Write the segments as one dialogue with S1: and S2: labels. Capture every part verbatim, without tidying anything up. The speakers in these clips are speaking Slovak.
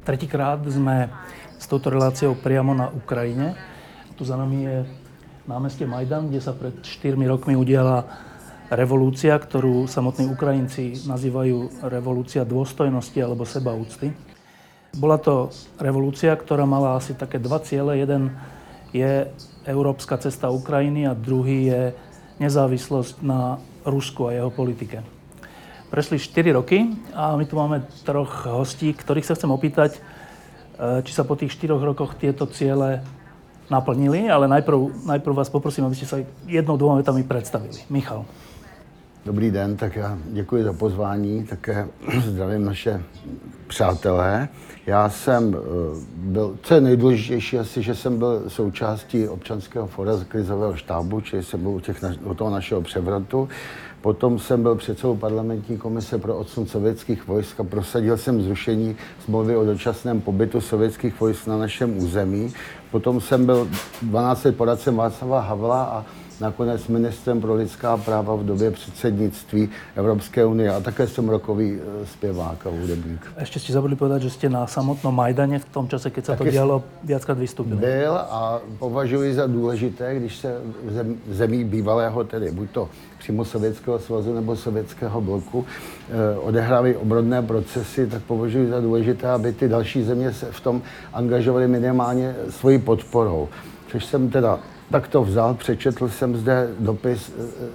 S1: Tretíkrát sme s touto reláciou priamo na Ukrajine. Tu za nami je námestie Majdan, kde sa pred štyrmi rokmi udiala revolúcia, ktorú samotní Ukrajinci nazývajú revolúcia dôstojnosti alebo sebaúcty. Bola to revolúcia, ktorá mala asi také dva ciele. Jeden je európska cesta Ukrajiny a druhý je nezávislosť na Rusku a jeho politike. Prešli štyri roky a my tu máme troch hostí, ktorých sa chcem opýtať, či sa po tých štyroch rokoch tieto ciele naplnili, ale najprv, najprv vás poprosím, aby ste sa jednou, dvoma vetami představili. Michal.
S2: Dobrý den, tak já děkuji za pozvání, také zdravím naše přátelé. Já jsem byl, co je nejdůležitější asi, že jsem byl součástí občanského fóra z krizového štábu, čili jsem byl u, těch, u toho našeho převratu. Potom jsem byl předsedou parlamentní komise pro odsun sovětských vojsk a prosadil jsem zrušení smlouvy o dočasném pobytu sovětských vojsk na našem území. Potom jsem byl dvanáct let poradcem Václava Havla a nakonec ministrem pro lidská práva v době předsednictví Evropské unie a také jsem rokový zpěvák a hudebník.
S1: Ešte ste zabudli povedať, že ste na samotnom Majdane v tom čase, keď sa to dialo, viackrát vystúpili.
S2: Byl a považuji za důležité, když se v, zem, v zemí bývalého, tedy buď to přímo Sovětského svazu nebo Sovětského bloku, eh, odehrávají obrodné procesy, tak považuji za důležité, aby ty další země se v tom angažovaly minimálně svojí podporou. Což jsem teda tak to vzal, přečetl jsem zde dopis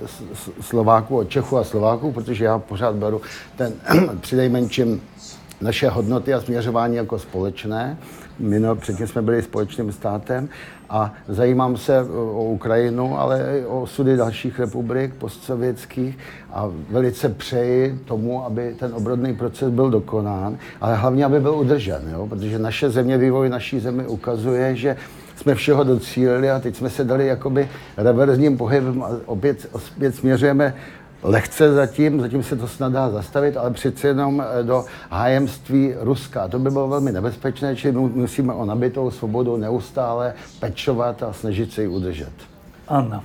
S2: Slováků od Čechů a Slováků, protože já pořád beru ten přinejmenším naše hodnoty a směřování jako společné. My no, předtím jsme byli společným státem a zajímám se o Ukrajinu, ale i o osudy dalších republik postsovětských a velice přeji tomu, aby ten obrodný proces byl dokonán, ale hlavně, aby byl udržen, jo? Protože naše země, vývoj naší zemi ukazuje, že jsme všeho docílili a teď jsme se dali jakoby reverzním pohybem a opět, opět směřujeme lehce zatím, zatím se to snad dá zastavit, ale přeci jenom do hájemství Ruska. To by bylo velmi nebezpečné, čili musíme o nabitou svobodu neustále pečovat a snažit se ji udržet.
S1: Anna,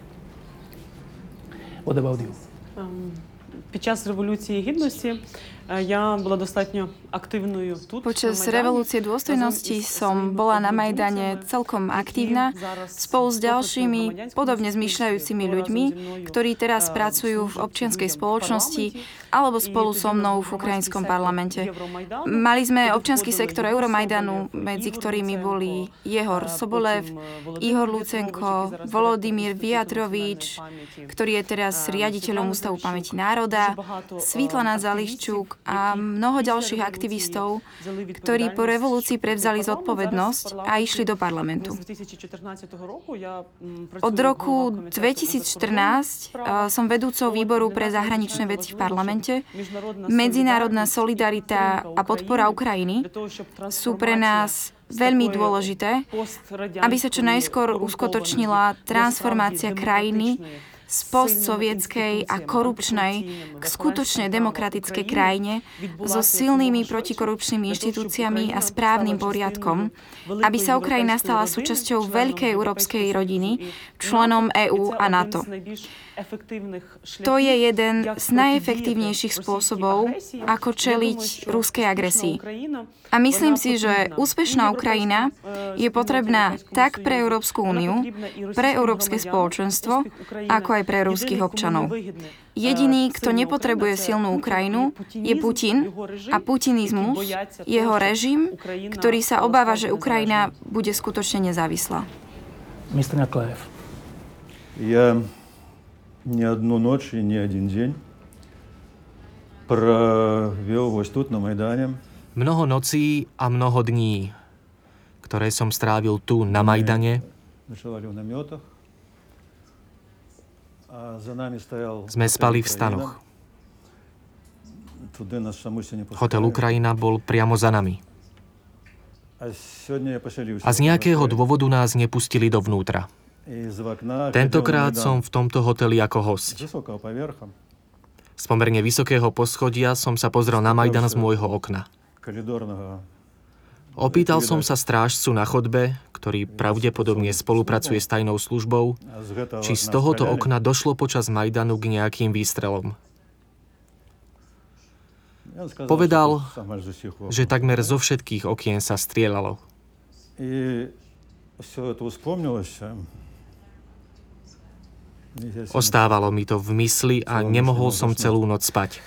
S1: what about you?
S3: Під час Революції Гідності я була достатньо активною тут.
S4: Počas revolúcie dôstojnosti som bola na Majdane celkom aktívna spolu s ďalšími podobne zmýšľajúcimi ľuďmi, ktorí teraz pracujú v občianskej spoločnosti alebo spolu so mnou v ukrajinskom parlamente. Mali sme občiansky sektor Euromajdanu, medzi ktorými boli Jehor Sobolev, Ihor Lucenko, Volodymyr Viatrovič, ktorý je teraz riaditeľom Ústavu pamäti národa, Svítlana Zališčuk a mnoho ďalších aktivistov, ktorí po revolúcii prevzali zodpovednosť a išli do parlamentu. Od roku dvetisícštrnásť som vedúcou výboru pre zahraničné veci v parlamente. Medzinárodná solidarita a podpora Ukrajiny sú pre nás veľmi dôležité, aby sa čo najskôr uskutočnila transformácia krajiny z postsovietskej a korupčnej k skutočne demokratickej krajine so silnými protikorupčnými inštitúciami a správnym poriadkom, aby sa Ukrajina stala súčasťou veľkej európskej rodiny, členom EÚ a NATO. To je jeden z najefektívnejších spôsobov, ako čeliť ruskej agresii. A myslím si, že úspešná Ukrajina je potrebná tak pre Európsku úniu, pre Európske spoločenstvo, ako aj pre ruských občanov. Jediný, kto nepotrebuje silnú Ukrajinu, je Putin a putinizmus, jeho režim, ktorý sa obáva, že Ukrajina bude skutočne nezávislá.
S1: mister Nekliev.
S5: Ja ни одну ночь и ни один день провел вот тут, на Майдане.
S6: Mnoho nocí a mnoho dní, ktoré som strávil tu, na Majdane, sme spali v stanoch. Hotel Ukrajina bol priamo za nami. A z nejakého dôvodu nás nepustili dovnútra. Tentokrát som v tomto hoteli ako hosť. Z pomerne vysokého poschodia som sa pozrel na Majdan z môjho okna. Opýtal som sa strážcu na chodbe, ktorý pravdepodobne spolupracuje s tajnou službou, či z tohoto okna došlo počas Majdanu k nejakým výstrelom. Povedal, že takmer zo všetkých okien sa strieľalo. Ostávalo mi to v mysli a nemohol som celú noc spať.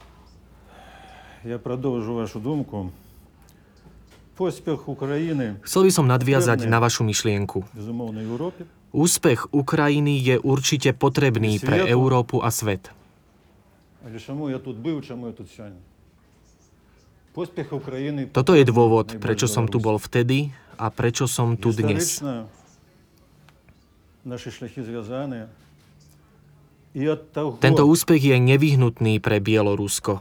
S6: Chcel by som nadviazať na vašu myšlienku. Úspech Ukrajiny je určite potrebný pre Európu a svet. Toto je dôvod, prečo som tu bol vtedy a prečo som tu dnes. Tento úspech je nevyhnutný pre Bielorusko.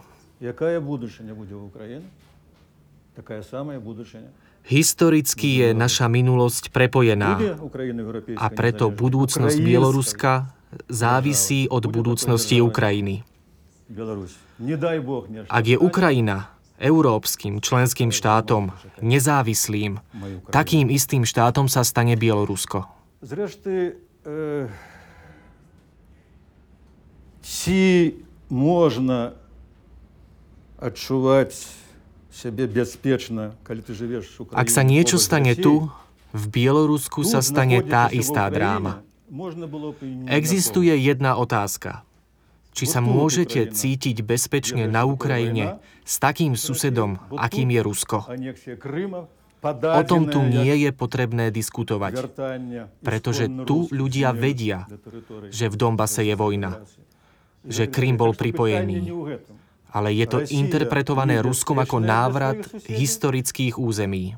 S6: Historicky je naša minulosť prepojená a preto budúcnosť Bieloruska závisí od budúcnosti Ukrajiny. Ak je Ukrajina európskym členským štátom, nezávislým, takým istým štátom sa stane Bielorusko.
S5: Či možno odčúvať sebe bezpečne, keď ty žiješ v Ukrajine.
S6: Ak sa niečo stane tu, v Bielorusku sa stane tá istá dráma. Existuje jedna otázka. Či sa môžete cítiť bezpečne na Ukrajine s takým susedom, akým je Rusko? O tom tu nie je potrebné diskutovať, pretože tu ľudia vedia, že v Donbase je vojna, že Krym bol pripojený. Ale je to interpretované Ruskom ako návrat historických území.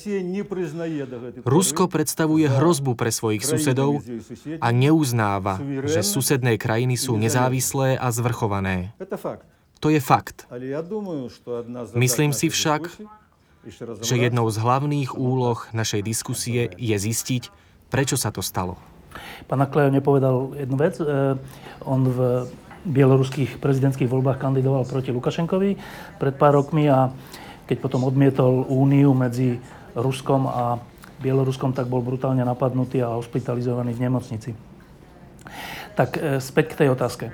S6: Rusko predstavuje hrozbu pre svojich susedov a neuznáva, že susedné krajiny sú nezávislé a zvrchované. To je fakt. Myslím si však, že jednou z hlavných úloh našej diskusie je zistiť, prečo sa to stalo.
S1: Pán Naklejov nepovedal jednu vec. On v bieloruských prezidentských voľbách kandidoval proti Lukašenkovi pred pár rokmi a keď potom odmietol úniu medzi Ruskom a Bieloruskom, tak bol brutálne napadnutý a hospitalizovaný v nemocnici. Tak späť k tej otázke.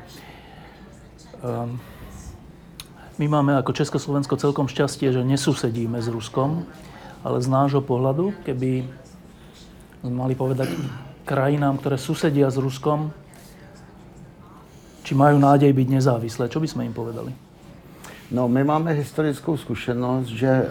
S1: My máme ako Československo celkom šťastie, že nesusedíme s Ruskom, ale z nášho pohľadu, keby sme mali povedať krajinám, ktoré susedia s Ruskom, či majú nádej byť nezávislé. Čo by sme im povedali?
S2: No, my máme historickou zkušenost, že e,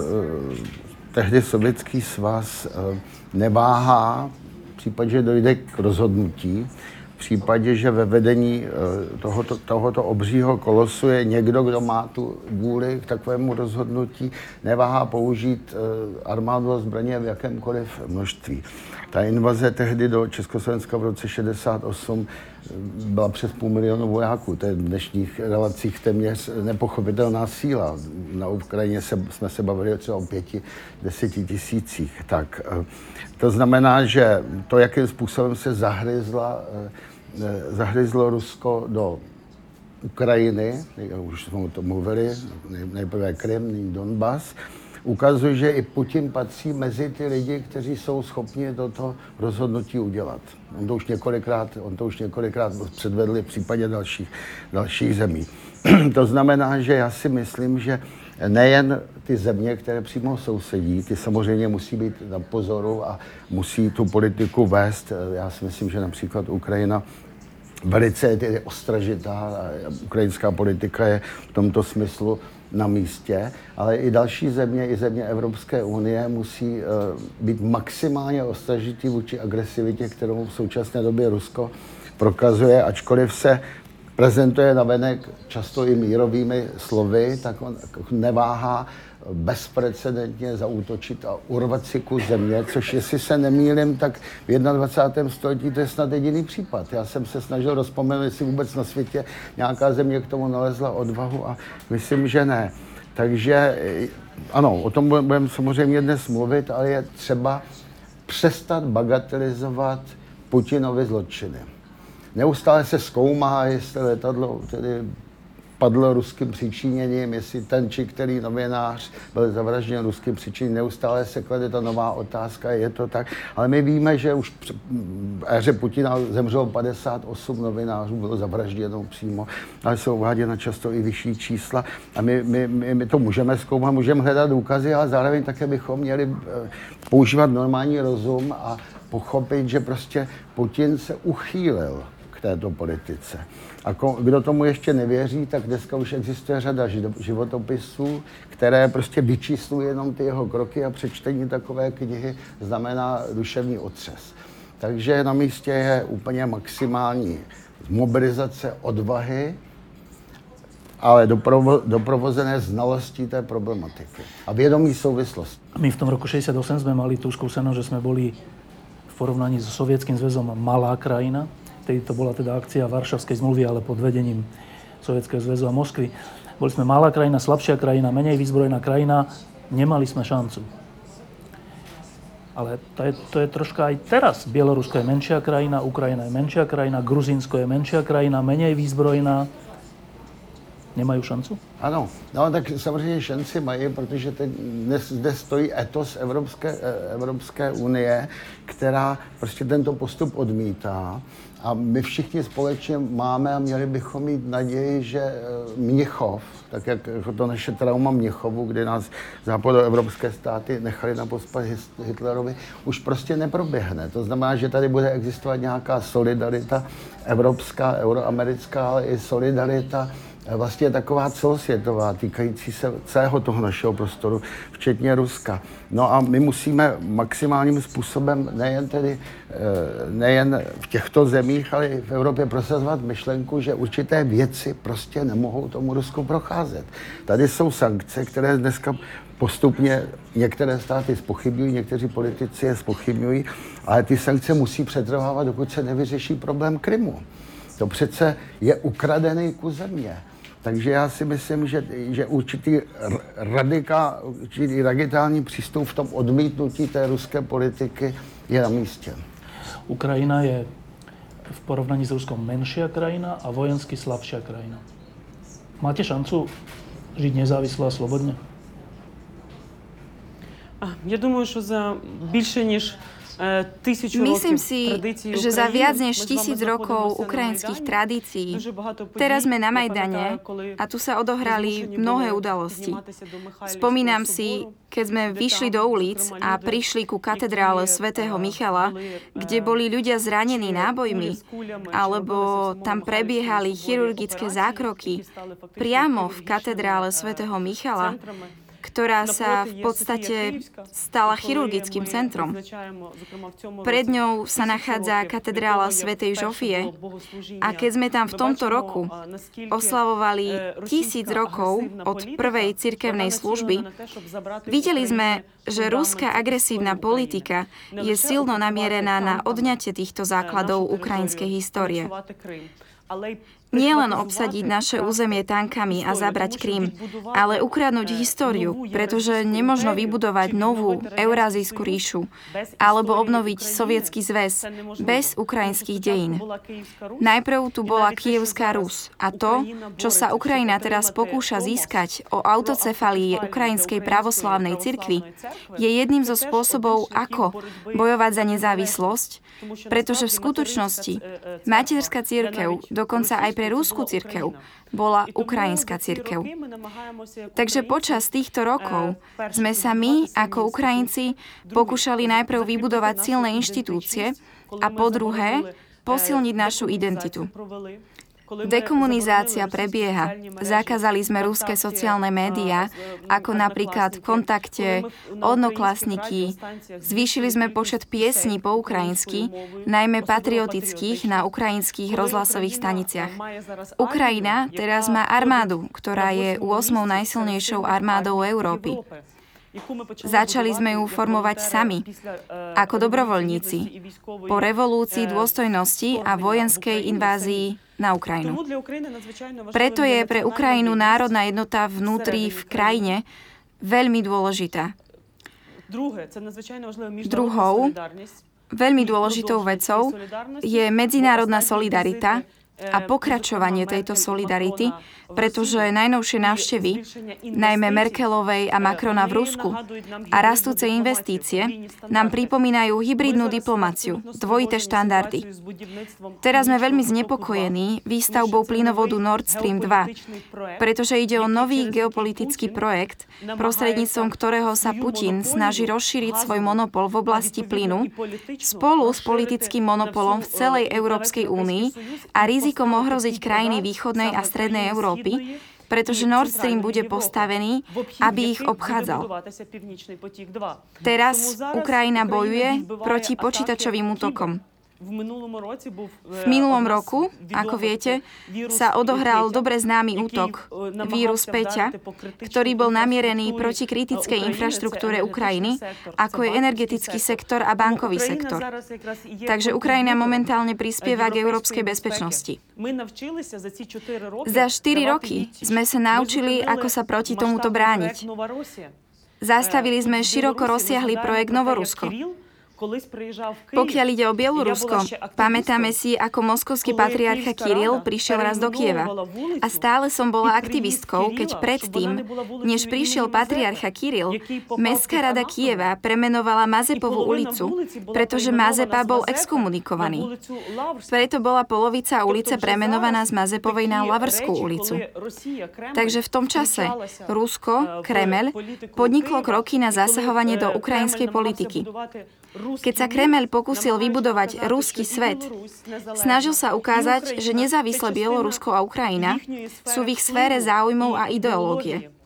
S2: tehdy Sovětský svaz e, neváhá v případě, že dojde k rozhodnutí, v případě, že ve vedení e, tohoto, tohoto obřího kolosu je někdo, kdo má tu vůli k takovému rozhodnutí, neváhá použít e, armádu a zbraně v jakémkoliv množství. Ta invaze tehdy do Československa v roce šedesát osm byla přes půl milionu vojáků. To je v dnešních relacích téměř nepochopitelná síla. Na Ukrajině se, jsme se bavili třeba o pěti, deseti tisících. Tak, to znamená, že to, jakým způsobem se zahryzla, zahryzlo Rusko do Ukrajiny, už jsme o tom mluvili, nejprve Krym, Donbas, ukazuje, že i Putin patří mezi ty lidi, kteří jsou schopni toto rozhodnutí udělat. On to už několikrát, on to už několikrát předvedli v případě dalších, dalších zemí. To znamená, že já si myslím, že nejen ty země, které přímo sousedí, ty samozřejmě musí být na pozoru a musí tu politiku vést. Já si myslím, že například Ukrajina velice je ostražitá, ukrajinská politika je v tomto smyslu na místě, ale i další země, i země Evropské unie musí uh, být maximálně ostražitý vůči agresivitě, kterou v současné době Rusko prokazuje, ačkoliv se prezentuje navenek často i mírovými slovy, tak on neváhá bezprecedentně zaútočit a urvat si kus země, což jestli se nemýlím, tak v dvacátém prvním století to je snad jediný případ. Já jsem se snažil rozpomenout, jestli vůbec na světě nějaká země k tomu nalezla odvahu a myslím, že ne. Takže ano, o tom budeme samozřejmě dnes mluvit, ale je třeba přestat bagatelizovat Putinovy zločiny. Neustále se zkoumá, jestli letadlo tedy padl ruským přičiněním, jestli ten či který novinář byl zavražděn ruským přičiněním. Neustále se klade ta nová otázka, je to tak. Ale my víme, že už v éře Putina zemřelo padesát osm novinářů, bylo zavražděno přímo, ale jsou uváděna často i vyšší čísla. A my, my, my, my to můžeme zkoumat, můžeme hledat důkazy, ale zároveň také bychom měli používat normální rozum a pochopit, že prostě Putin se uchýlil k této politice. A kdo tomu ještě nevěří, tak dneska už existuje řada životopisů, které prostě vyčíslují jenom ty jeho kroky a přečtení takové knihy znamená duševní otřes. Takže na místě je úplně maximální mobilizace odvahy, ale doprovo, doprovozené znalostí té problematiky a vědomí souvislosti.
S1: My v tom roku šesťdesiatosem sme mali tú skúsenosť, že sme boli v porovnaní so Sovietským zväzom malá krajina. Vtedy to bola teda akcia Varšavskej zmluvy, ale pod vedením Sovietskeho zväzu a Moskvy. Boli sme malá krajina, slabšia krajina, menej vyzbrojená krajina, nemali sme šancu. Ale to je, to je troška aj teraz. Bielorusko je menšia krajina, Ukrajina je menšia krajina, Gruzínsko je menšia krajina, menej výzbrojená. Nemají šancu?
S2: Ano, no tak samozřejmě šanci mají, protože teď dnes zde stojí etos Evropské, Evropské unie, která prostě tento postup odmítá. A my všichni společně máme a měli bychom mít naději, že Mnichov, tak jak to naše trauma Mnichovu, kdy nás západoevropské státy nechali na pospas Hitlerovi, už prostě neproběhne. To znamená, že tady bude existovat nějaká solidarita evropská, euroamerická, ale i solidarita vlastně taková celosvětová, týkající se celého toho našeho prostoru, včetně Ruska. No a my musíme maximálním způsobem nejen tedy, nejen v těchto zemích, ale i v Evropě prosazovat myšlenku, že určité věci prostě nemohou tomu Rusku procházet. Tady jsou sankce, které dneska postupně některé státy zpochybňují, někteří politici je zpochybňují, ale ty sankce musí přetrvávat, dokud se nevyřeší problém Krymu. To přece je ukradený kus země. Takže já si myslím, že, že určitý radikál, určitý radikální přístup v tom odmítnutí té ruské politiky je na místě.
S1: Ukrajina je v porovnaní s Ruskom menšia krajina a vojensky slabšia krajina. Máte šancu žiť nezávisle a slobodne?
S3: Я думаю, що за більше ніж
S4: Myslím si, že za viac než tisíc rokov ukrajinských tradícií teraz sme na Majdane a tu sa odohrali mnohé udalosti. Spomínam si, keď sme vyšli do ulic a prišli ku katedrále svätého Michala, kde boli ľudia zranení nábojmi, alebo tam prebiehali chirurgické zákroky priamo v katedrále svätého Michala, ktorá sa v podstate stala chirurgickým centrom. Pred ňou sa nachádza katedrála svätej Žofie a keď sme tam v tomto roku oslavovali tisíc rokov od prvej cirkevnej služby, videli sme, že ruská agresívna politika je silno namierená na odňatie týchto základov ukrajinskej histórie. Nie len obsadiť naše územie tankami a zabrať Krym, ale ukradnúť históriu, pretože nemožno vybudovať novú Eurázijskú ríšu alebo obnoviť Sovietsky zväz bez ukrajinských dejín. Najprv tu bola Kyjevská Rus a to, čo sa Ukrajina teraz pokúša získať o autocefalii Ukrajinskej pravoslávnej cirkvi, je jedným zo spôsobov, ako bojovať za nezávislosť, pretože v skutočnosti materská cirkev, dokonca aj pre Ruskú cirkev, bola ukrajinská cirkev. Takže počas týchto rokov sme sa my, ako Ukrajinci, pokúšali najprv vybudovať silné inštitúcie a po druhé posilniť našu identitu. Dekomunizácia prebieha. Zakázali sme ruské sociálne médiá, ako napríklad Kontakte, Odnoklasniky. Zvýšili sme počet piesní po ukrajinsky, najmä patriotických na ukrajinských rozhlasových staniciach. Ukrajina teraz má armádu, ktorá je ôsmou najsilnejšou armádou Európy. Začali sme ju formovať sami, ako dobrovoľníci, po revolúcii dôstojnosti a vojenskej invázii na Ukrajinu. Preto je pre Ukrajinu národná jednota vnútri v krajine veľmi dôležitá. Druhou, veľmi dôležitou vecou je medzinárodná solidarita a pokračovanie tejto solidarity, pretože najnovšie návštevy, najmä Merkelovej a Macrona v Rusku a rastúce investície, nám pripomínajú hybridnú diplomáciu, dvojité štandardy. Teraz sme veľmi znepokojení výstavbou plynovodu Nord Stream dva, pretože ide o nový geopolitický projekt, prostredníctvom ktorého sa Putin snaží rozšíriť svoj monopol v oblasti plynu spolu s politickým monopolom v celej Európskej únii a rizikom ohroziť krajiny východnej a strednej Európy, pretože Nord Stream bude postavený, aby ich obchádzal. Teraz Ukrajina bojuje proti počítačovým útokom. V minulom roku, ako viete, sa odohral dobre známy útok, vírus Peťa, ktorý bol namierený proti kritickej infraštruktúre Ukrajiny, ako je energetický sektor a bankový sektor. Takže Ukrajina momentálne prispieva k európskej bezpečnosti. Za štyri roky sme sa naučili, ako sa proti tomuto brániť. Zastavili sme široko rozsiahly projekt Novorusko. Pokiaľ ide o Bielorusko, pamätáme si, ako moskovský patriarcha Kiril prišiel raz do Kieva. A stále som bola aktivistkou, keď predtým, než prišiel patriarcha Kiril, Mestská rada Kieva premenovala Mazepovú ulicu, pretože Mazepa bol exkomunikovaný. Preto bola polovica ulice premenovaná z Mazepovej na Lavrskú ulicu. Takže v tom čase Rusko, Kremeľ, podniklo kroky na zasahovanie do ukrajinskej politiky. Keď sa Kremeľ pokúsil vybudovať ruský svet, snažil sa ukázať, že nezávisle Bielorusko a Ukrajina sú v ich sfére záujmov a ideológie.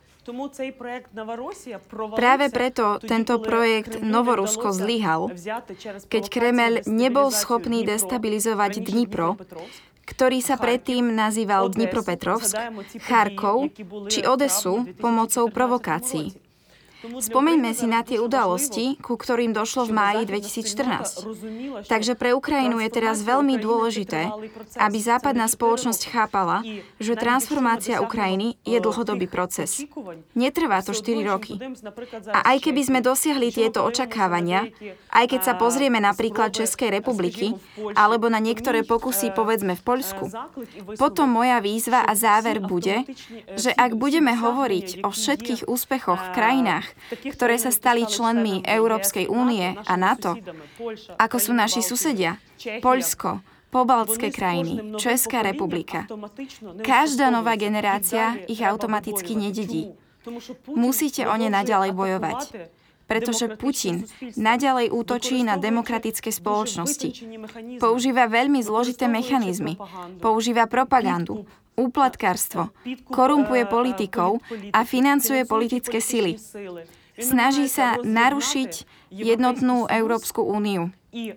S4: Práve preto tento projekt Novorusko zlyhal, keď Kremeľ nebol schopný destabilizovať Dnipro, ktorý sa predtým nazýval Dnipropetrovsk, Charkov či Odesu pomocou provokácií. Spomeňme si na tie udalosti, ku ktorým došlo v máji dvetisícštrnásť. Takže pre Ukrajinu je teraz veľmi dôležité, aby západná spoločnosť chápala, že transformácia Ukrajiny je dlhodobý proces. Netrvá to štyri roky. A aj keby sme dosiahli tieto očakávania, aj keď sa pozrieme napríklad Českej republiky, alebo na niektoré pokusy povedzme v Poľsku, potom moja výzva a záver bude, že ak budeme hovoriť o všetkých úspechoch v krajinách, ktoré sa stali členmi Európskej únie a NATO, ako sú naši susedia, Poľsko, pobaltské krajiny, Česká republika. Každá nová generácia ich automaticky nededí. Musíte o ne naďalej bojovať, pretože Putin naďalej útočí na demokratické spoločnosti. Používa veľmi zložité mechanizmy. Používa propagandu, úplatkárstvo, korumpuje politikov a financuje politické sily. Snaží sa narušiť jednotnú Európsku úniu,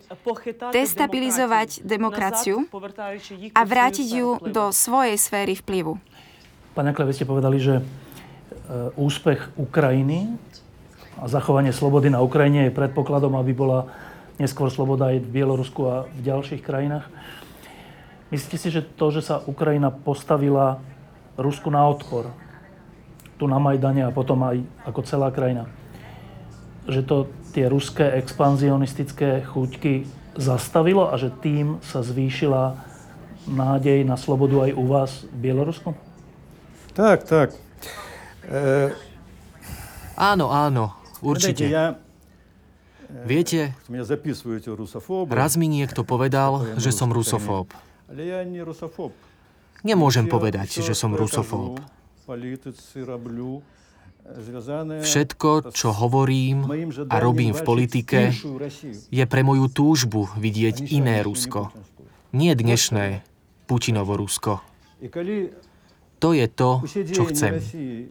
S4: destabilizovať demokraciu a vrátiť ju do svojej sféry vplyvu.
S1: Pani Akle, vy ste povedali, že úspech Ukrajiny a zachovanie slobody na Ukrajine je predpokladom, aby bola neskôr sloboda aj v Bielorusku a v ďalších krajinách. Myslíte si, že to, že sa Ukrajina postavila Rusku na odpor, tu na Majdane a potom aj ako celá krajina, že to tie ruské expanzionistické chuťky zastavilo a že tým sa zvýšila nádej na slobodu aj u vás v Bielorusku?
S5: Tak, tak. E...
S6: Áno, áno, určite. Viete, raz mi niekto povedal, že som rusofób. Nemôžem povedať, že som rusofób. Všetko, čo hovorím a robím v politike, je pre moju túžbu vidieť iné Rusko. Nie dnešné Putinovo Rusko. To je to, čo chcem.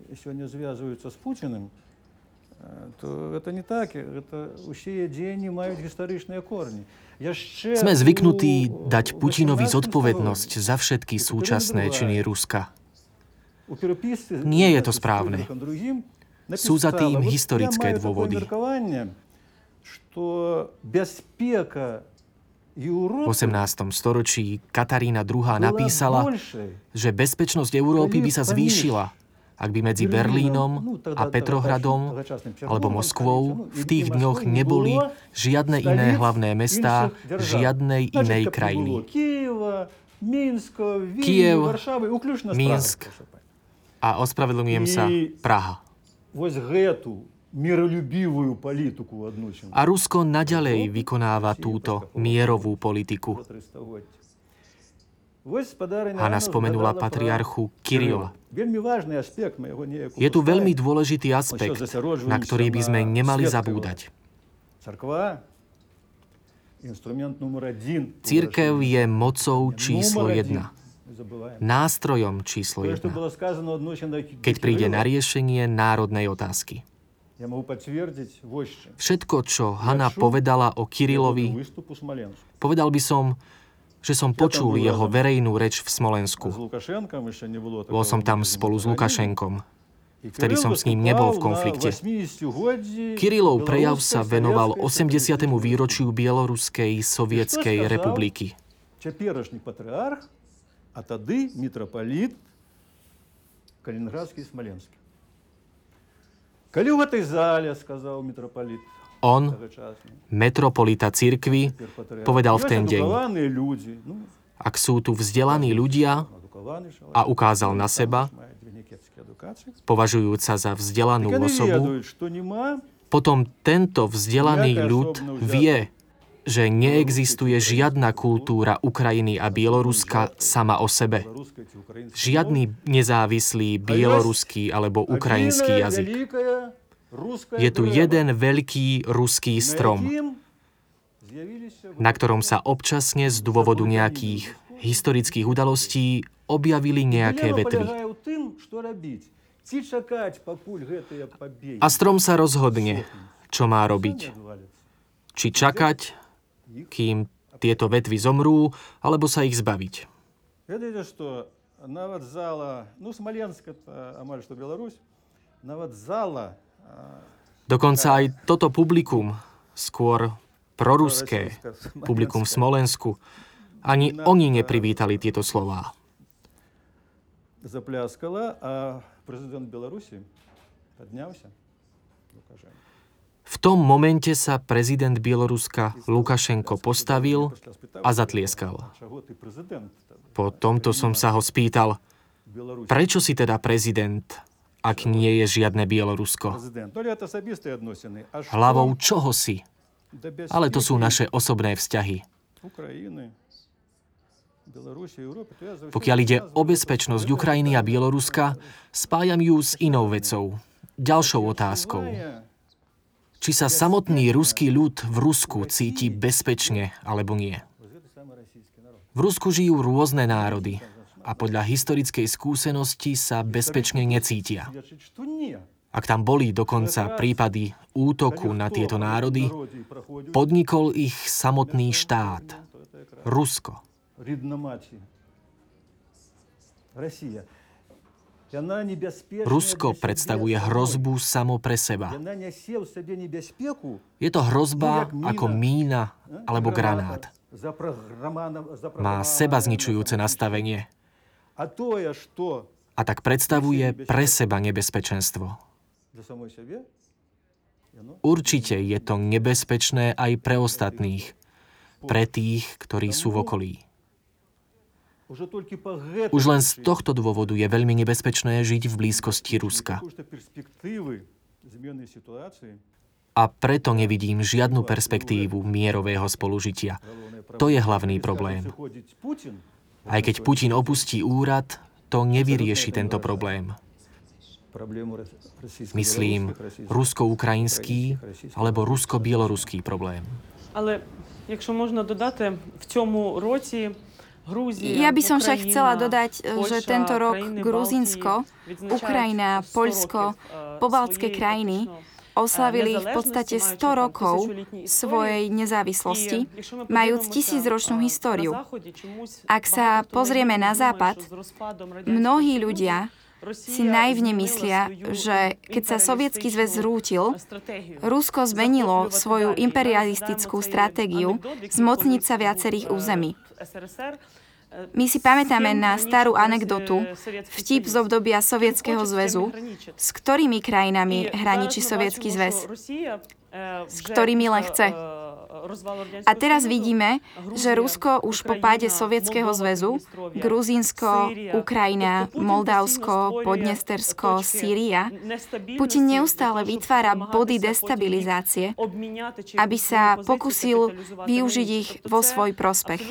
S6: Sme zvyknutí dať Putinovi zodpovednosť za všetky súčasné činy Ruska. Nie je to správne. Sú za tým historické dôvody. V osemnástom storočí Katarína druhá. napísala, že bezpečnosť Európy by sa zvýšila, ak by medzi Berlínom a Petrohradom alebo Moskvou v tých dňoch neboli žiadne iné hlavné mestá žiadnej inej krajiny. Kyjev, Minsk a ospravedlňujem sa, Praha. A Rusko naďalej vykonáva túto mierovú politiku. Hanna spomenula patriarchu Kirila. Je tu veľmi dôležitý aspekt, na ktorý by sme nemali zabúdať. Cirkev je mocou číslo jedna. Nástrojom číslo jedna. Keď príde na riešenie národnej otázky. Všetko, čo Hanna povedala o Kirilovi, povedal by som, že som počul jeho verejnú reč v Smolensku. Bol som tam spolu s Lukašenkom. Vtedy som s ním nebol v konflikte. Kirilov prejav sa venoval osemdesiatemu výročiu Bieloruskej sovietskej republiky.
S5: A tady митрополит Калининградский Смоленский. Коли в этой зале, сказал митрополит,
S6: on, metropolita cirkvi, povedal v ten deň: ak sú tu vzdelaní ľudia, a ukázal na seba, považujúca za vzdelanú osobu, potom tento vzdelaný ľud vie, že neexistuje žiadna kultúra Ukrajiny a Bieloruska sama o sebe. Žiadny nezávislý bieloruský alebo ukrajinský jazyk. Je tu jeden veľký ruský strom, na ktorom sa občasne z dôvodu nejakých historických udalostí objavili nejaké vetvy. A strom sa rozhodne, čo má robiť. Či čakať, kým tieto vetvy zomrú, alebo sa ich zbaviť.
S5: Видите, что навод зала, ну, Смоленск это амаль что Беларусь, навод зала.
S6: Dokonca aj toto publikum, skôr proruské publikum v Smolensku, ani oni neprivítali tieto slová.
S5: Запляскала, а президент Беларуси поднялся.
S6: V tom momente sa prezident Bieloruska Lukašenko postavil a zatlieskal. Po tomto som sa ho spýtal, prečo si teda prezident, ak nie je žiadne Bielorusko? Hlavou čoho si? Ale to sú naše osobné vzťahy. Pokiaľ ide o bezpečnosť Ukrajiny a Bieloruska, spájam ju s inou vecou, ďalšou otázkou. Či sa samotný ruský ľud v Rusku cíti bezpečne, alebo nie. V Rusku žijú rôzne národy a podľa historickej skúsenosti sa bezpečne necítia. Ak tam boli dokonca prípady útoku na tieto národy, podnikol ich samotný štát, Rusko. Rusko predstavuje hrozbu samo pre seba. Je to hrozba ako mína alebo granát. Má sebazničujúce nastavenie. A tak predstavuje pre seba nebezpečenstvo. Určite je to nebezpečné aj pre ostatných, pre tých, ktorí sú v okolí. Už len z tohto dôvodu je veľmi nebezpečné žiť v blízkosti Ruska. A preto nevidím žiadnu perspektívu mierového spolužitia. To je hlavný problém. Aj keď Putin opustí úrad, to nevyrieši tento problém. Myslím, rusko-ukrajinský alebo rusko-bieloruský problém.
S3: Ale, якщо можна додати, в цьому році
S4: Ja by som však chcela dodať, že tento rok Gruzínsko, Ukrajina, Poľsko, pobaltské krajiny oslavili v podstate sto rokov svojej nezávislosti, majúc tisícročnú históriu. Ak sa pozrieme na západ, mnohí ľudia si naivne myslia, že keď sa Sovietsky zväz zrútil, Rusko zmenilo svoju imperialistickú stratégiu zmocniť sa viacerých území. My si pamätáme na starú anekdotu, vtip z obdobia Sovietskeho zväzu, s ktorými krajinami hraničí Sovietsky zväz, s ktorými len chce. A teraz vidíme, že Rusko už po páde Sovietskeho zväzu, Gruzínsko, Ukrajina, Moldavsko, Podnestersko, Sýria, Putin neustále vytvára body destabilizácie, aby sa pokusil využiť ich vo svoj prospech.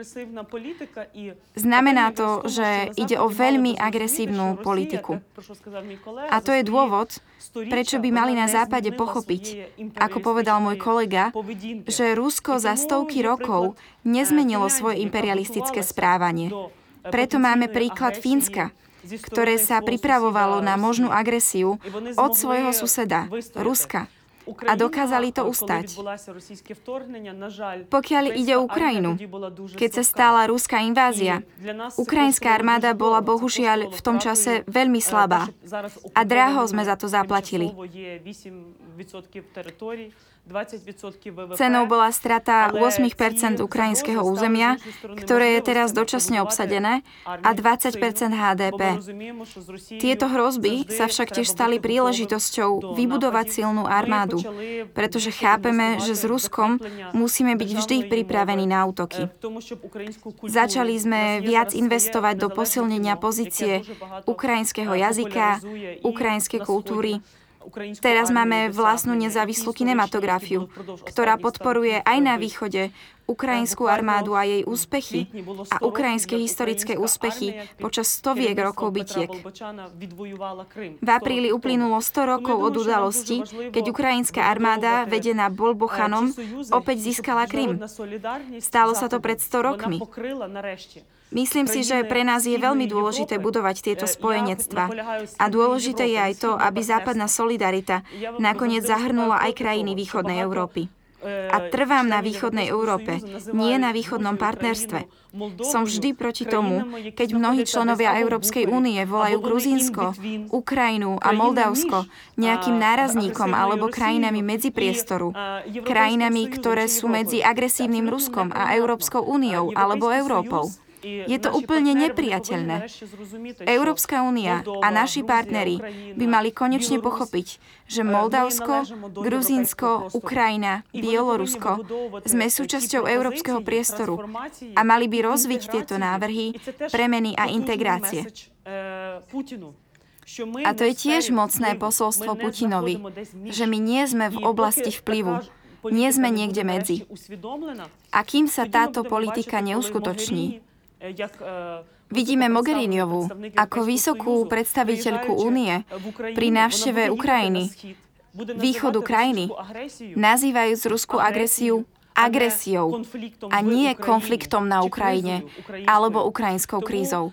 S4: Znamená to, že ide o veľmi agresívnu politiku. A to je dôvod, prečo by mali na Západe pochopiť, ako povedal môj kolega, že Rusko za stovky rokov nezmenilo svoje imperialistické správanie. Preto máme príklad Fínska, ktoré sa pripravovalo na možnú agresiu od svojho suseda, Ruska. A dokázali to ustať. Pokiaľ ide o Ukrajinu, keď sa stala ruská invázia, ukrajinská armáda bola bohužiaľ v tom čase veľmi slabá. A draho sme za to zaplatili. Cenou bola strata osem percent ukrajinského územia, ktoré je teraz dočasne obsadené, a dvadsať percent há dé pé. Tieto hrozby sa však tiež stali príležitosťou vybudovať silnú armádu, pretože chápeme, že s Ruskom musíme byť vždy pripravení na útoky. Začali sme viac investovať do posilnenia pozície ukrajinského jazyka, ukrajinskej kultúry. Teraz máme vlastnú nezávislú kinematografiu, ktorá podporuje aj na východe ukrajinskú armádu a jej úspechy a ukrajinské historické úspechy počas stoviek rokov bitiek. V apríli uplynulo sto rokov od udalosti, keď ukrajinská armáda, vedená Bolbochanom, opäť získala Krym. Stalo sa to pred sto rokmi. Myslím si, že pre nás je veľmi dôležité budovať tieto spojenectvá. A dôležité je aj to, aby západná solidarita nakoniec zahrnula aj krajiny východnej Európy. A trvám na východnej Európe, nie na východnom partnerstve. Som vždy proti tomu, keď mnohí členovia Európskej únie volajú Gruzínsko, Ukrajinu a Moldavsko nejakým nárazníkom alebo krajinami medzipriestoru. Krajinami, ktoré sú medzi agresívnym Ruskom a Európskou úniou alebo Európou. Je to úplne nepriateľné. Európska únia a naši partneri by mali konečne pochopiť, že Moldavsko, Gruzínsko, Ukrajina, Bielorusko sme súčasťou európskeho priestoru a mali by rozviť tieto návrhy premeny a integrácie. A to je tiež mocné posolstvo Putinovi, že my nie sme v oblasti vplyvu. Nie sme niekde medzi. A kým sa táto politika neuskutoční, vidíme Mogheriniovú ako vysokú predstaviteľku Únie pri návšteve Ukrajiny, východu krajiny, nazývajúc ruskú agresiu agresiou a nie konfliktom na Ukrajine alebo ukrajinskou krízou.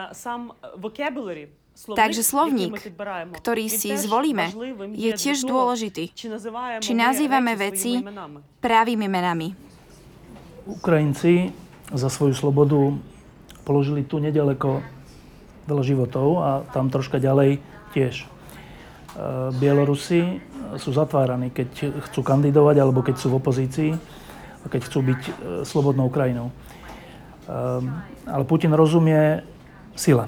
S4: Takže slovník, ktorý si zvolíme, je tiež dôležitý. Či nazývame veci pravými menami.
S1: Ukrajinci za svoju slobodu položili tu nedaleko veľa životov a tam troška ďalej tiež. Bielorusi sú zatváraní, keď chcú kandidovať alebo keď sú v opozícii a keď chcú byť slobodnou krajinou. Ale Putin rozumie sile.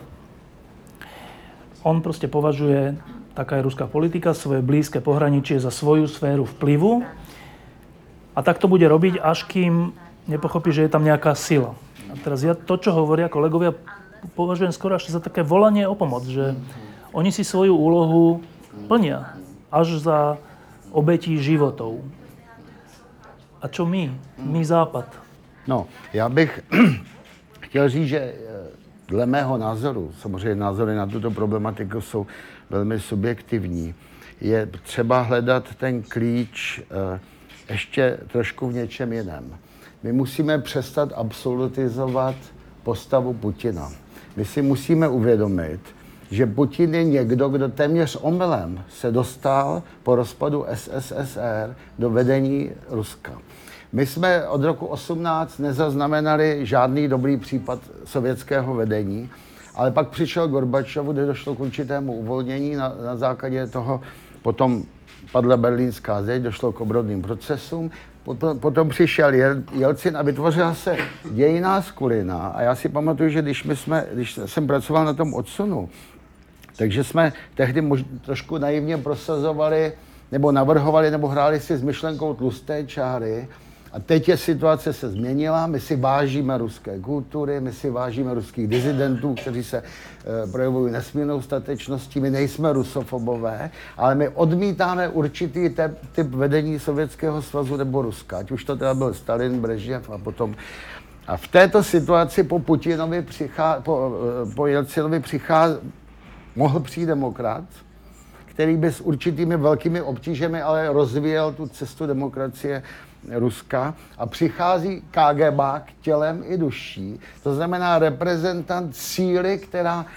S1: On proste považuje, taká je ruská politika, svoje blízke pohraničie za svoju sféru vplyvu a tak to bude robiť, až kým nepochopí, že je tam nejaká sila. A teraz ja to, čo hovoria kolegovia, považujem skoro až za také volanie o pomoc, že oni si svoju úlohu plnia až za obetí životov. A čo my? My Západ.
S2: No, já bych chtěl říct, že dle mého názoru, samozřejmě názory na tuto problematiku jsou velmi subjektivní, je třeba hledat ten klíč ještě trošku v něčem jiném. My musíme přestat absolutizovat postavu Putina. My si musíme uvědomit, že Putin je někdo, kdo téměř omylem se dostal po rozpadu es es es er do vedení Ruska. My jsme od roku osmnáct nezaznamenali žádný dobrý případ sovětského vedení, ale pak přišel Gorbačov, kde došlo k určitému uvolnění na, na základě toho, potom padla berlínská zeď, došlo k obrodným procesům. Potom, potom přišel Jelcin a vytvořila se dějinná skulina. A já si pamatuju, že když, my jsme, když jsem pracoval na tom odsunu, takže jsme tehdy mož, trošku naivně prosazovali, nebo navrhovali, nebo hráli si s myšlenkou tlusté čáry, A teď je situace se změnila, my si vážíme ruské kultury, my si vážíme ruských dizidentů, kteří se e, projevují nesmírnou statečností, my nejsme rusofobové, ale my odmítáme určitý te, typ vedení Sovětského svazu nebo Ruska, ať už to teda byl Stalin, Brežněv a potom. A v této situaci po Putinovi, přichá, po, po Jelcinovi přichází, mohl přijít demokrat, který by s určitými velkými obtížemi ale rozvíjel tu cestu demokracie Ruska a přichází KGBák tělem i duší, to znamená reprezentant síly, která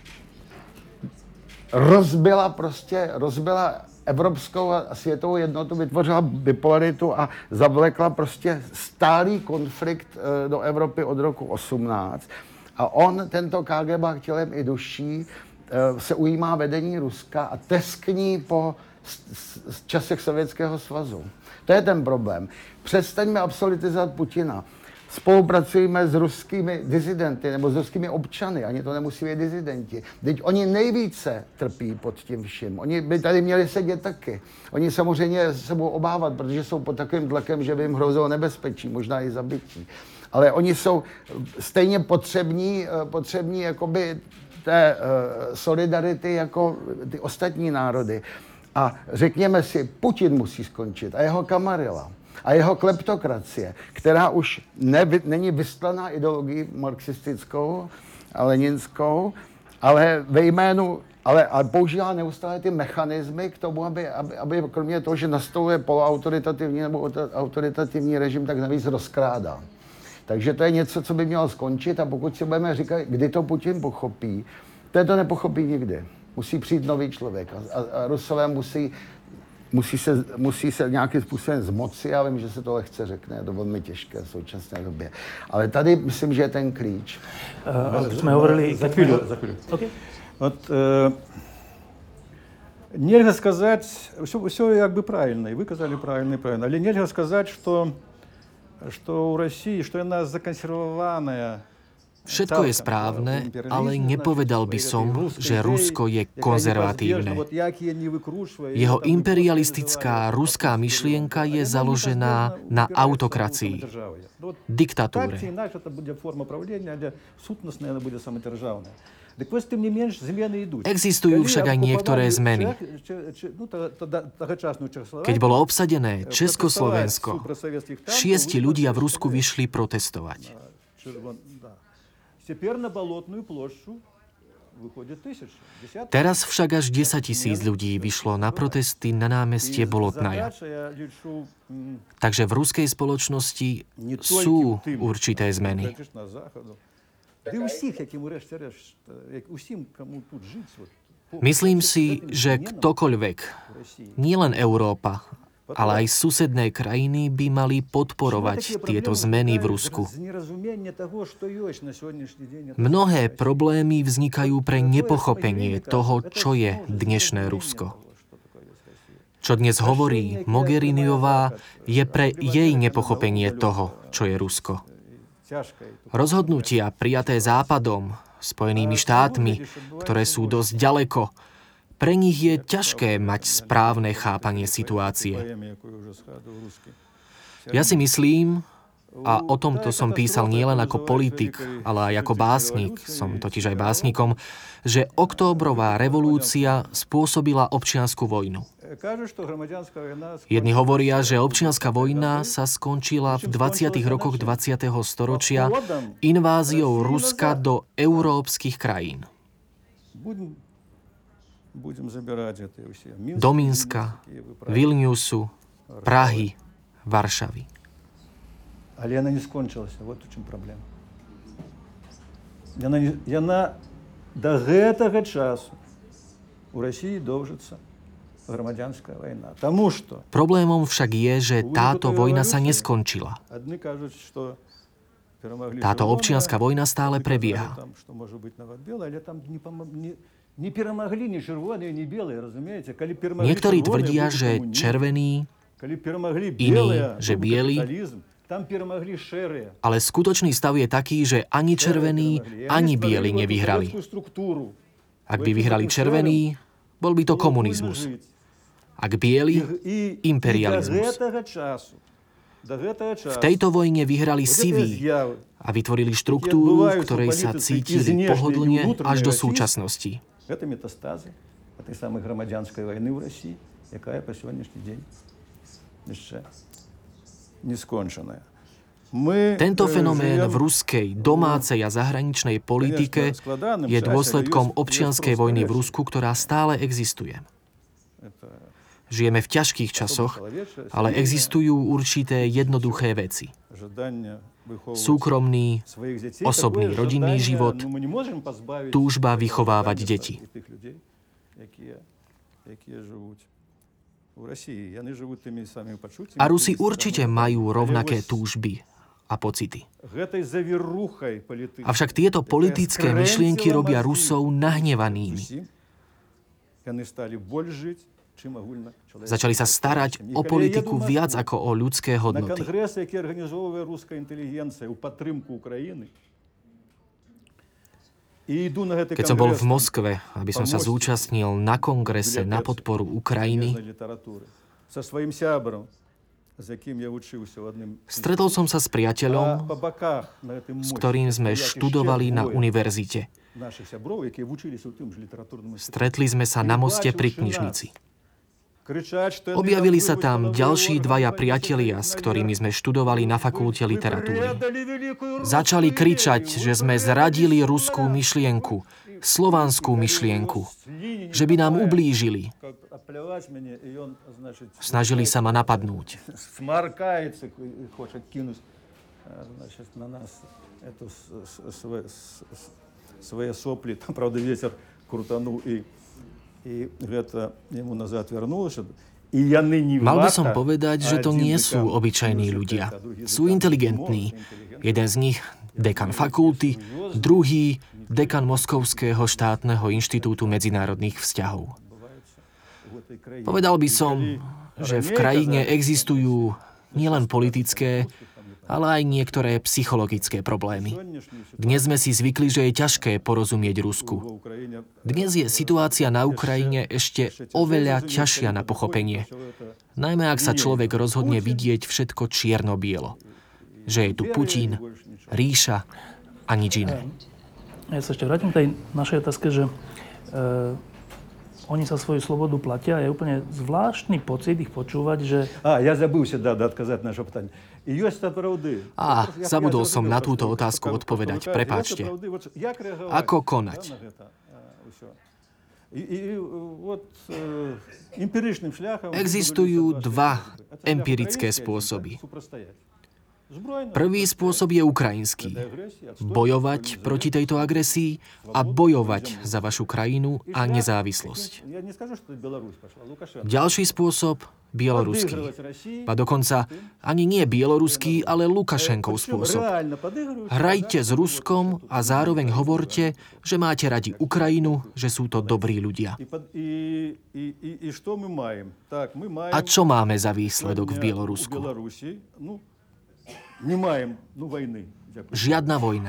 S2: rozbila prostě, rozbila evropskou a světovou jednotu, vytvořila bipolaritu a zavlekla prostě stálý konflikt do Evropy od roku osmnáct. A on, tento KGBák tělem i duší, se ujímá vedení Ruska a teskní po časech Sovětského svazu. To je ten problém. Přestaňme absolutizovat Putina. Spolupracujeme s ruskými dizidenty nebo s ruskými občany, ani to nemusí být dizidenti. Teď oni nejvíce trpí pod tím vším. Oni by tady měli sedět taky. Oni samozřejmě se budou obávat, protože jsou pod takovým tlakem, že by jim hrozilo nebezpečí, možná i zabití. Ale oni jsou stejně potřební, potřební jakoby té solidarity jako ty ostatní národy. A řekněme si, Putin musí skončit a jeho kamarila a jeho kleptokracie, která už ne, není vystlaná ideologií marxistickou a leninskou, ale ve jménu, ale, ale používá neustále ty mechanismy k tomu, aby, aby, aby kromě toho, že nastoluje poloautoritativní nebo autoritativní režim, tak navíc rozkrádá. Takže to je něco, co by mělo skončit a pokud si budeme říkat, kdy to Putin pochopí, to to nepochopí nikdy. Musí přijít nový člověk a, a, a Rusové musí, musí, se, musí se nějakým způsobem zmoci. Já vím, že se to lehce řekne, je to velmi těžké v současné době. Ale tady myslím, že je ten klíč.
S1: Uh, jsme hovorili...
S5: За хвилю, за хвилю.
S1: Okay.
S5: Вот, э, нельзя сказать, все, все как бы правильно, и вы сказали правильно, и правильно, але нельзя сказать, что, что у России, что она законсервованная.
S6: Všetko je správne, ale nepovedal by som, že Rusko je konzervatívne. Jeho imperialistická ruská myšlienka je založená na autokracii, diktatúre. Existujú však aj niektoré zmeny. Keď bolo obsadené Československo, šiesti ľudia v Rusku vyšli protestovať. Teraz však až desaťtisíc ľudí vyšlo na protesty na námestie Bolotnaja. Takže v ruskej spoločnosti sú určité zmeny. Myslím si, že ktokoľvek, nielen Európa, ale aj susedné krajiny by mali podporovať tieto zmeny v Rusku. Mnohé problémy vznikajú pre nepochopenie toho, čo je dnešné Rusko. Čo dnes hovorí Mogheriniová, je pre jej nepochopenie toho, čo je Rusko. Rozhodnutia prijaté Západom, Spojenými štátmi, ktoré sú dosť ďaleko, pre nich je ťažké mať správne chápanie situácie. Ja si myslím, a o tomto som písal nielen ako politik, ale aj ako básnik, som totiž aj básnikom, že októbrová revolúcia spôsobila občiansku vojnu. Jedni hovoria, že občianska vojna sa skončila v dvadsiatych rokoch dvadsiateho storočia inváziou Ruska do európskych krajín. Do Minska, Vilniusu, Prahy, Varšavy.
S5: Але она не скончилась. Вот в чем проблема. Яна, не, яна до гэтага часу у России доўжыцца грамадзянская вайна. Тому что...
S6: Problémom však je, že táto vojna sa neskončila. Táto občianska vojna stále prebieha. Niektorí tvrdia, že červení, iní, že bieli, ale skutočný stav je taký, že ani červení, ani bieli nevyhrali. Ak by vyhrali červení, bol by to komunizmus. Ak bieli, imperializmus. V tejto vojne vyhrali siví a vytvorili štruktúru, v ktorej sa cítili pohodlne až do súčasnosti. Tento fenomén v ruskej domácej a zahraničnej politike je dôsledkom občianskej vojny v Rusku, ktorá stále existuje. Žijeme v ťažkých časoch, ale existujú určité jednoduché veci. Súkromný, osobný rodinný život, túžba vychovávať deti. A Rusi určite majú rovnaké túžby a pocity. Avšak tieto politické myšlienky robia Rusov nahnevanými. Začali sa starať o politiku viac ako o ľudské hodnoty. Keď som bol v Moskve, aby som sa zúčastnil na kongrese na podporu Ukrajiny, stretol som sa s priateľom, s ktorým sme študovali na univerzite. Stretli sme sa na moste pri knižnici. Objavili sa tam ďalší dvaja priatelia, s ktorými sme študovali na fakulte literatúry. Začali kričať, že sme zradili ruskú myšlienku, slovanskú myšlienku, že by nám ublížili. Snažili sa ma napadnúť.
S5: Svoje sopli, tam pravda vietor krutanul i
S6: Mal by som povedať, že to nie sú obyčajní ľudia. Sú inteligentní. Jeden z nich, dekan fakulty, druhý, dekan Moskovského štátneho inštitútu medzinárodných vzťahov. Povedal by som, že v krajine existujú nielen politické, ale aj niektoré psychologické problémy. Dnes sme si zvykli, že je ťažké porozumieť Rusku. Dnes je situácia na Ukrajine ešte oveľa ťažšia na pochopenie. Najmä ak sa človek rozhodne vidieť všetko čierno-bielo. Že je tu Putin, ríša a nič iné.
S1: Ja sa ešte vrátim k tej našej otázke, že e, oni sa svoju slobodu platia. Je úplne zvláštny pocit ich počúvať, že...
S5: A, ja zabudol da, da, odkázať naše pytanie.
S6: Á, zabudol som na túto otázku odpovedať. Prepáčte. Ako konať? Existujú dva empirické spôsoby. Prvý spôsob je ukrajinský. Bojovať proti tejto agresii a bojovať za vašu krajinu a nezávislosť. Ďalší spôsob, bieloruský. A dokonca ani nie bieloruský, ale Lukašenkov spôsob. Hrajte s Ruskom a zároveň hovorte, že máte radi Ukrajinu, že sú to dobrí ľudia. A čo máme za výsledok v Bielorusku? Žiadna vojna.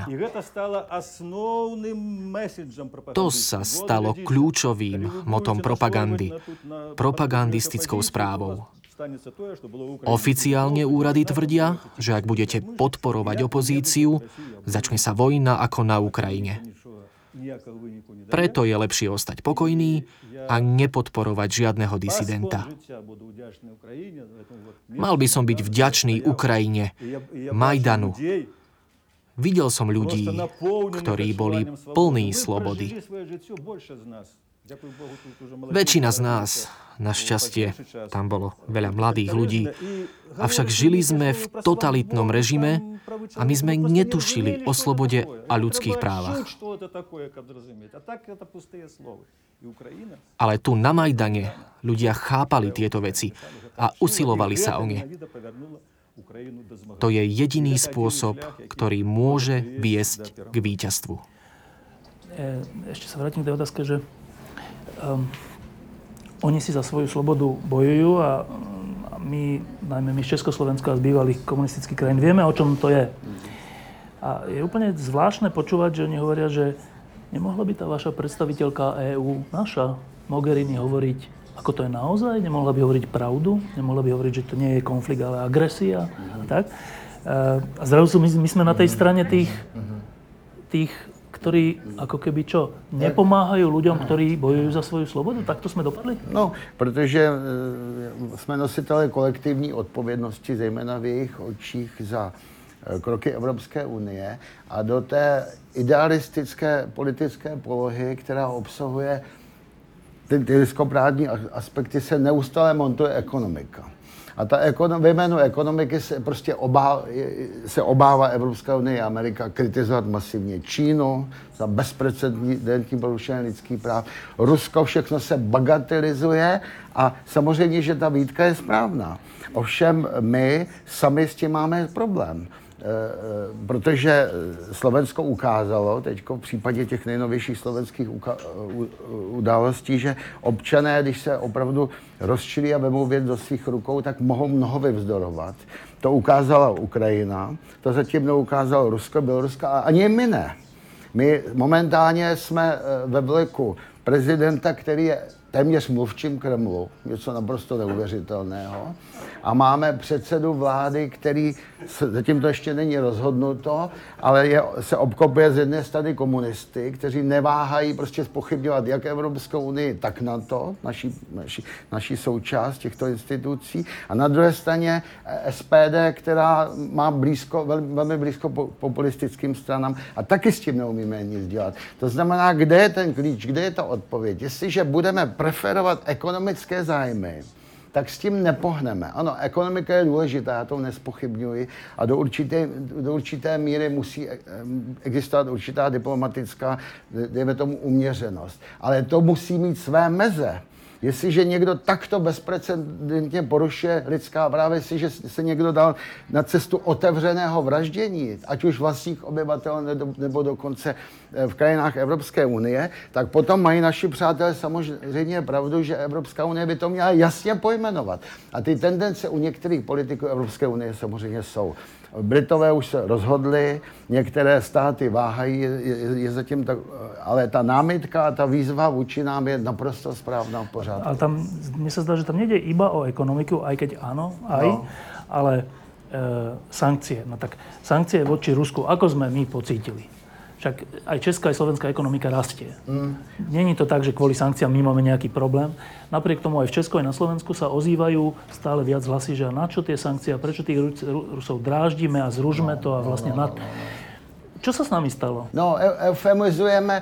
S6: To sa stalo kľúčovým motom propagandy, propagandistickou správou. Oficiálne úrady tvrdia, že ak budete podporovať opozíciu, začne sa vojna ako na Ukrajine. Preto je lepšie ostať pokojný a nepodporovať žiadneho disidenta. Mal by som byť vďačný Ukrajine, Majdanu. Videl som ľudí, ktorí boli plní slobody. Väčšina z nás, našťastie, tam bolo veľa mladých ľudí, avšak žili sme v totalitnom režime a my sme netušili o slobode a ľudských právach. Ale tu na Majdane ľudia chápali tieto veci a usilovali sa o ne. To je jediný spôsob, ktorý môže viesť k víťazstvu.
S1: Ešte sa vrátim k tej otázke, že Um, oni si za svoju slobodu bojujú a, a my, najmä my z Československa a z bývalých komunistických krajín, vieme, o čom to je. A je úplne zvláštne počúvať, že oni hovoria, že nemohla by tá vaša predstaviteľka é ú, naša Mogherini, hovoriť ako to je naozaj, nemohla by hovoriť pravdu, nemohla by hovoriť, že to nie je konflikt, ale agresia a tak. A zrazu my, my sme na tej strane tých, tých, ktorí ako keby čo, nepomáhajú ľuďom, ktorí bojujú za svoju slobodu? Takto sme dopadli?
S2: No, protože jsme nositelé kolektivní odpovědnosti, zejména v jejich očích za kroky Evropské unie a do té idealistické politické polohy, která obsahuje ty, ty lidskoprávní aspekty, se neustále montuje ekonomika. A ta ekonom, ve jménu ekonomiky se prostě obává, se obává Evropská unie a Amerika kritizovat masivně Čínu za bezprecedentní porušení lidských práv. Rusko, všechno se bagatelizuje a samozřejmě, že ta výtka je správná. Ovšem my sami s tím máme problém. Protože Slovensko ukázalo, teď v případě těch nejnovějších slovenských událostí, že občané, když se opravdu rozčilí a vemou věc do svých rukou, tak mohou mnoho vyvzdorovat. To ukázala Ukrajina, to zatím neukázalo Rusko, Bělorusko a ani my ne. My momentálně jsme ve vleku prezidenta, který je téměř mluvčím Kremlu, něco naprosto neuvěřitelného. A máme předsedu vlády, který, zatím to ještě není rozhodnuto, ale je, se obklopuje z jedné strany komunisty, kteří neváhají prostě zpochybňovat jak Evropskou unii, tak NATO, naší, naší, naší součást těchto institucí. A na druhé straně S P D, která má blízko, velmi, velmi blízko populistickým stranám a taky s tím neumíme nic dělat. To znamená, kde je ten klíč, kde je ta odpověď? Jestliže budeme preferovat ekonomické zájmy, tak s tím nepohneme. Ano, ekonomika je důležitá, já to nespochybňuji a do určité, do určité míry musí existovat určitá diplomatická, dejme tomu, uměřenost. Ale to musí mít své meze. Jestliže někdo takto bezprecedentně porušuje lidská práva, jestliže se někdo dal na cestu otevřeného vraždění, ať už vlastních obyvatel nebo dokonce v krajinách Evropské unie, tak potom mají naši přátelé samozřejmě pravdu, že Evropská unie by to měla jasně pojmenovat. A ty tendence u některých politiků Evropské unie samozřejmě jsou. Britové už se rozhodli, některé státy váhají, je, je, je zatím tak, ale ta námitka a ta výzva vůči nám je naprosto správná v pořádku.
S1: Ale tam, mne sa zdá, že tam nejde iba o ekonomiku, aj keď áno, aj, no. ale e, sankcie. No tak sankcie voči Rusku, ako sme my pocítili? Však aj česká, aj slovenská ekonomika rastie. Mm. Není to tak, že kvôli sankciám my máme nejaký problém. Napriek tomu aj v Česku, aj na Slovensku sa ozývajú stále viac hlasy, že na čo tie sankcie, prečo tých Rusov dráždime a zružme no, to a vlastne... No, no, no, no. Čo sa s nami stalo?
S2: No, eufemizujeme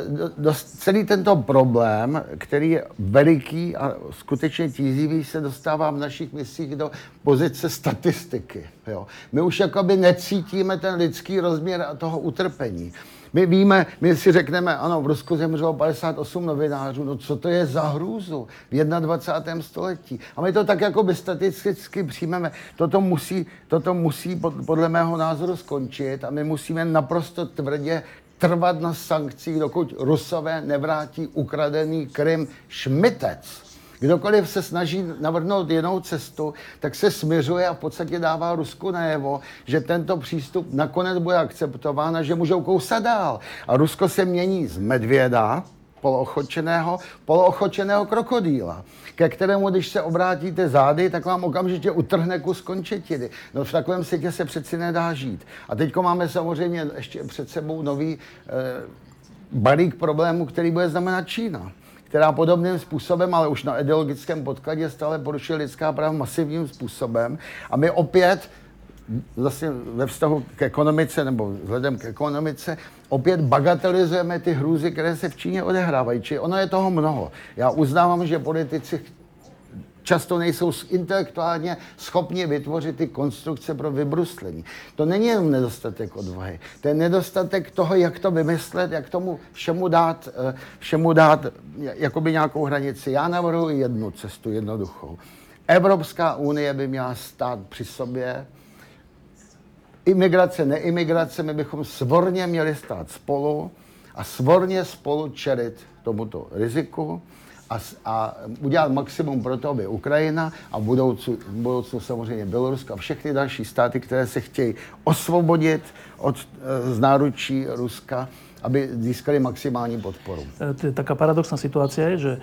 S2: celý tento problém, který je veliký a skutečně tízivý, se dostává v našich myslích do pozice statistiky. Jo. My už jakoby necítíme ten lidský rozměr toho utrpení. My víme, my si řekneme, ano, v Rusku zemřelo padesát osm novinářů, no co to je za hrůzu v dvacátém prvním století. A my to tak jakoby statisticky přijmeme. Toto musí, toto musí podle mého názoru skončit a my musíme naprosto tvrdě trvat na sankcích, dokud Rusové nevrátí ukradený Krym. Šmitec. Kdokoliv se snaží navrhnout jinou cestu, tak se směřuje a v podstatě dává Rusku najevo, že tento přístup nakonec bude akceptován a že můžou kousat dál. A Rusko se mění z medvěda, poloochočeného, poloochočeného krokodýla, ke kterému, když se obrátíte zády, tak vám okamžitě utrhne kus končetiny. No v takovém světě se přeci nedá žít. A teďko máme samozřejmě ještě před sebou nový eh, balík problémů, který bude znamenat Čína, která podobným způsobem, ale už na ideologickém podkladě stále porušuje lidská práva masivním způsobem. A my opět, zase ve vztahu k ekonomice, nebo vzhledem k ekonomice, opět bagatelizujeme ty hrůzy, které se v Číně odehrávají. Či ono je toho mnoho. Já uznávám, že politici často nejsou intelektuálně schopni vytvořit ty konstrukce pro vybruslení. To není jenom nedostatek odvahy, to je nedostatek toho, jak to vymyslet, jak tomu všemu dát, všemu dát jakoby nějakou hranici. Já navrhuji jednu cestu, jednoduchou. Evropská unie by měla stát při sobě. Imigrace, neimigrace, my bychom svorně měli stát spolu a svorně spolu čelit tomuto riziku. A, a udělat maximum pro to, aby Ukrajina a v budoucnu, v budoucnu samozřejmě Bělorusko a všechny další státy, které se chtějí osvobodit od z náručí Ruska, aby získali maximální podporu.
S1: Taká paradoxná situácia je, že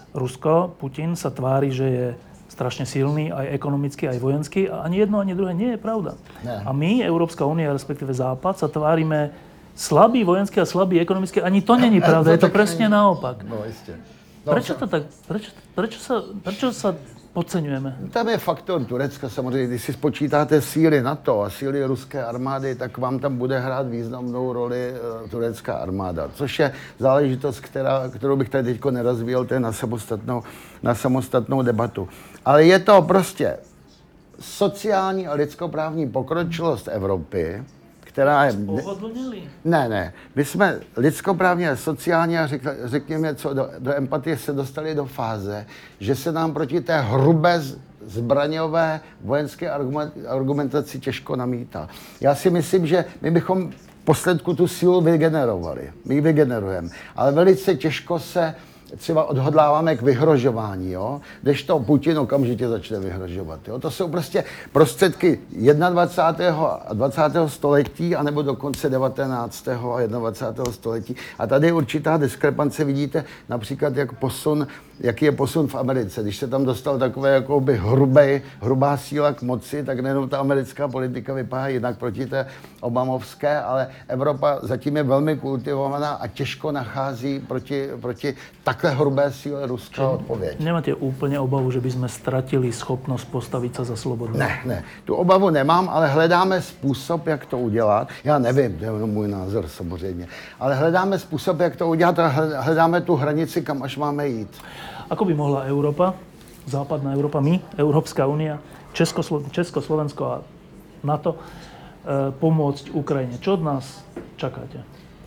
S1: Rusko, Putin sa tvári, že je strašne silný, aj ekonomicky, aj vojenský. A ani jedno, ani druhé nie je pravda. Ne. A my, Európska únia, respektíve Západ, sa tvárime slabý vojenský a slabý ekonomicky. Ani to není pravda, je to presne naopak.
S2: No, isté. No,
S1: prečo to tak, prečo, prečo, sa, prečo sa podceňujeme?
S2: Tam je faktor Turecka samozřejmě. Když si spočítáte síly NATO a síly ruské armády, tak vám tam bude hrát významnou roli uh, turecká armáda. Což je záležitost, která, kterou bych tady teďko nerozvíjel, to je na samostatnou, na samostatnou debatu. Ale je to prostě sociální a lidskoprávní pokročilost Evropy, která je... Ne, ne. My jsme lidskoprávně a sociálně a řek, řekněme, co do, do empatie se dostali do fáze, že se nám proti té hrubé zbraňové vojenské argumentaci těžko namítá. Já si myslím, že my bychom v posledku tu sílu vygenerovali. My ji vygenerujeme. Ale velice těžko se třeba odhodláváme k vyhrožování, jo? Kdežto Putin okamžitě začne vyhrožovat. Jo? To jsou prostě prostředky dvacátého a dvacátého století, anebo dokonce devatenáctého a dvacátého století. A tady je určitá diskrepance, vidíte například, jak posun, jaký je posun v Americe. Když se tam dostal takové jakoby hrubé, hrubá síla k moci, tak nejenom ta americká politika vypadá jinak proti té obamovské, ale Evropa zatím je velmi kultivovaná a těžko nachází proti, proti takhle hrubé síle Ruska odpověď.
S1: Nemáte úplně obavu, že bychom ztratili schopnost postavit se za slobodu?
S2: Ne, ne. Tu obavu nemám, ale hledáme způsob, jak to udělat. Já nevím, to je můj názor samozřejmě. Ale hledáme způsob, jak to udělat a hledáme tu hranici, kam až máme jít.
S1: Ako by mohla Európa, západná Európa, my, Európska únia, Česko, Česko, Slovensko a NATO e, pomôcť Ukrajine? Čo od nás čakáte?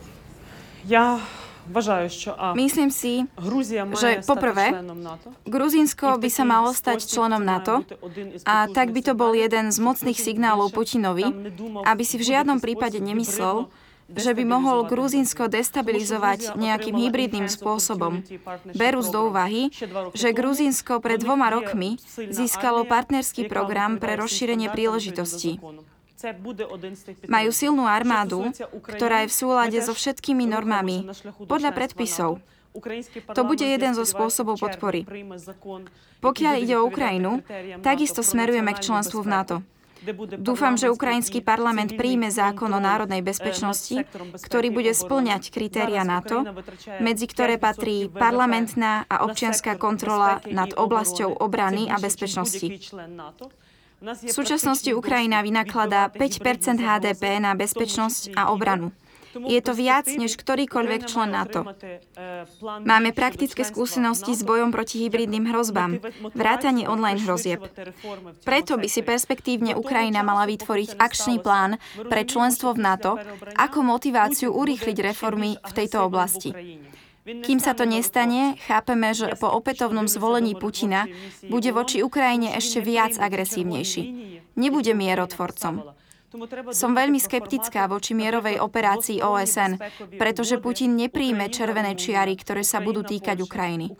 S3: Ja вважаю, що а,
S4: Myslím si,
S3: Грузія має
S4: že
S3: стати
S4: poprvé,
S3: членом НАТО.
S4: Gruzínsko by sa malo stať členom NATO a tak by to bol jeden z mocných signálov Putinovi, aby si v žiadnom prípade nemyslel, že by mohol Gruzínsko destabilizovať nejakým hybridným spôsobom. Berúc do úvahy, že Gruzínsko pred dvoma rokmi získalo partnerský program pre rozšírenie príležitostí. Majú silnú armádu, ktorá je v súlade so všetkými normami, podľa predpisov. To bude jeden zo spôsobov podpory. Pokiaľ ide o Ukrajinu, takisto smerujeme k členstvu v NATO. Dúfam, že ukrajinský parlament príjme zákon o národnej bezpečnosti, ktorý bude spĺňať kritéria NATO, medzi ktoré patrí parlamentná a občianská kontrola nad oblasťou obrany a bezpečnosti. V súčasnosti Ukrajina vynakladá päť percent há dé pé na bezpečnosť a obranu. Je to viac než ktorýkoľvek člen NATO. Máme praktické skúsenosti s bojom proti hybridným hrozbám, vrátane online hrozieb. Preto by si perspektívne Ukrajina mala vytvoriť akčný plán pre členstvo v NATO ako motiváciu urýchliť reformy v tejto oblasti. Kým sa to nestane, chápeme, že po opätovnom zvolení Putina bude voči Ukrajine ešte viac agresívnejší. Nebude mierotvorcom. Som veľmi skeptická voči mierovej operácii ó es en, pretože Putin nepríjme červené čiary, ktoré sa budú týkať Ukrajiny.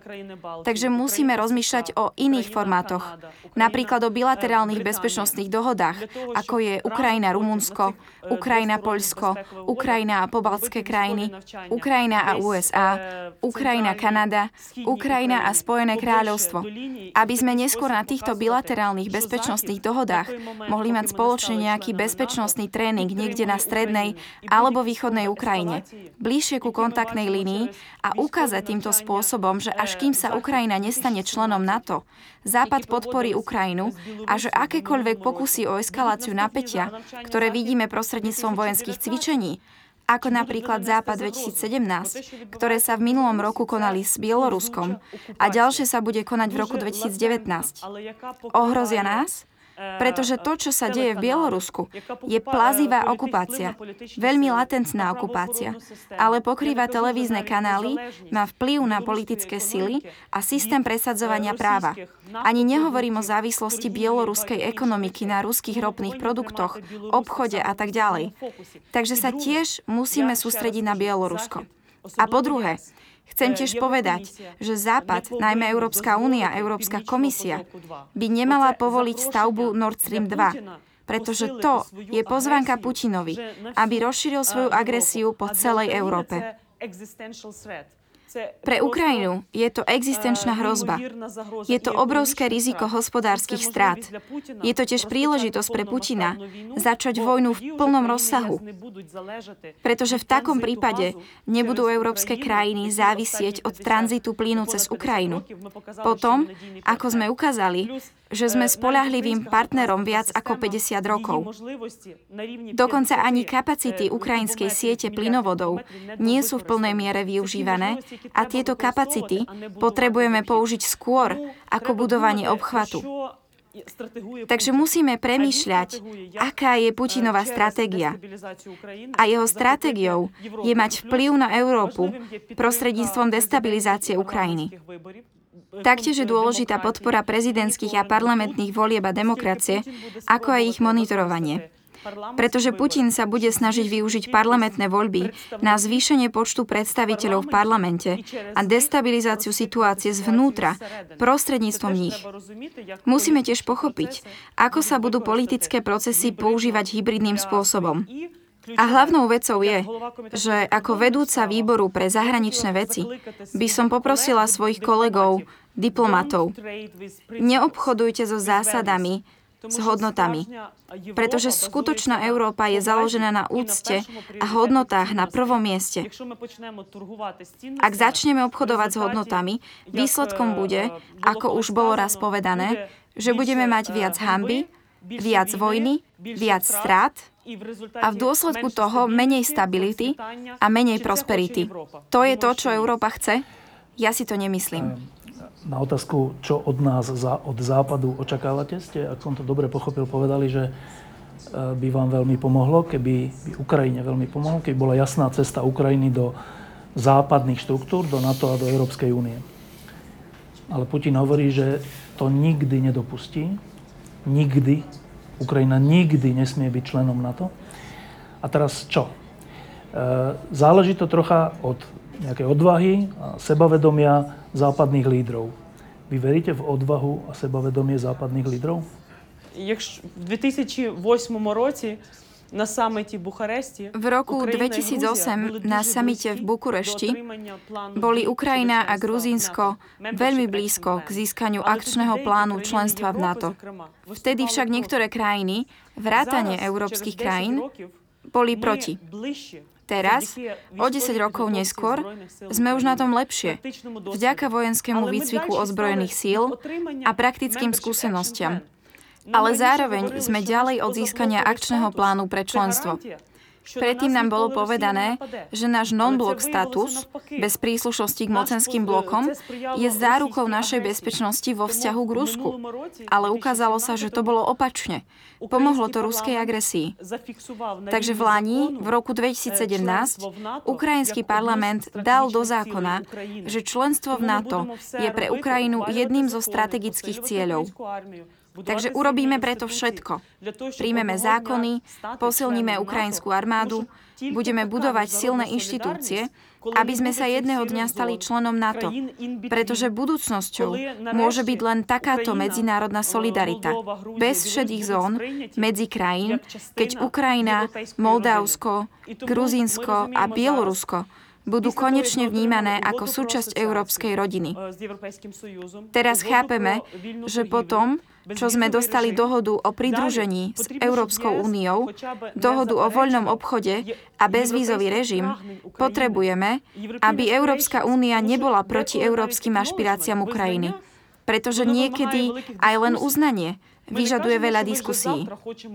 S4: Takže musíme rozmýšľať o iných formátoch, napríklad o bilaterálnych bezpečnostných dohodách, ako je Ukrajina-Rumunsko, Ukrajina-Poľsko, Ukrajina a pobaltské krajiny, Ukrajina a ú es á, Ukrajina-Kanada, Ukrajina a Spojené kráľovstvo. Aby sme neskôr na týchto bilaterálnych bezpečnostných dohodách mohli mať spoločne nejaký bezpečnostný tréning niekde na strednej alebo východnej Ukrajine, bližšie ku kontaktnej línii a ukázať týmto spôsobom, že až kým sa Ukrajina nestane členom NATO, Západ podporí Ukrajinu a že akékoľvek pokusy o eskaláciu napätia, ktoré vidíme prostredníctvom vojenských cvičení, ako napríklad Západ dvetisícsedemnásť, ktoré sa v minulom roku konali s Bieloruskom a ďalšie sa bude konať v roku dvetisícdevätnásť, ohrozia nás? Pretože to, čo sa deje v Bielorusku, je plazivá okupácia, veľmi latentná okupácia, ale pokrýva televízne kanály, má vplyv na politické sily a systém presadzovania práva. Ani nehovorím o závislosti bieloruskej ekonomiky na ruských ropných produktoch, obchode a tak ďalej. Takže sa tiež musíme sústrediť na Bielorusko. A po druhé, chcem tiež povedať, že Západ, najmä Európska únia, Európska komisia, by nemala povoliť stavbu Nord Stream dva, pretože to je pozvánka Putinovi, aby rozšíril svoju agresiu po celej Európe. Pre Ukrajinu je to existenčná hrozba. Je to obrovské riziko hospodárskych strát. Je to tiež príležitosť pre Putina začať vojnu v plnom rozsahu. Pretože v takom prípade nebudú európske krajiny závisieť od tranzitu plynu cez Ukrajinu. Potom, ako sme ukázali, že sme spoľahlivým partnerom viac ako päťdesiat rokov. Dokonca ani kapacity ukrajinskej siete plynovodov nie sú v plnej miere využívané a tieto kapacity potrebujeme použiť skôr ako budovanie obchvatu. Takže musíme premýšľať, aká je Putinová stratégia. A jeho stratégiou je mať vplyv na Európu prostredníctvom destabilizácie Ukrajiny. Taktiež je dôležitá podpora prezidentských a parlamentných volieb a demokracie, ako aj ich monitorovanie. Pretože Putin sa bude snažiť využiť parlamentné voľby na zvýšenie počtu predstaviteľov v parlamente a destabilizáciu situácie zvnútra prostredníctvom nich. Musíme tiež pochopiť, ako sa budú politické procesy používať hybridným spôsobom. A hlavnou vecou je, že ako vedúca výboru pre zahraničné veci by som poprosila svojich kolegov, diplomatov, neobchodujte so zásadami, s hodnotami. Pretože skutočná Európa je založená na úcte a hodnotách na prvom mieste. Ak začneme obchodovať s hodnotami, výsledkom bude, ako už bolo raz povedané, že budeme mať viac hanby, viac vojny, viac strát a v dôsledku toho menej stability a menej prosperity. To je to, čo Európa chce? Ja si to nemyslím.
S1: Na otázku, čo od nás, od západu očakávate, ste, ak som to dobre pochopil, povedali, že by vám veľmi pomohlo, keby by Ukrajine veľmi pomohlo, keby bola jasná cesta Ukrajiny do západných štruktúr, do NATO a do Európskej únie. Ale Putin hovorí, že to nikdy nedopustí. Nikdy. Ukrajina nikdy nesmie byť členom NATO. A teraz čo? Záleží to trocha od nejakej odvahy a sebavedomia západných lídrov. Vy veríte v odvahu a sebavedomie západných lídrov?
S3: V dvetisícosem році на саміті Бухаресті
S4: v roku dvetisícosem na samite v Bukurešti boli Ukrajina a Gruzínsko veľmi blízko k získaniu akčného plánu členstva v NATO. Vtedy však niektoré krajiny, vrátane európskych krajín, boli proti. Teraz, o desať rokov neskôr, sme už na tom lepšie, vďaka vojenskému výcviku ozbrojených síl a praktickým skúsenostiam. Ale zároveň sme ďalej od získania akčného plánu pre členstvo. Predtým nám bolo povedané, že náš non-blok status, bez príslušnosti k mocenským blokom, je zárukou našej bezpečnosti vo vzťahu k Rusku. Ale ukázalo sa, že to bolo opačne. Pomohlo to ruskej agresii. Takže v Lani, v roku dvetisícsedemnásť, ukrajinský parlament dal do zákona, že členstvo v NATO je pre Ukrajinu jedným zo strategických cieľov. Takže urobíme preto všetko. Príjmeme zákony, posilníme ukrajinskú armádu, budeme budovať silné inštitúcie, aby sme sa jedného dňa stali členom NATO. Pretože budúcnosťou môže byť len takáto medzinárodná solidarita. Bez šedých zón, medzi krajín, keď Ukrajina, Moldavsko, Gruzínsko a Bielorusko budú konečne vnímané ako súčasť európskej rodiny. Teraz chápeme, že potom, čo sme dostali dohodu o pridružení s Európskou úniou, dohodu o voľnom obchode a bezvízový režim, potrebujeme, aby Európska únia nebola proti európskym ašpiráciám Ukrajiny. Pretože niekedy aj len uznanie vyžaduje veľa diskusí.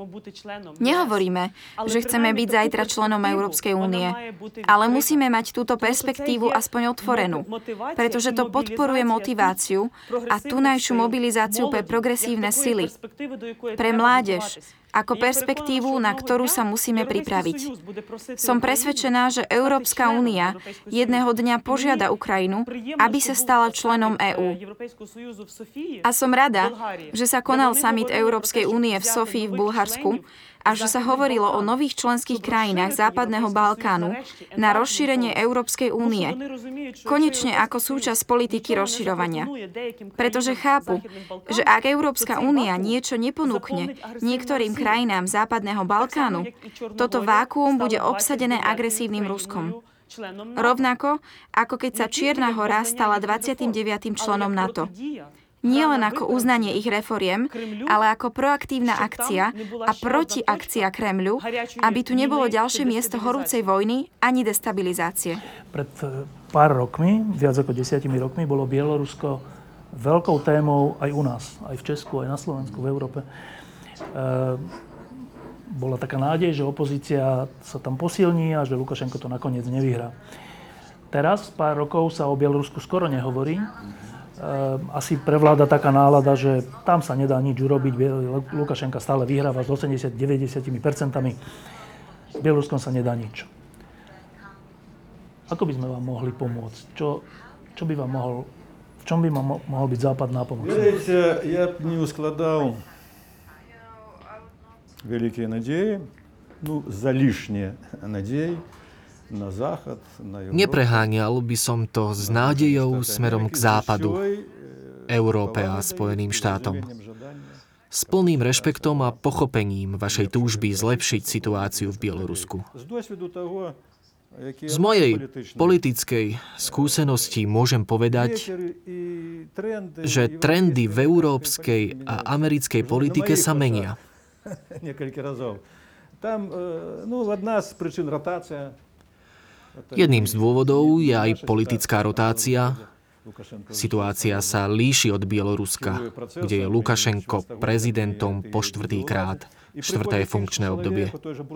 S4: Nehovoríme, že chceme byť zajtra členom Európskej únie, ale musíme mať túto perspektívu aspoň otvorenú, pretože to podporuje motiváciu a tunajšiu mobilizáciu pre progresívne sily, pre mládež, ako perspektívu, na ktorú sa musíme pripraviť. Som presvedčená, že Európska únia jedného dňa požiada Ukrajinu, aby sa stala členom EÚ. A som rada, že sa konal summit Európskej únie v Sofii v Bulharsku a že sa hovorilo o nových členských krajinách Západného Balkánu na rozšírenie Európskej únie. Konečne ako súčasť politiky rozširovania. Pretože chápu, že ak Európska únia niečo neponúkne niektorým krajinám Západného Balkánu, toto vákuum bude obsadené agresívnym Ruskom. Rovnako, ako keď sa Čierna Hora stala dvadsiatym deviatym členom NATO. Nie len ako uznanie ich reforiem, ale ako proaktívna akcia a protiakcia Kremľu, aby tu nebolo ďalšie miesto horúcej vojny ani destabilizácie.
S1: Pred pár rokmi, viac ako desiatimi rokmi, bolo Bielorusko veľkou témou aj u nás, aj v Česku, aj na Slovensku, v Európe. E, bola taká nádej, že opozícia sa tam posilní a že Lukašenko to nakoniec nevyhrá. Teraz, pár rokov, sa o Bielorusku skoro nehovorí. Asi prevláda taká nálada, že tam sa nedá nič urobiť. Lukašenka stále vyhráva s osemdesiat až deväťdesiat percent. S Bieloruskom sa nedá nič. Ako by sme vám mohli pomôcť? Čo, čo by vám mohol, v čom by vám mohol byť Západ nápomocný?
S5: Видите, я не ускладал великие надеи, ну, за лишние надеи.
S6: Nepreháňal by som to s nádejou smerom k západu, Európe a Spojeným štátom. S plným rešpektom a pochopením vašej túžby zlepšiť situáciu v Bielorusku. Z mojej politickej skúsenosti môžem povedať, že trendy v európskej a americkej politike sa menia. Jedným z dôvodov je aj politická rotácia. Situácia sa líši od Bieloruska, kde je Lukašenko prezidentom po štvrtýkrát, štvrté funkčné obdobie.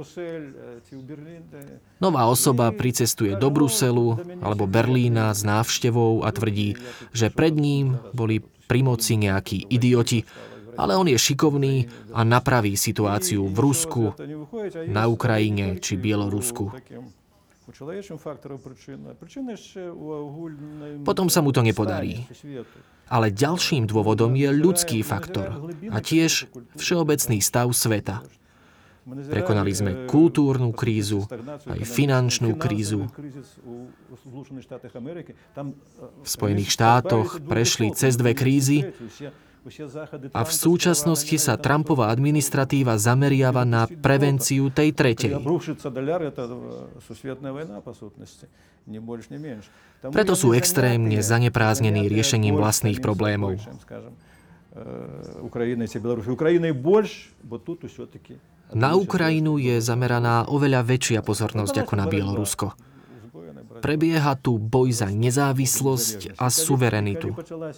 S6: Nová osoba pricestuje do Bruselu alebo Berlína s návštevou a tvrdí, že pred ním boli pri moci nejakí idioti, ale on je šikovný a napraví situáciu v Rusku, na Ukrajine či Bielorusku. Potom sa mu to nepodarí. Ale ďalším dôvodom je ľudský faktor a tiež všeobecný stav sveta. Prekonali sme kultúrnu krízu, aj finančnú krízu. V Spojených štátoch prešli cez dve krízy a v súčasnosti sa Trumpová administratíva zameriava na prevenciu tej tretej. Preto sú extrémne zaneprázdnení riešením vlastných problémov. Na Ukrajinu je zameraná oveľa väčšia pozornosť ako na Bielorusko. Prebieha tu boj za nezávislosť a suverenitu.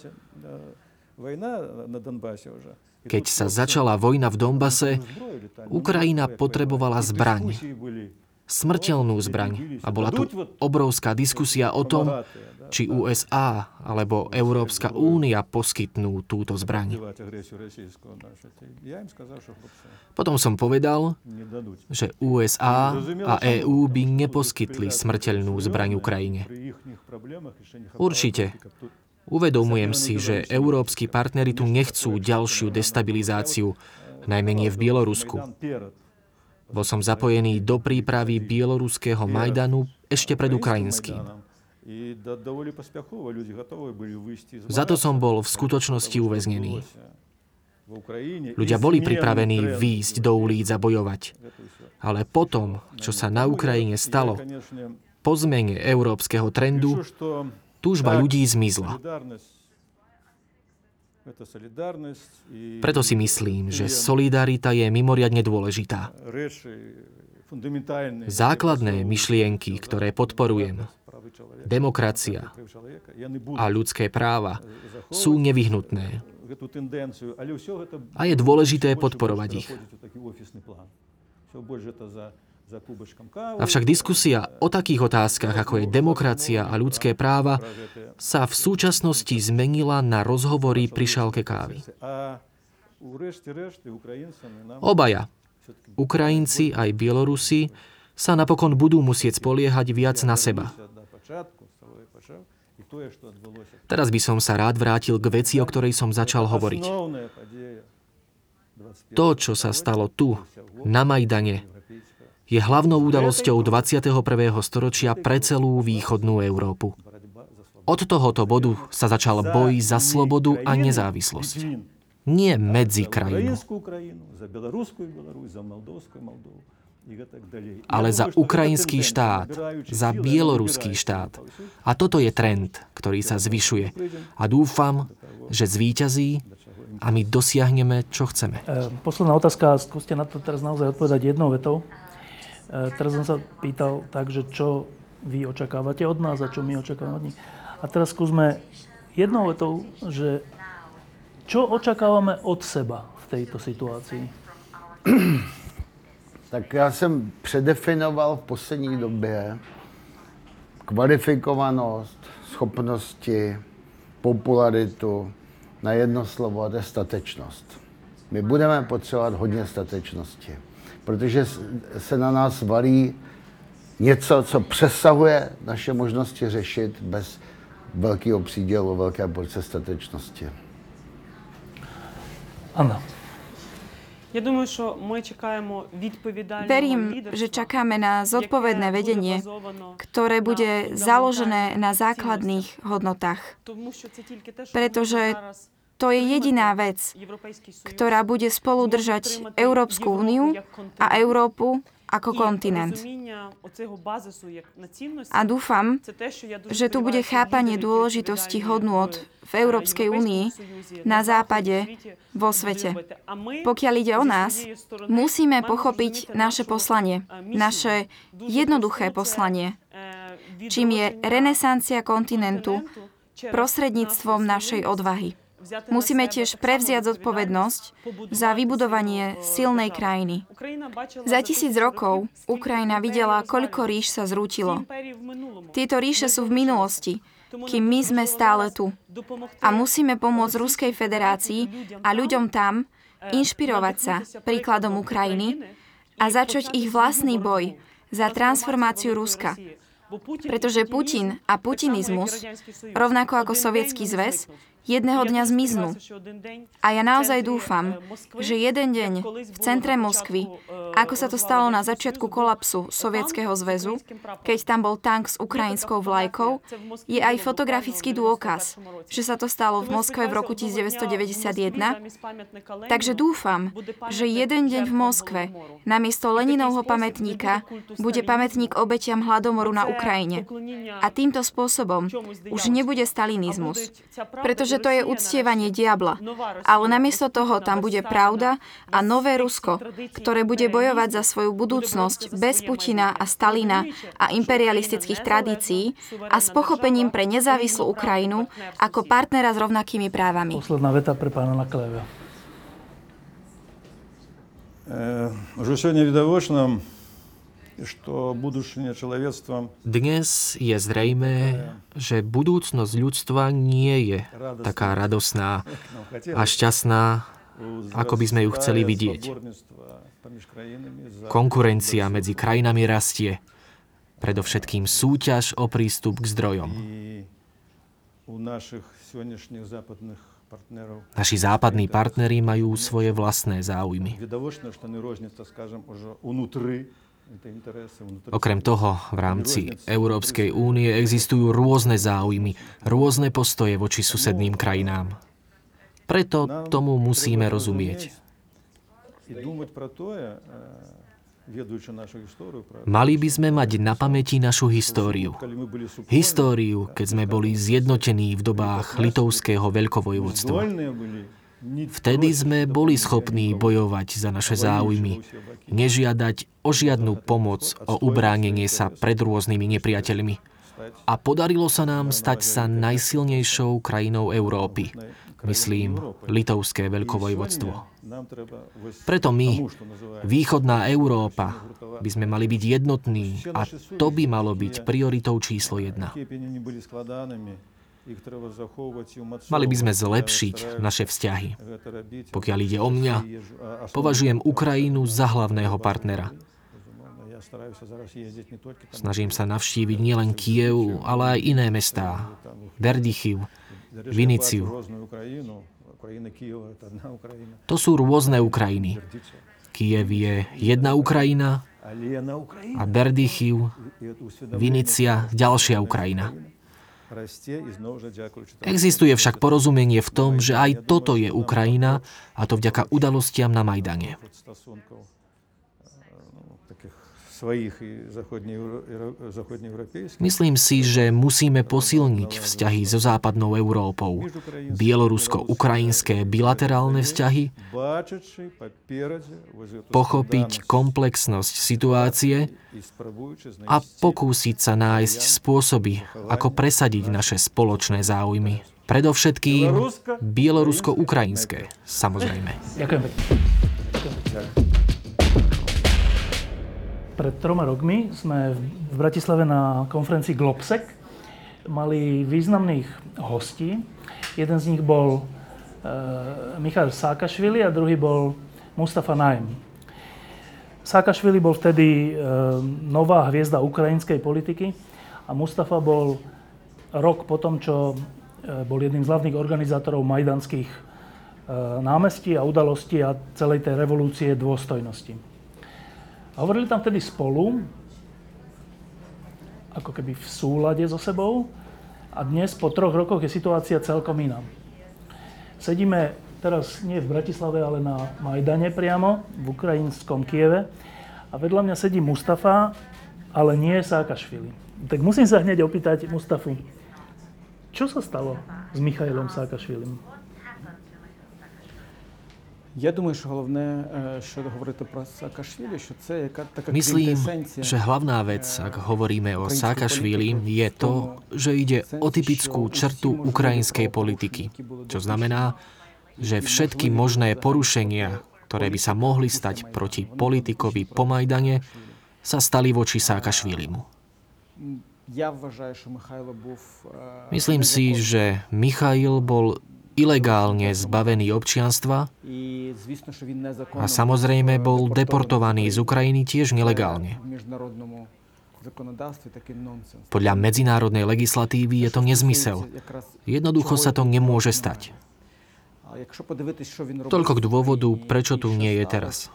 S6: Keď sa začala vojna v Donbase, Ukrajina potrebovala zbraň. Smrteľnú zbraň. A bola tu obrovská diskusia o tom, či ú es á alebo Európska únia poskytnú túto zbraň. Potom som povedal, že ú es á a é ú by neposkytli smrteľnú zbraň Ukrajine. Určite. Uvedomujem si, že európski partneri tu nechcú ďalšiu destabilizáciu, najmä nie v Bielorusku. Bol som zapojený do prípravy bieloruského Majdanu ešte pred ukrajinským. Za to som bol v skutočnosti uväznený. Ľudia boli pripravení výjsť do ulic a bojovať. Ale potom, čo sa na Ukrajine stalo, po zmene európskeho trendu, túžba ľudí zmizla. Preto si myslím, že solidarita je mimoriadne dôležitá. Základné myšlienky, ktoré podporujem, demokracia a ľudské práva, sú nevyhnutné. A je dôležité podporovať ich. Avšak diskusia o takých otázkach, ako je demokracia a ľudské práva, sa v súčasnosti zmenila na rozhovory pri šálke kávy. Obaja, Ukrajinci aj Bielorusi, sa napokon budú musieť spoliehať viac na seba. Teraz by som sa rád vrátil k veci, o ktorej som začal hovoriť. To, čo sa stalo tu, na Majdane, je hlavnou udalosťou dvadsiateho prvého storočia pre celú východnú Európu. Od tohoto bodu sa začal boj za slobodu a nezávislosť. Nie medzi krajinu. ale za ukrajinský štát, za bieloruský štát. A toto je trend, ktorý sa zvyšuje. A dúfam, že zvíťazí a my dosiahneme, čo chceme.
S1: Posledná otázka, skúste na to teraz naozaj odpovedať jednou vetou. Teraz som sa pýtal tak, že čo vy očakávate od nás a čo my očakávame od nich. A teraz skúsme jednou vetou, že čo očakávame od seba v tejto situácii?
S2: Tak já jsem předefinoval v poslední době kvalifikovanost, schopnosti, popularitu na jedno slovo, a to je statečnost. My budeme potřebovat hodně statečnosti, protože se na nás valí něco, co přesahuje naše možnosti řešit bez velkého přídělu, velké porce statečnosti.
S1: Anna.
S3: Ja думаю, що ми чекаємо відповідального
S4: Verím,
S3: лідерства,
S4: že čakáme na zodpovedné vedenie, ktoré bude založené na základných hodnotách. Pretože to je jediná vec, ktorá bude spolu držať Európsku úniu a Európu ako kontinent. A dúfam, že tu bude chápanie dôležitosti hodnôt v Európskej únii, na západe, vo svete. Pokiaľ ide o nás, musíme pochopiť naše poslanie, naše jednoduché poslanie, čím je renesancia kontinentu prostredníctvom našej odvahy. Musíme tiež prevziať zodpovednosť za vybudovanie silnej krajiny. Za tisíc rokov Ukrajina videla, koľko ríš sa zrútilo. Tieto ríše sú v minulosti, kým my sme stále tu. A musíme pomôcť Ruskej federácii a ľuďom tam inšpirovať sa príkladom Ukrajiny a začať ich vlastný boj za transformáciu Ruska. Pretože Putin a putinizmus, rovnako ako Sovietský zväz, jedného dňa zmiznú. A ja naozaj dúfam, že jeden deň v centre Moskvy, ako sa to stalo na začiatku kolapsu Sovietskeho zväzu, keď tam bol tank s ukrajinskou vlajkou, je aj fotografický dôkaz, že sa to stalo v Moskve v roku devätnásťstodeväťdesiatjeden. Takže dúfam, že jeden deň v Moskve namiesto Leninovho pamätníka bude pamätník obetiam hladomoru na Ukrajine. A týmto spôsobom už nebude stalinizmus. Pretože to je uctievanie diabla. Ale namiesto toho tam bude pravda a nové Rusko, ktoré bude bojovať za svoju budúcnosť bez Putina a Stalina a imperialistických tradícií a s pochopením pre nezávislú Ukrajinu ako partnera s rovnakými právami.
S1: Posledná veta pre pána Nakleva.
S5: Už сегодня видовочно,
S6: Dnes je zrejmé, že budúcnosť ľudstva nie je taká radosná a šťastná, ako by sme ju chceli vidieť. Konkurencia medzi krajinami rastie, predovšetkým súťaž o prístup k zdrojom. Naši západní partneri majú svoje vlastné záujmy. Okrem toho, v rámci Európskej únie existujú rôzne záujmy, rôzne postoje voči susedným krajinám. Preto tomu musíme rozumieť. Mali by sme mať na pamäti našu históriu. Históriu, keď sme boli zjednotení v dobách litovského veľkovojvodstva. Vtedy sme boli schopní bojovať za naše záujmy, nežiadať o žiadnu pomoc, o ubránenie sa pred rôznymi nepriateľmi. A podarilo sa nám stať sa najsilnejšou krajinou Európy, myslím, litovské veľkovojvodstvo. Preto my, východná Európa, by sme mali byť jednotní a to by malo byť prioritou číslo jedna. Mali by sme zlepšiť naše vzťahy. Pokiaľ ide o mňa, považujem Ukrajinu za hlavného partnera. Snažím sa navštíviť nielen Kyjev, ale aj iné mestá. Berdychiv, Viniciu. To sú rôzne Ukrajiny. Kyjev je jedna Ukrajina a Berdychiv, Vinícia ďalšia Ukrajina. Existuje však porozumenie v tom, že aj toto je Ukrajina, a to vďaka udalostiam na Majdane. Myslím si, že musíme posilniť vzťahy so západnou Európou. Bielorusko-ukrajinské bilaterálne vzťahy, pochopiť komplexnosť situácie a pokúsiť sa nájsť spôsoby, ako presadiť naše spoločné záujmy. Predovšetkým bielorusko-ukrajinské, samozrejme.
S1: Ďakujem pekne. Pred troma rokmi sme v Bratislave na konferencii Globsec mali významných hostí. Jeden z nich bol e, Michail Saakašvili a druhý bol Mustafa Najem. Saakašvili bol vtedy e, nová hviezda ukrajinskej politiky a Mustafa bol rok po tom, čo e, bol jedným z hlavných organizátorov majdanských e, námestí a udalostí a celej tej revolúcie dôstojnosti. A hovorili tam vtedy spolu, ako keby v súlade so sebou. A dnes, po troch rokoch, je situácia celkom iná. Sedíme teraz nie v Bratislave, ale na Majdane priamo, v ukrajinskom Kieve. A vedľa mňa sedí Mustafa, ale nie Saakašvili. Tak musím sa hneď opýtať Mustafu, čo sa stalo s Michailom Saakašvilim?
S7: Я думаю, що головне, що говорити про Саакашвілі, що це яка така
S6: Myslím,
S7: квінтесенція.
S6: že hlavná vec, ak hovoríme o Saakašvílim, je to, že ide o typickú črtu ukrajinskej politiky. Čo znamená, že všetky možné porušenia, ktoré by sa mohli stať proti politikovi po Majdane, sa stali voči Saakašvílimu. Myslím si, že Michail bol ilegálne zbavený občianstva a samozrejme bol deportovaný z Ukrajiny tiež nelegálne. Podľa medzinárodnej legislatívy je to nezmysel. Jednoducho sa to nemôže stať. Toľko k dôvodu, prečo tu nie je teraz.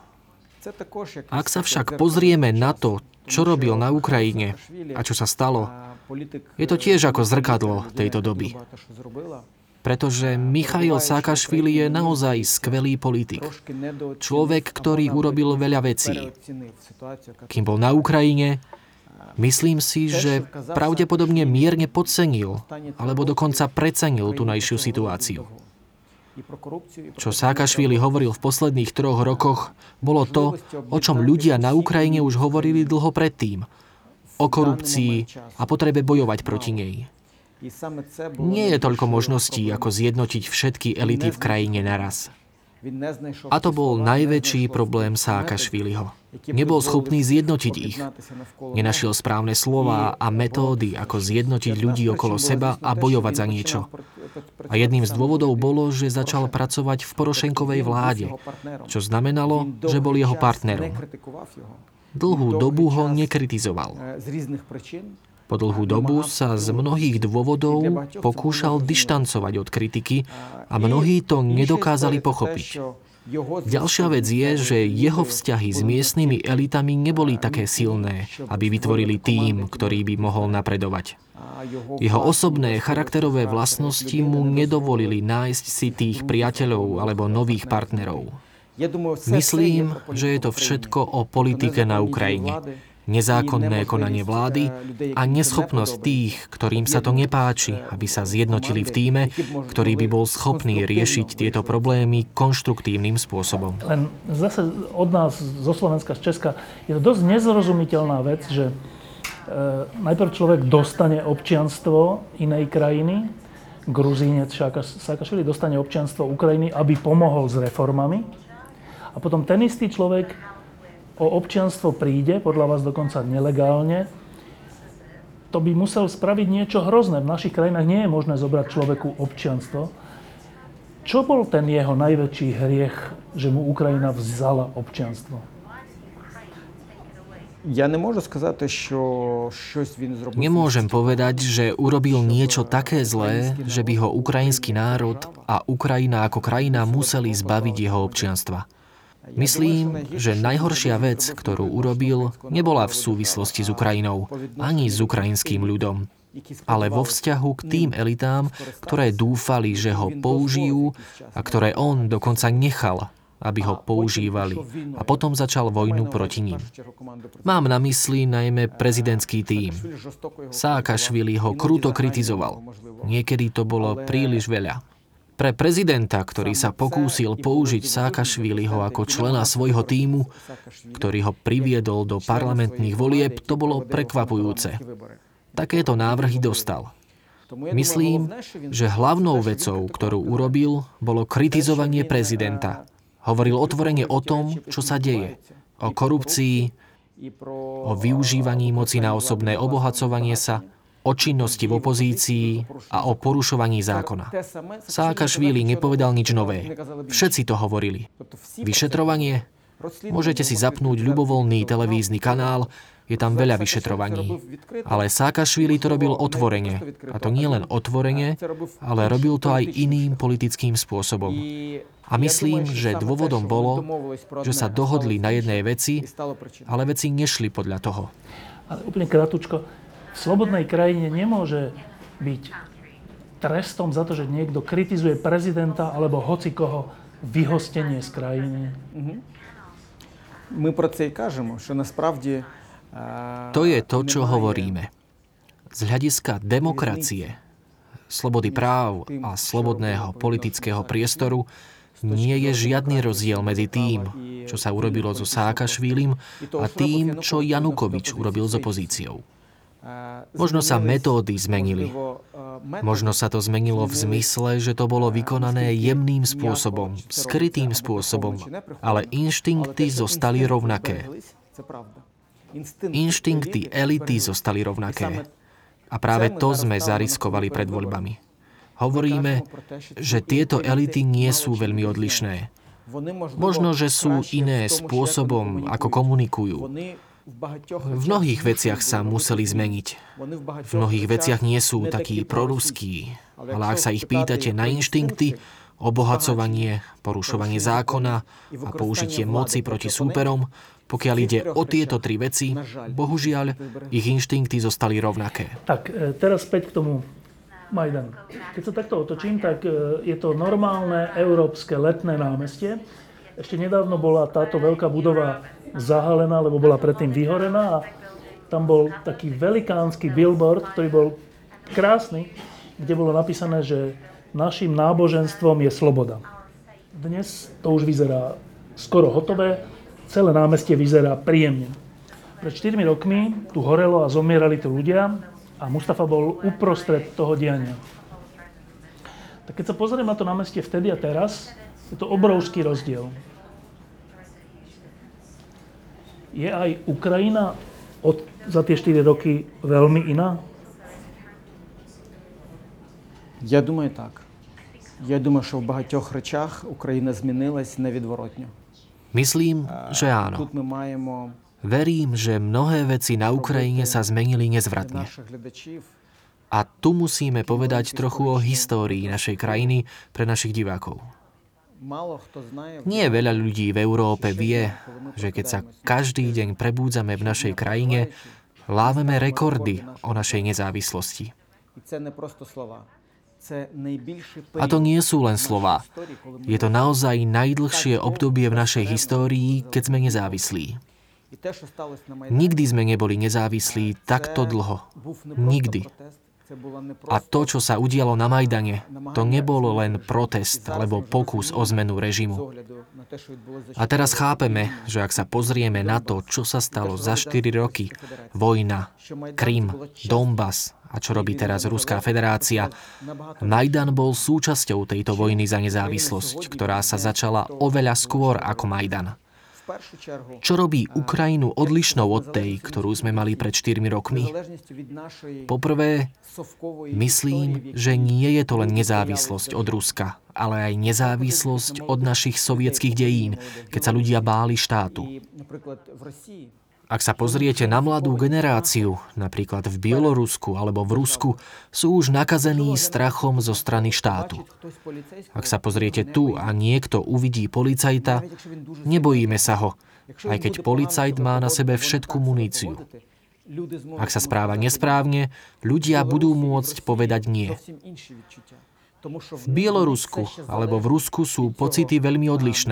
S6: Ak sa však pozrieme na to, čo robil na Ukrajine a čo sa stalo, je to tiež ako zrkadlo tejto doby. Pretože Michail Saakašvili je naozaj skvelý politik. Človek, ktorý urobil veľa vecí. Kým bol na Ukrajine, myslím si, že pravdepodobne mierne podcenil, alebo dokonca precenil tunajšiu situáciu. Čo Saakašvili hovoril v posledných troch rokoch, bolo to, o čom ľudia na Ukrajine už hovorili dlho predtým. O korupcii a potrebe bojovať proti nej. Nie je toľko možností, ako zjednotiť všetky elity v krajine naraz. A to bol najväčší problém Saakašviliho. Nebol schopný zjednotiť ich. Nenašiel správne slová a metódy, ako zjednotiť ľudí okolo seba a bojovať za niečo. A jedným z dôvodov bolo, že začal pracovať v Porošenkovej vláde, čo znamenalo, že bol jeho partnerom. Dlhú dobu ho nekritizoval. Po dlhú dobu sa z mnohých dôvodov pokúšal dištancovať od kritiky a mnohí to nedokázali pochopiť. Ďalšia vec je, že jeho vzťahy s miestnymi elitami neboli také silné, aby vytvorili tím, ktorý by mohol napredovať. Jeho osobné charakterové vlastnosti mu nedovolili nájsť si tých priateľov alebo nových partnerov. Myslím, že je to všetko o politike na Ukrajine. Nezákonné konanie vlády a neschopnosť tých, ktorým sa to nepáči, aby sa zjednotili v tíme, ktorý by bol schopný riešiť tieto problémy konštruktívnym spôsobom.
S1: Len zase od nás, zo Slovenska, z Česka, je to dosť nezrozumiteľná vec, že e, najprv človek dostane občianstvo inej krajiny, Gruzínec Saakašvili dostane občianstvo Ukrajiny, aby pomohol s reformami, a potom ten istý človek o občianstvo príde, podľa vás dokonca nelegálne, to by musel spraviť niečo hrozné. V našich krajinách nie je možné zobrať človeku občianstvo. Čo bol ten jeho najväčší hriech, že mu Ukrajina vzala občianstvo?
S7: Ja nemôžem сказати, що щось він зробив.
S6: Nemôžem povedať, že urobil niečo také zlé, že by ho ukrajinský národ a Ukrajina ako krajina museli zbaviť jeho občianstva. Myslím, že najhoršia vec, ktorú urobil, nebola v súvislosti s Ukrajinou, ani s ukrajinským ľudom, ale vo vzťahu k tým elitám, ktoré dúfali, že ho použijú a ktoré on dokonca nechal, aby ho používali a potom začal vojnu proti ním. Mám na mysli najmä prezidentský tím. Saakašvili ho kruto kritizoval. Niekedy to bolo príliš veľa. Pre prezidenta, ktorý sa pokúsil použiť Saakašviliho ako člena svojho tímu, ktorý ho priviedol do parlamentných volieb, to bolo prekvapujúce. Takéto návrhy dostal. Myslím, že hlavnou vecou, ktorú urobil, bolo kritizovanie prezidenta. Hovoril otvorene o tom, čo sa deje. O korupcii, o využívaní moci na osobné obohacovanie sa, o činnosti v opozícii a o porušovaní zákona. Saakašvili nepovedal nič nové. Všetci to hovorili. Vyšetrovanie? Môžete si zapnúť ľubovoľný televízny kanál, je tam veľa vyšetrovaní. Ale Saakašvili to robil otvorene. A to nie len otvorene, ale robil to aj iným politickým spôsobom. A myslím, že dôvodom bolo, že sa dohodli na jednej veci, ale veci nešli podľa toho.
S1: Ale úplne krátko, v slobodnej krajine nemôže byť trestom za to, že niekto kritizuje prezidenta alebo hocikoho vyhostenie z krajiny.
S7: My про це й кажемо, що насправді
S6: To je to, čo hovoríme. Z hľadiska demokracie, slobody práv a slobodného politického priestoru nie je žiadny rozdiel medzi tým, čo sa urobilo so Saakašvilim a tým, čo Janukovič urobil s opozíciou. Možno sa metódy zmenili. Možno sa to zmenilo v zmysle, že to bolo vykonané jemným spôsobom, skrytým spôsobom, ale inštinkty zostali rovnaké. Inštinkty elity zostali rovnaké. A práve to sme zariskovali pred voľbami. Hovoríme, že tieto elity nie sú veľmi odlišné. Možno, že sú iné spôsobom, ako komunikujú. V mnohých veciach sa museli zmeniť. V mnohých veciach nie sú takí proruskí. Ale ak sa ich pýtate na inštinkty, obohacovanie, porušovanie zákona a použitie moci proti súperom, pokiaľ ide o tieto tri veci, bohužiaľ, ich inštinkty zostali rovnaké.
S1: Tak, teraz späť k tomu Majdanu. Keď sa takto otočím, tak je to normálne európske letné námestie. Ešte nedávno bola táto veľká budova zahalená, lebo bola predtým vyhorená a tam bol taký velikánsky billboard, ktorý bol krásny, kde bolo napísané, že našim náboženstvom je sloboda. Dnes to už vyzerá skoro hotové, celé námestie vyzerá príjemne. Pred štyrmi rokmi tu horelo a zomierali tu ľudia a Mustafa bol uprostred toho diania. Tak keď sa pozriem na to námestie vtedy a teraz, je to obrovský rozdiel. Je aj Ukrajina od, za tie štyri roky veľmi iná?
S7: Я думаю, так. Я думаю, що в багатьох речах Україна змінилась невідворотно.
S6: Myslím, že áno.
S7: Тут ми маємо
S6: Verím, že mnohé veci na Ukrajine sa zmenili nezvratne.
S7: наших глядачів
S6: A tu musíme povedať trochu o histórii našej krajiny pre našich divákov.
S7: мало хто знає.
S6: Nie veľa ľudí v Európe vie, že keď sa každý deň prebúdzame v našej krajine, láveme rekordy o našej nezávislosti.
S7: І це не просто слова. Це найбільший
S6: A to nie sú len slová. Je to naozaj najdlhšie obdobie v našej histórii, keď sme nezávislí.
S7: І те, що сталося на Майдані,
S6: Nikdy sme neboli nezávislí takto dlho.
S7: був не просто
S6: Nikdy.
S7: протест, це була не
S6: A
S7: просто
S6: to, čo sa udialo na Majdane, to nebolo len protest alebo pokus o zmenu
S7: з
S6: režimu.
S7: огляду на те, що відбулося за
S6: A teraz chápeme, že ak sa pozrieme na to, čo sa stalo za štyri roky, vojna, Krym, Donbas a čo robí teraz Ruská federácia, Majdan bol súčasťou tejto vojny za nezávislosť, ktorá sa začala oveľa skôr ako Majdan.
S7: в першу чергу
S6: Čo robí Ukrajinu odlišnou od tej, ktorú sme mali pred štyrmi rokmi?
S7: залежністю від нашої
S6: Poprvé,
S7: совкової
S6: myslím, že nie je to len nezávislosť od Ruska, ale aj nezávislosť od našich sovietských dejín, keď sa ľudia báli štátu.
S7: і, наприклад, в Росії
S6: Ak sa pozriete na mladú generáciu, napríklad v Bielorusku alebo v Rusku, sú už nakazení strachom zo strany štátu.
S7: хтось поліцейський,
S6: Ak sa pozriete tu a niekto uvidí policajta, nebojíme sa ho, aj keď policajt má na sebe všetku muníciu.
S7: люди зможуть
S6: Ak sa správa nesprávne, ľudia budú môcť povedať nie.
S7: зовсім інші відчуття. Тому що
S6: V Bielorusku alebo v Rusku sú pocity veľmi odlišné.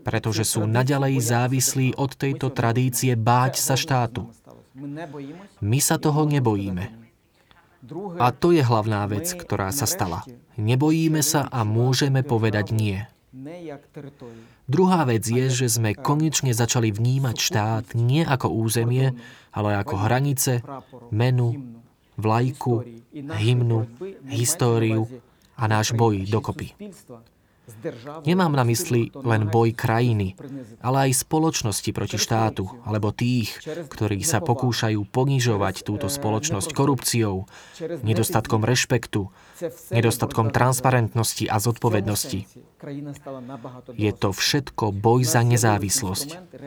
S6: pretože sú naďalej závislí od tejto tradície báť sa štátu. My sa toho nebojíme. A to je hlavná vec, ktorá sa stala. Nebojíme sa a môžeme povedať nie. Druhá vec je, že sme konečne začali vnímať štát nie ako územie, ale ako hranice, menu, vlajku, hymnu, históriu a náš boj dokopy. Nemám na mysli len boj krajiny, ale aj spoločnosti proti štátu, alebo tých, ktorí sa pokúšajú ponižovať túto spoločnosť korupciou, nedostatkom rešpektu, nedostatkom transparentnosti a zodpovednosti. Je to všetko boj za nezávislosť.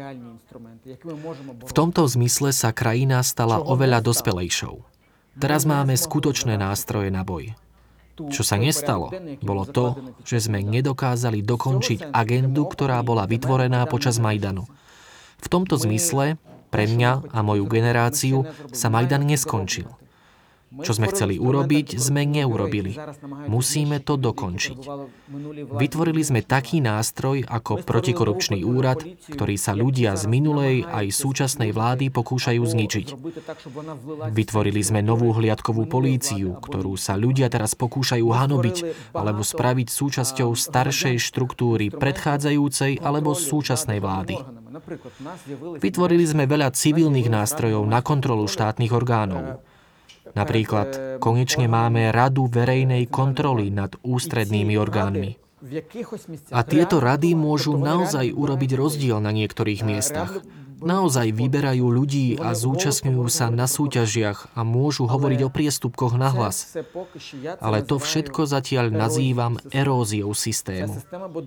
S6: V tomto zmysle sa krajina stala oveľa dospelejšou. Teraz máme skutočné nástroje na boj. Čo sa nestalo, bolo to, že sme nedokázali dokončiť agendu, ktorá bola vytvorená počas Majdanu. V tomto zmysle, pre mňa a moju generáciu, sa Majdan neskončil. Čo sme chceli urobiť, sme neurobili. Musíme to dokončiť. Vytvorili sme taký nástroj ako protikorupčný úrad, ktorý sa ľudia z minulej aj súčasnej vlády pokúšajú zničiť. Vytvorili sme novú hliadkovú políciu, ktorú sa ľudia teraz pokúšajú hanobiť alebo spraviť súčasťou staršej štruktúry predchádzajúcej alebo súčasnej vlády. Vytvorili sme veľa civilných nástrojov na kontrolu štátnych orgánov. Napríklad, konečne máme Radu verejnej kontroly nad ústrednými orgánmi. A tieto rady môžu naozaj urobiť rozdiel na niektorých miestach. Naozaj vyberajú ľudí a zúčastňujú sa na súťažiach a môžu hovoriť o priestupkoch nahlas. Ale to všetko zatiaľ nazývam eróziou systému.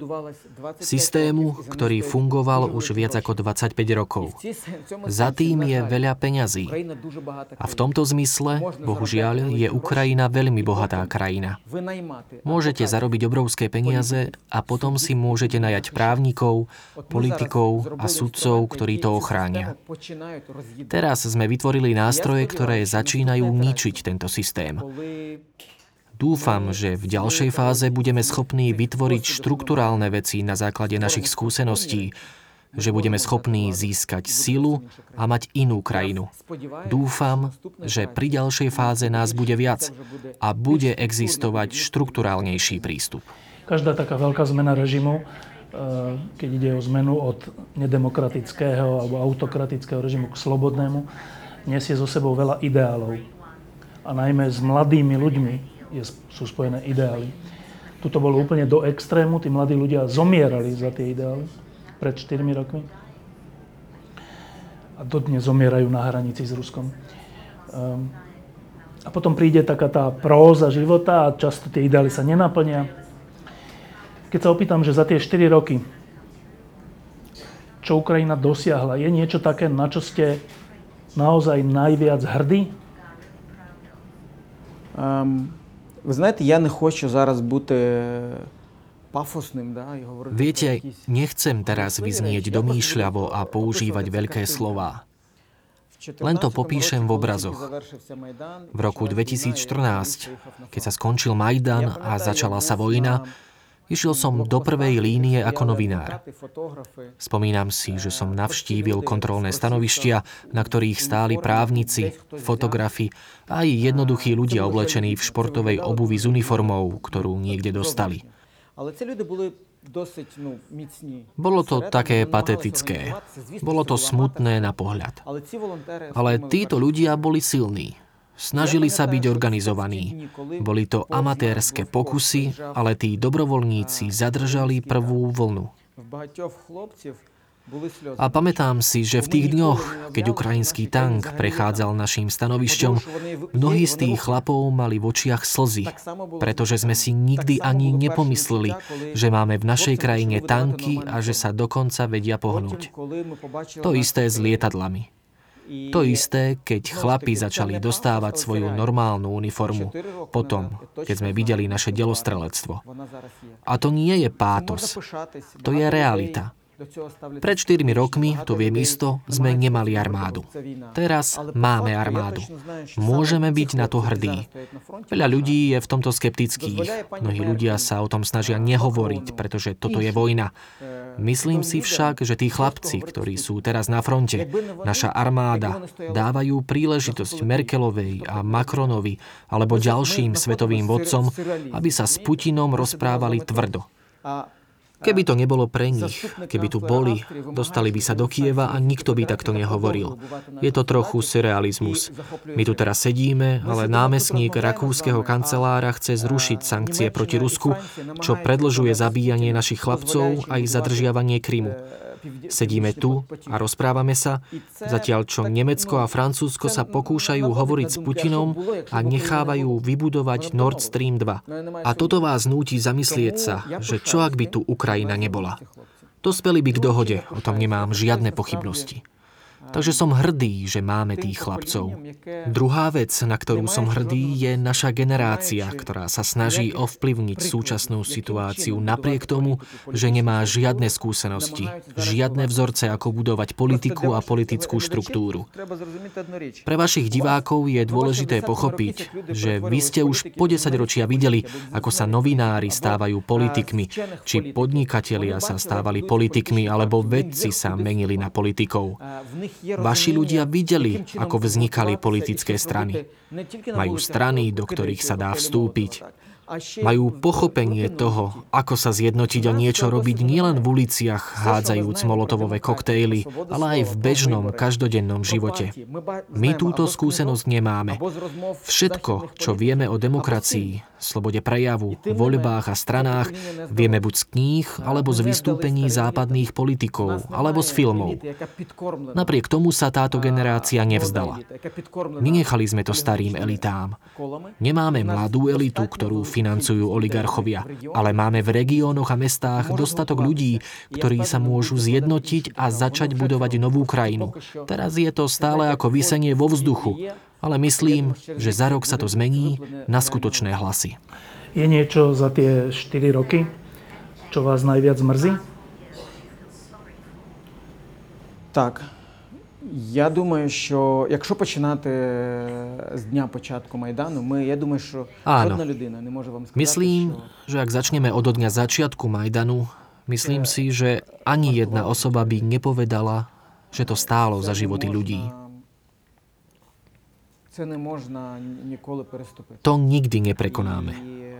S6: Systému, ktorý fungoval už viac ako dvadsaťpäť rokov. Za tým je veľa peňazí. A v tomto zmysle, bohužiaľ, je Ukrajina veľmi bohatá krajina. Môžete zarobiť obrovské peniaze a potom si môžete najať právnikov, politikov a sudcov, ktorí to ochránia. Teraz sme vytvorili nástroje, ktoré začínajú ničiť tento systém. Dúfam, že v ďalšej fáze budeme schopní vytvoriť štrukturálne veci na základe našich skúseností, že budeme schopní získať silu a mať inú krajinu. Dúfam, že pri ďalšej fáze nás bude viac a bude existovať štrukturálnejší prístup.
S1: Každá taká veľká zmena režimu, keď ide o zmenu od nedemokratického alebo autokratického režimu k slobodnému, nesie so sebou veľa ideálov. A najmä s mladými ľuďmi je, sú spojené ideály. Tuto bolo úplne do extrému, tí mladí ľudia zomierali za tie ideály pred štyrmi rokmi. A dodnes zomierajú na hranici s Ruskom. A potom príde taká tá próza života a často tie ideály sa nenaplnia. Keď sa opýtam, že za tie štyri roky, čo Ukrajina dosiahla, je niečo také, na čo ste naozaj najviac hrdí?
S7: Um, ви знаєте, я не хочу зараз бути пафосним, да, і говорити.
S6: Viete, nechcem teraz vyznieť domýšľavo a používať veľké slová. Len to popíšem v obrazoch. V roku dvetisícštrnásť, keď sa skončil Majdan a začala sa vojna, išiel som do prvej línie ako novinár. Spomínam si, že som navštívil kontrolné stanovištia, na ktorých stáli právnici, fotografi a aj jednoduchí ľudia oblečení v športovej obuvi s uniformou, ktorú niekde dostali. Bolo to také patetické. Bolo to smutné na pohľad. Ale títo ľudia boli silní. Snažili sa byť organizovaní. Boli to amatérske pokusy, ale tí dobrovoľníci zadržali prvú vlnu. A pamätám si, že v tých dňoch, keď ukrajinský tank prechádzal naším stanovišťom, mnohí z tých chlapov mali v očiach slzy, pretože sme si nikdy ani nepomysleli, že máme v našej krajine tanky a že sa dokonca vedia pohnúť. To isté s lietadlami. To isté, keď chlapi začali dostávať svoju normálnu uniformu, potom, keď sme videli naše delostrelectvo. A to nie je pátos, to je realita. Pred štyrmi rokmi, to viem isto, sme nemali armádu. Teraz máme armádu. Môžeme byť na to hrdí. Veľa ľudí je v tomto skeptických. Mnohí ľudia sa o tom snažia nehovoriť, pretože toto je vojna. Myslím si však, že tí chlapci, ktorí sú teraz na fronte, naša armáda, dávajú príležitosť Merkelovej a Macronovi alebo ďalším svetovým vodcom, aby sa s Putinom rozprávali tvrdo. Keby to nebolo pre nich, keby tu boli, dostali by sa do Kieva a nikto by takto nehovoril. Je to trochu surrealizmus. My tu teraz sedíme, ale námestník rakúskeho kancelára chce zrušiť sankcie proti Rusku, čo predĺžuje zabíjanie našich chlapcov a ich zadržiavanie Krymu. Sedíme tu a rozprávame sa, zatiaľ čo Nemecko a Francúzsko sa pokúšajú hovoriť s Putinom a nechávajú vybudovať Nord Stream dva. A toto vás núti zamyslieť sa, že čo ak by tu Ukrajina nebola. Dospeli by k dohode, o tom nemám žiadne pochybnosti. Takže som hrdý, že máme tých chlapcov. Druhá vec, na ktorú som hrdý, je naša generácia, ktorá sa snaží ovplyvniť súčasnú situáciu napriek tomu, že nemá žiadne skúsenosti, žiadne vzorce, ako budovať politiku a politickú štruktúru. Pre vašich divákov je dôležité pochopiť, že vy ste už po desaťročia videli, ako sa novinári stávajú politikmi, či podnikatelia sa stávali politikmi, alebo vedci sa menili na politikov. Vaši ľudia videli, ako vznikali politické strany. Majú strany, do ktorých sa dá vstúpiť. Majú pochopenie toho, ako sa zjednotiť a niečo robiť nielen v uliciach, hádzajúc molotovové koktejly, ale aj v bežnom, každodennom živote. My túto skúsenosť nemáme. Všetko, čo vieme o demokracii, slobode prejavu, voľbách a stranách, vieme buď z kníh, alebo z vystúpení západných politikov, alebo z filmov. Napriek tomu sa táto generácia nevzdala. Nenechali sme to starým elitám. Nemáme mladú elitu, ktorú financujú oligarchovia, ale máme v regiónoch a mestách dostatok ľudí, ktorí sa môžu zjednotiť a začať budovať novú krajinu. Teraz je to stále ako visenie vo vzduchu, ale myslím, že za rok sa to zmení na skutočné hlasy.
S1: Je niečo za tie štyri roky, čo vás najviac mrzí?
S7: Так. Я думаю, що якщо починати з дня початку Майдану, ми, я думаю, що жодна людина не може вам сказати,
S6: Myslím, že ak začneme od dňa začiatku Majdanu, myslím si, že ani jedna osoba by nepovedala, že to stálo za životy ľudí.
S7: Це не можна ніколи переступити.
S6: To nikdy neprekonáme.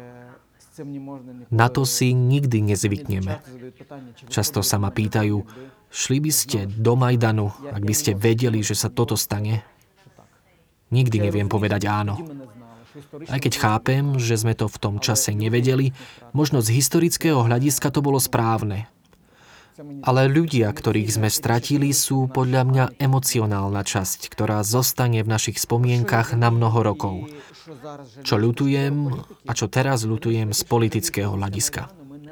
S6: Na to si nikdy nezvykneme. Často sa ma pýtajú, šli by ste do Majdanu, ak by ste vedeli, že sa toto stane? Nikdy neviem povedať áno. Aj keď chápem, že sme to v tom čase nevedeli, možno z historického hľadiska to bolo správne. Ale ľudia, ktorých sme stratili, sú podľa mňa emocionálna časť, ktorá zostane v našich spomienkach na mnoho rokov. Čo ľutujem a čo teraz ľutujem z politického hľadiska.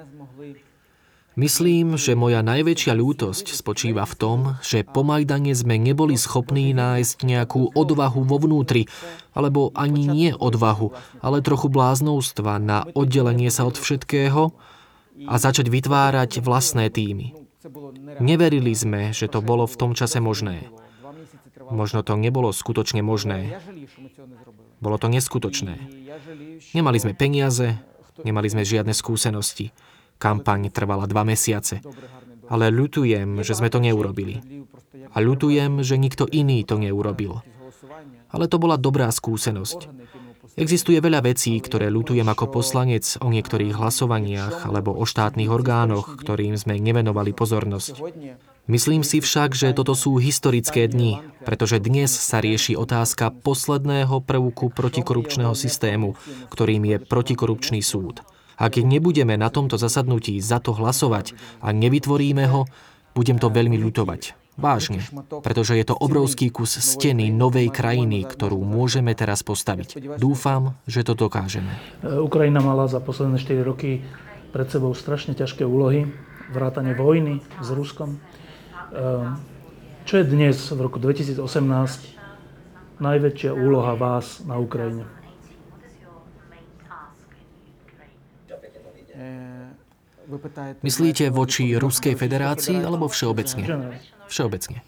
S6: Myslím, že moja najväčšia ľútosť spočíva v tom, že po Majdane sme neboli schopní nájsť nejakú odvahu vo vnútri, alebo ani nie odvahu, ale trochu bláznovstva na oddelenie sa od všetkého a začať vytvárať vlastné týmy. Neverili sme, že to bolo v tom čase možné. Možno to nebolo skutočne možné. Bolo to neskutočné. Nemali sme peniaze, nemali sme žiadne skúsenosti. Kampaň trvala dva mesiace. Ale ľutujem, že sme to neurobili. A ľutujem, že nikto iný to neurobil. Ale to bola dobrá skúsenosť. Existuje veľa vecí, ktoré ľutujem ako poslanec o niektorých hlasovaniach alebo o štátnych orgánoch, ktorým sme nevenovali pozornosť. Myslím si však, že toto sú historické dni, pretože dnes sa rieši otázka posledného prvku protikorupčného systému, ktorým je protikorupčný súd. Ak nebudeme na tomto zasadnutí za to hlasovať a nevytvoríme ho, budem to veľmi ľutovať. Vážne, pretože je to obrovský kus steny novej krajiny, ktorú môžeme teraz postaviť. Dúfam, že to dokážeme.
S1: Ukrajina mala za posledné štyri roky pred sebou strašne ťažké úlohy, vrátane vojny s Ruskom. Čo je dnes, v roku dvetisícosemnásť, najväčšia úloha vás na Ukrajine?
S6: Myslíte voči Ruskej federácii alebo všeobecne? Všeobecne.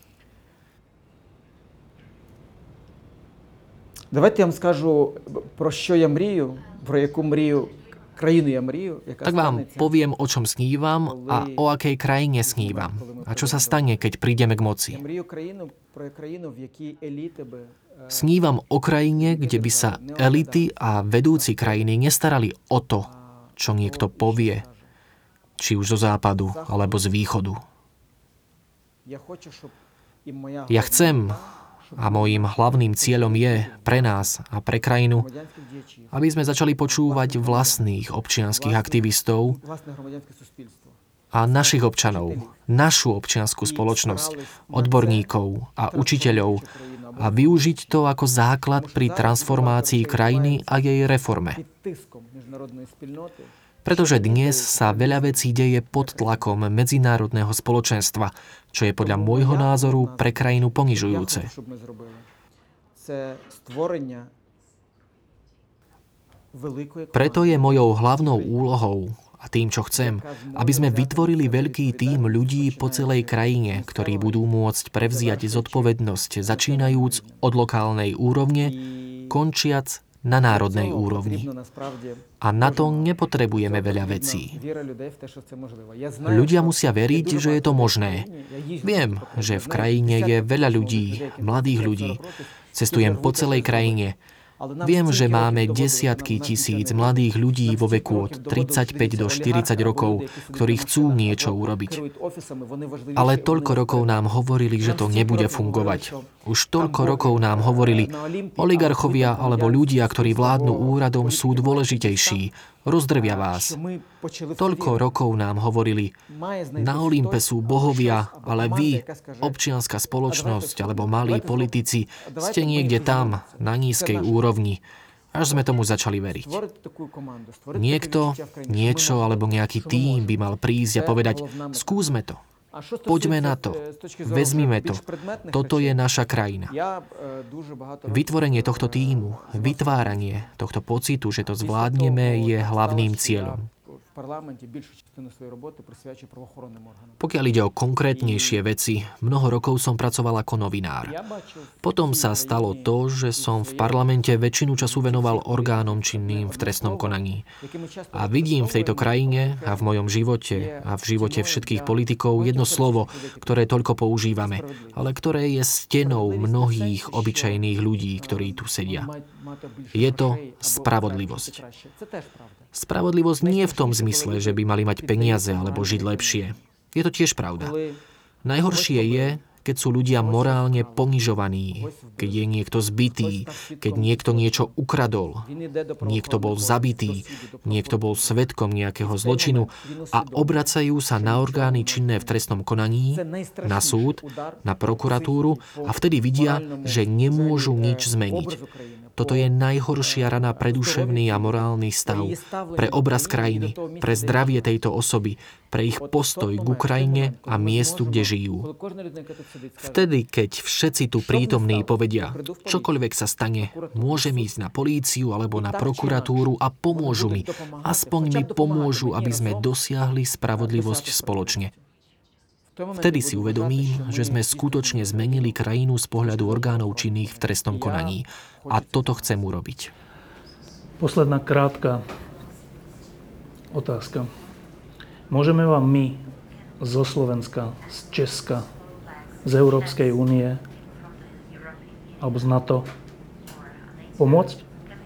S7: Давайте я вам скажу, про що я мрію, про яку мрію, країну я мрію, яка
S6: Tak vám poviem, o čom snívam a o akej krajine snívam. A čo sa stane, keď prídeme k moci.
S7: Я мрію країну, про країну, в якій еліти би
S6: Snívam o krajine, kde by sa elity a vedúci krajiny nestarali o to, čo niekto povie, či už zo západu alebo z východu. Ja chcem, a môjim hlavným cieľom je pre nás a pre krajinu, aby sme začali počúvať vlastných občianskych aktivistov a našich občanov, našu občiansku spoločnosť, odborníkov a učiteľov a využiť to ako základ pri transformácii krajiny a jej reforme. Pretože dnes sa veľa vecí deje pod tlakom medzinárodného spoločenstva, čo je podľa môjho názoru pre krajinu ponižujúce. Preto je mojou hlavnou úlohou a tým, čo chcem, aby sme vytvorili veľký tím ľudí po celej krajine, ktorí budú môcť prevziať zodpovednosť, začínajúc od lokálnej úrovne, končiac na národnej úrovni. A na to nepotrebujeme veľa vecí. Ľudia musia veriť, že je to možné. Viem, že v krajine je veľa ľudí, mladých ľudí. Cestujem po celej krajine. Viem, že máme desiatky tisíc mladých ľudí vo veku od tridsaťpäť do štyridsať rokov, ktorí chcú niečo urobiť. Ale toľko rokov nám hovorili, že to nebude fungovať. Už toľko rokov nám hovorili, oligarchovia alebo ľudia, ktorí vládnu úradom, sú dôležitejší. Rozdrvia vás. Toľko rokov nám hovorili, na Olympe sú bohovia, ale vy, občianska spoločnosť alebo malí politici, ste niekde tam, na nízkej úrovni. Až sme tomu začali veriť. Niekto, niečo alebo nejaký tím by mal prísť a povedať, skúsme to. Poďme na to. Vezmime to. Toto je naša krajina. Vytvorenie tohto tímu, vytváranie tohto pocitu, že to zvládneme, je hlavným cieľom. Pokiaľ ide o konkrétnejšie veci, mnoho rokov som pracoval ako novinár. Potom sa stalo to, že som v parlamente väčšinu času venoval orgánom činným v trestnom konaní. A vidím v tejto krajine a v mojom živote a v živote všetkých politikov jedno slovo, ktoré toľko používame, ale ktoré je stenou mnohých obyčajných ľudí, ktorí tu sedia. Je to spravodlivosť. Spravodlivosť nie v tom zmysle, že by mali mať peniaze alebo žiť lepšie. Je to tiež pravda. Najhoršie je, keď sú ľudia morálne ponižovaní, keď je niekto zbitý, keď niekto niečo ukradol, niekto bol zabitý, niekto bol svedkom nejakého zločinu a obracajú sa na orgány činné v trestnom konaní, na súd, na prokuratúru a vtedy vidia, že nemôžu nič zmeniť. Toto je najhoršia rana pre duševný a morálny stav, pre obraz krajiny, pre zdravie tejto osoby, pre ich postoj k Ukrajine a miestu, kde žijú. Vtedy, keď všetci tu prítomní povedia, čokoľvek sa stane, môžem ísť na políciu alebo na prokuratúru a pomôžu mi. Aspoň mi pomôžu, aby sme dosiahli spravodlivosť spoločne. Vtedy si uvedomím, že sme skutočne zmenili krajinu z pohľadu orgánov činných v trestnom konaní. A toto chcem urobiť.
S1: Posledná krátka otázka. Môžeme vám my zo Slovenska, z Česka, z Európskej únie alebo z NATO pomôcť?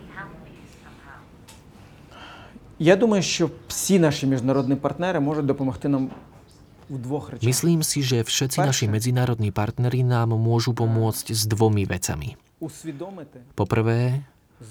S7: Я думаю, що всі наші міжнародні партнери можуть допомогти нам.
S6: Myslím si, že všetci naši medzinárodní partneri nám môžu pomôcť s dvomi vecami. Poprvé,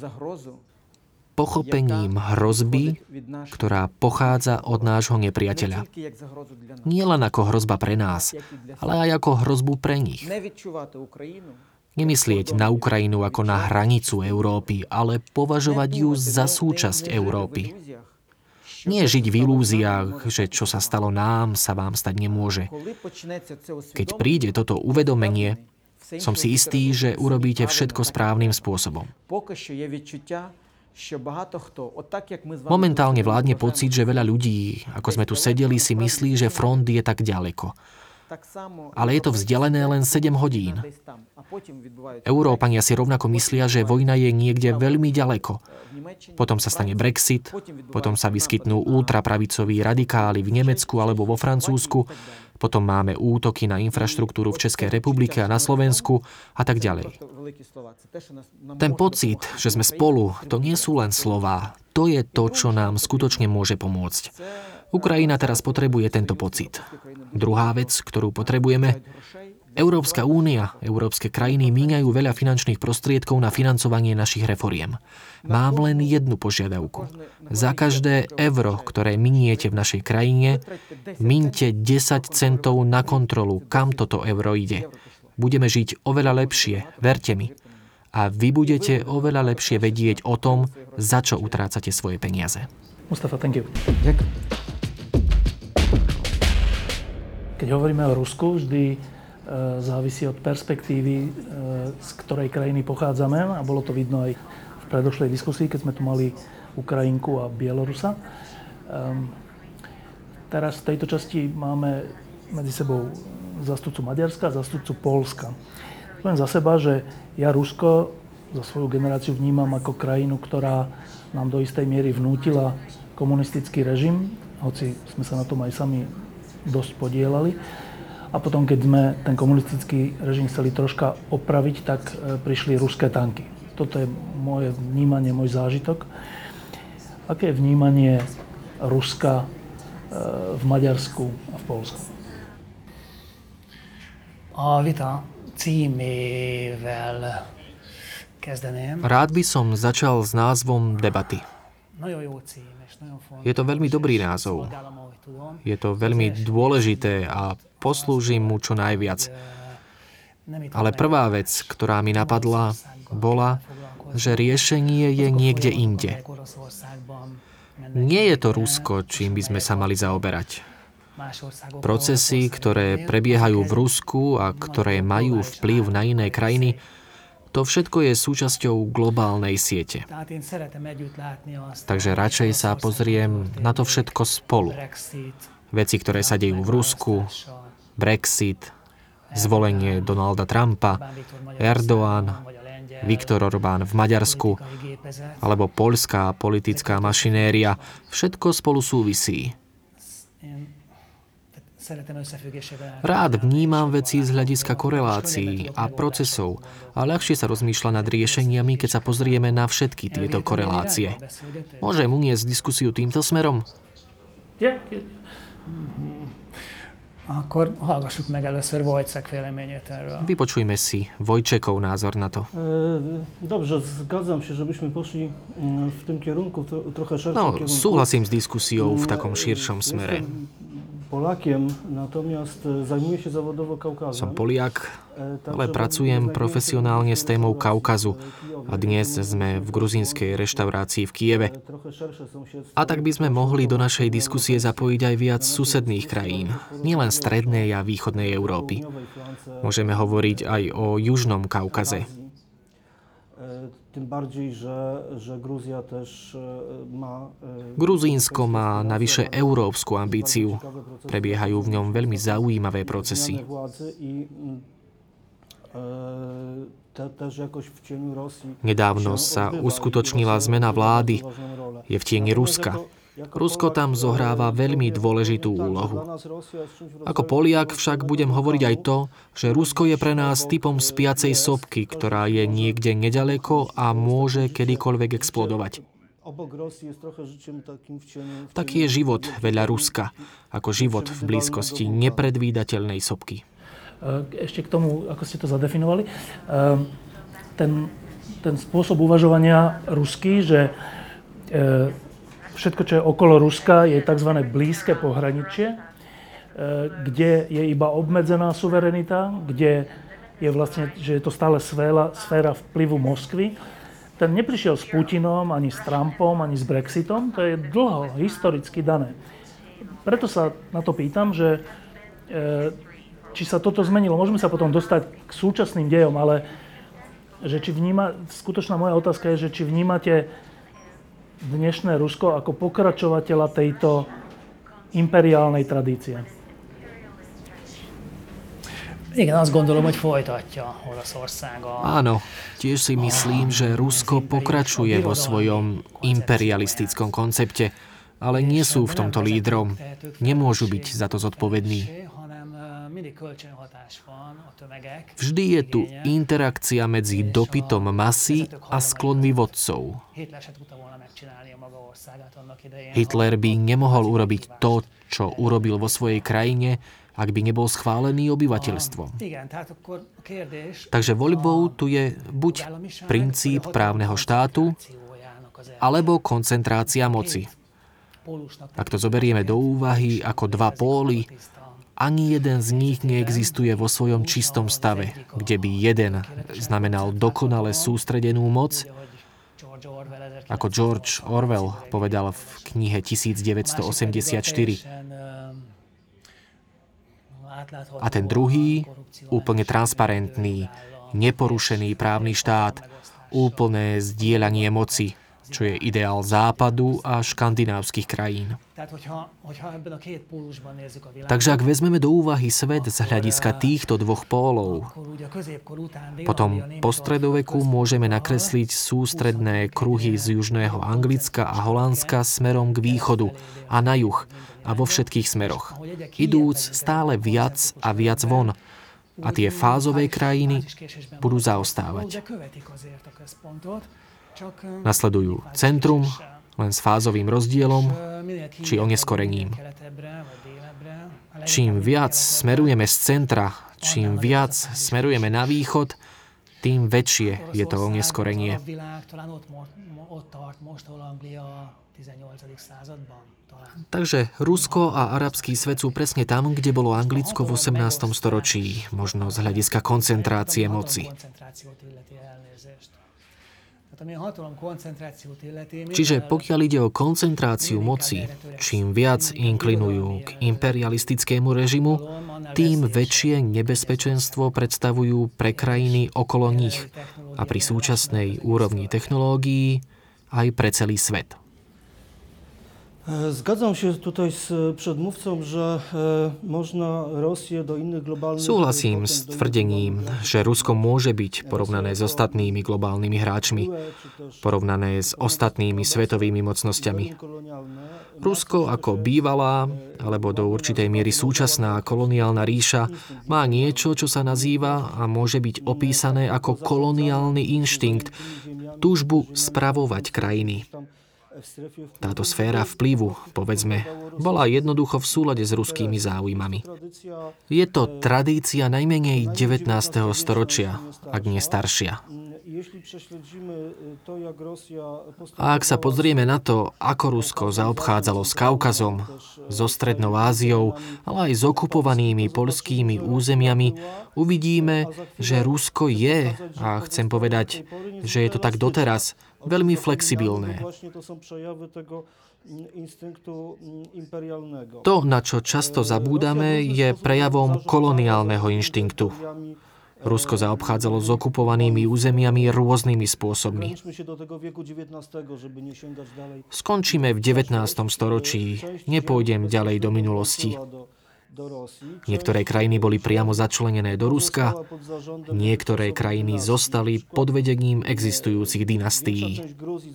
S6: pochopením hrozby, ktorá pochádza od nášho nepriateľa. Nie len ako hrozba pre nás, ale aj ako hrozbu pre nich. Nemyslieť na Ukrajinu ako na hranicu Európy, ale považovať ju za súčasť Európy. Nie žiť v ilúziách, že čo sa stalo nám, sa vám stať nemôže. Keď príde toto uvedomenie, som si istý, že urobíte všetko správnym spôsobom. Momentálne vládne pocit, že veľa ľudí, ako sme tu sedeli, si myslí, že front je tak ďaleko. Ale je to vzdialené len sedem hodín. Európania si rovnako myslia, že vojna je niekde veľmi ďaleko. Potom sa stane Brexit, potom sa vyskytnú ultrapravicoví radikáli v Nemecku alebo vo Francúzsku, potom máme útoky na infraštruktúru v Českej republike a na Slovensku a tak ďalej. Ten pocit, že sme spolu, to nie sú len slová. To je to, čo nám skutočne môže pomôcť. Ukrajina teraz potrebuje tento pocit. Druhá vec, ktorú potrebujeme, Európska únia, európske krajiny míňajú veľa finančných prostriedkov na financovanie našich reforiem. Mám len jednu požiadavku. Za každé euro, ktoré miniete v našej krajine, miňte desať centov na kontrolu, kam toto euro ide. Budeme žiť oveľa lepšie, verte mi. A vy budete oveľa lepšie vedieť o tom, za čo utrácate svoje peniaze.
S1: Mustafa, thank you.
S7: Ďakujem.
S1: Keď hovoríme o Rusku, vždy e, závisí od perspektívy, e, z ktorej krajiny pochádzame. A bolo to vidno aj v predošlej diskusii, keď sme tu mali Ukrajinku a Bielorusa. E, teraz v tejto časti máme medzi sebou zástupcu Maďarska a zástupcu Poľska. Poviem za seba, že ja Rusko za svoju generáciu vnímam ako krajinu, ktorá nám do istej miery vnútila komunistický režim, hoci sme sa na tom aj sami dosť podielali. A potom, keď sme ten komunistický režim chceli troška opraviť, tak prišli ruské tanky. Toto je moje vnímanie, môj zážitok. Aké je vnímanie Ruska v Maďarsku a v Poľsku?
S8: A vita címével kezdeném.
S6: Rád by som začal s názvom debaty. Je to veľmi dobrý názov. Je to veľmi dôležité a poslúžim mu čo najviac. Ale prvá vec, ktorá mi napadla, bola, že riešenie je niekde inde. Nie je to Rusko, čím by sme sa mali zaoberať. Procesy, ktoré prebiehajú v Rusku a ktoré majú vplyv na iné krajiny, to všetko je súčasťou globálnej siete. Takže radšej sa pozriem na to všetko spolu. Veci, ktoré sa dejú v Rusku, Brexit, zvolenie Donalda Trumpa, Erdoğan, Viktor Orbán v Maďarsku, alebo poľská politická mašinéria, všetko spolu súvisí. Rád vnímam veci z hľadiska korelácií a procesov a ľahšie sa rozmýšľa nad riešeniami, keď sa pozrieme na všetky tieto korelácie. Môžem uniesť diskusiu týmto smerom?
S8: Akkor hallgassuk meg először Wojciech véleményét erről.
S6: Vypočujme si Wojciechov názor na to.
S1: Dobrze, zgadzam się, żebyśmy poszli w tym kierunku, trochę szerszym
S6: No,
S1: kierunku.
S6: súhlasím s diskusiou v takom širšom smere.
S1: Polakiem, natomiast zajmuję się zawodowo Kaukazem.
S6: Som Poliak, ale pracujem profesionálne s témou Kaukazu. A dnes sme v gruzínskej reštaurácii v Kieve. A tak by sme mohli do našej diskusie zapojiť aj viac susedných krajín, nielen strednej a východnej Európy. Môžeme hovoriť aj o Južnom Kaukaze. Gruzínsko má navyše európsku ambíciu. Prebiehajú v ňom veľmi zaujímavé procesy. Nedávno sa uskutočnila zmena vlády. Je v tieni Ruska. Rusko tam zohráva veľmi dôležitú úlohu. Ako Poliak však budem hovoriť aj to, že Rusko je pre nás typom spiacej sopky, ktorá je niekde nedaleko a môže kedykoľvek explodovať. Taký je život vedľa Ruska, ako život v blízkosti nepredvídateľnej sopky.
S1: Ešte k tomu, ako ste to zadefinovali, ten, ten spôsob uvažovania ruský, že všetko, čo je okolo Ruska, je tzv. Blízke pohraničie, kde je iba obmedzená suverenita, kde je vlastne, že je to stále sféra, sféra vplyvu Moskvy. Ten neprišiel s Putinom, ani s Trumpom, ani s Brexitom, to je dlho, historicky dané. Preto sa na to pýtam, že či sa toto zmenilo. Môžeme sa potom dostať k súčasným dejom, ale že či vníma, skutočná moja otázka je, že či vnímate dnešné Rusko ako pokračovateľa tejto imperiálnej tradície?
S8: Igen, azt gondolom, hogy folytatja Oroszország a...
S6: Áno, tiež si myslím, že Rusko pokračuje vo svojom imperialistickom koncepte, ale nie sú v tomto lídrom. Nemôžu byť za to zodpovední. Vždy je tu interakcia medzi dopytom masy a sklonmi vodcov. Hitler by nemohol urobiť to, čo urobil vo svojej krajine, ak by nebol schválený obyvateľstvom. Takže voľbou tu je buď princíp právneho štátu, alebo koncentrácia moci. Ak to zoberieme do úvahy ako dva póly, ani jeden z nich neexistuje vo svojom čistom stave, kde by jeden znamenal dokonale sústredenú moc, ako George Orwell povedal v knihe devätnásťstoosemdesiatštyri. A ten druhý, úplne transparentný, neporušený právny štát, úplné zdieľanie moci, čo je ideál Západu a škandinávskych krajín. Takže ak vezmeme do úvahy svet z hľadiska týchto dvoch pólov, potom po stredoveku môžeme nakresliť sústredné kruhy z južného Anglicka a Holandska smerom k východu a na juh a vo všetkých smeroch, idúc stále viac a viac von. A tie fázové krajiny budú zaostávať. Nasledujú centrum, len s fázovým rozdielom, či oneskorením. Čím viac smerujeme z centra, čím viac smerujeme na východ, tým väčšie je to oneskorenie. Takže Rusko a arabský svet sú presne tam, kde bolo Anglicko v osemnástom storočí, možno z hľadiska koncentrácie moci. Čiže pokiaľ ide o koncentráciu moci, čím viac inklinujú k imperialistickému režimu, tým väčšie nebezpečenstvo predstavujú pre krajiny okolo nich a pri súčasnej úrovni technológií aj pre celý svet.
S9: Zgadzam się tutaj z przedmówcą, że można Rosję do innych globalnych...
S6: Súhlasím s tvrdením, že Rusko môže byť porovnané s ostatnými globálnymi hráčmi, porovnané s ostatnými svetovými mocnosťami. Rusko ako bývalá, alebo do určitej miery súčasná koloniálna ríša má niečo, čo sa nazýva a môže byť opísané ako koloniálny inštinkt, túžbu spravovať krajiny. Táto sféra vplyvu, povedzme, bola jednoducho v súlade s ruskými záujmami. Je to tradícia najmenej devätnásteho storočia, ak nie staršia. A ak sa pozrieme na to, ako Rusko zaobchádzalo s Kaukazom, so Strednou Áziou, ale aj s okupovanými poľskými územiami, uvidíme, že Rusko je, a chcem povedať, že je to tak doteraz, veľmi flexibilné. To, na čo často zabúdame, je prejavom koloniálneho inštinktu. Rusko zaobchádzalo s okupovanými územiami rôznymi spôsobmi. Skončíme v devätnástom storočí, nepôjdem ďalej do minulosti. Niektoré krajiny boli priamo začlenené do Ruska, niektoré krajiny zostali pod vedením existujúcich dynastií.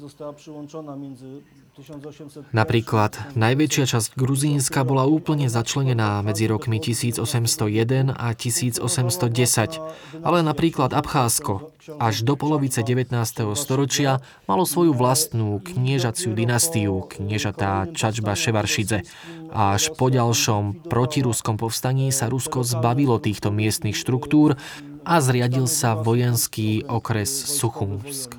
S6: Napríklad najväčšia časť Gruzínska bola úplne začlenená medzi rokmi tisícosemstojeden a tisícosemstodesať, ale napríklad Abcházsko až do polovice devätnásteho storočia malo svoju vlastnú kniežaciu dynastiu, kniežatá Čačba Ševaršidze. A až po ďalšom protiruskom povstaní sa Rusko zbavilo týchto miestnych štruktúr a zriadil sa vojenský okres Suchumsk.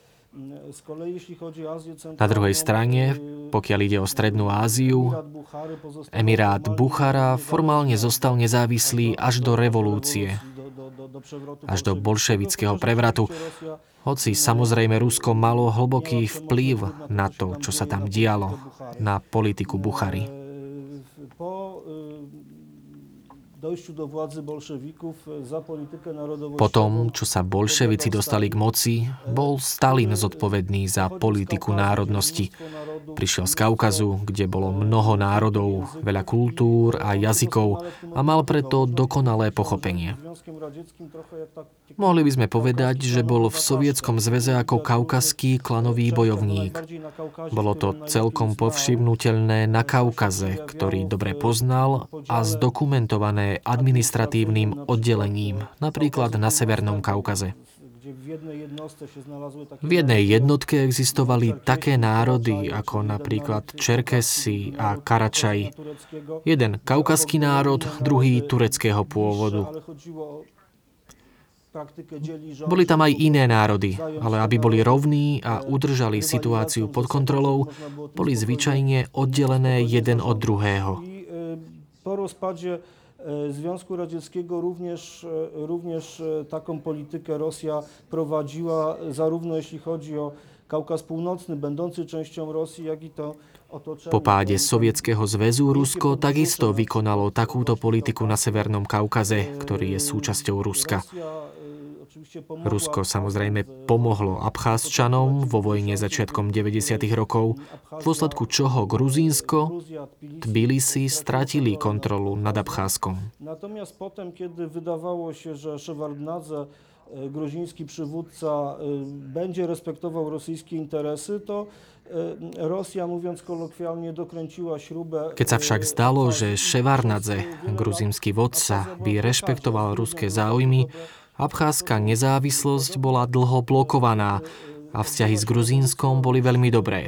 S6: Na druhej strane, pokiaľ ide o Strednú Áziu, Emirát Buchara formálne zostal nezávislý až do revolúcie, až do bolševického prevratu. Hoci samozrejme Rusko malo hlboký vplyv na to, čo sa tam dialo, na politiku Buchary. Potom, čo sa bolševici dostali k moci, bol Stalin zodpovedný za politiku národnosti. Prišiel z Kaukazu, kde bolo mnoho národov, veľa kultúr a jazykov a mal preto dokonalé pochopenie. Mohli by sme povedať, že bol v Sovietskom zväze ako kaukazský klanový bojovník. Bolo to celkom povšimnuteľné na Kaukaze, ktorý dobre poznal a zdokumentované administratívnym oddelením, napríklad na Severnom Kaukaze. V jednej jednotke existovali také národy ako napríklad Čerkesi a Karačaji. Jeden kaukazský národ, druhý tureckého pôvodu. Boli tam aj iné národy, ale aby boli rovní a udržali situáciu pod kontrolou, boli zvyčajne oddelené jeden od druhého.
S9: Po rozpadzie Związku Radzieckiego również, również taką politykę Rosja prowadziła, zarówno jeśli chodzi o Kaukaz Północny, będący częścią Rosji, jak i to otoczenie.
S6: Po páde Sovietskeho zväzu Rusko takisto vykonalo takúto politiku na Severnom Kaukaze, ktorý je súčasťou Ruska. Rusko samozrejme pomohlo Abcházčanom vo vojne začiatkom deväťdesiatych rokov, v dôsledku čoho Gruzínsko, Tbilisi stratili kontrolu nad Abcházskom.
S9: Natomiast potem, kiedy wydawało się, że Szewardnadze, gruziński przywódca, będzie respektował rosyjskie interesy, to Rosja, mówiąc kolokwialnie, dokręciła śrubę.
S6: Keď sa však zdalo, že Ševardnadze, gruzínsky vodca, by rešpektoval ruské záujmy, Abcházska nezávislosť bola dlho blokovaná a vzťahy s Gruzínskom boli veľmi dobré.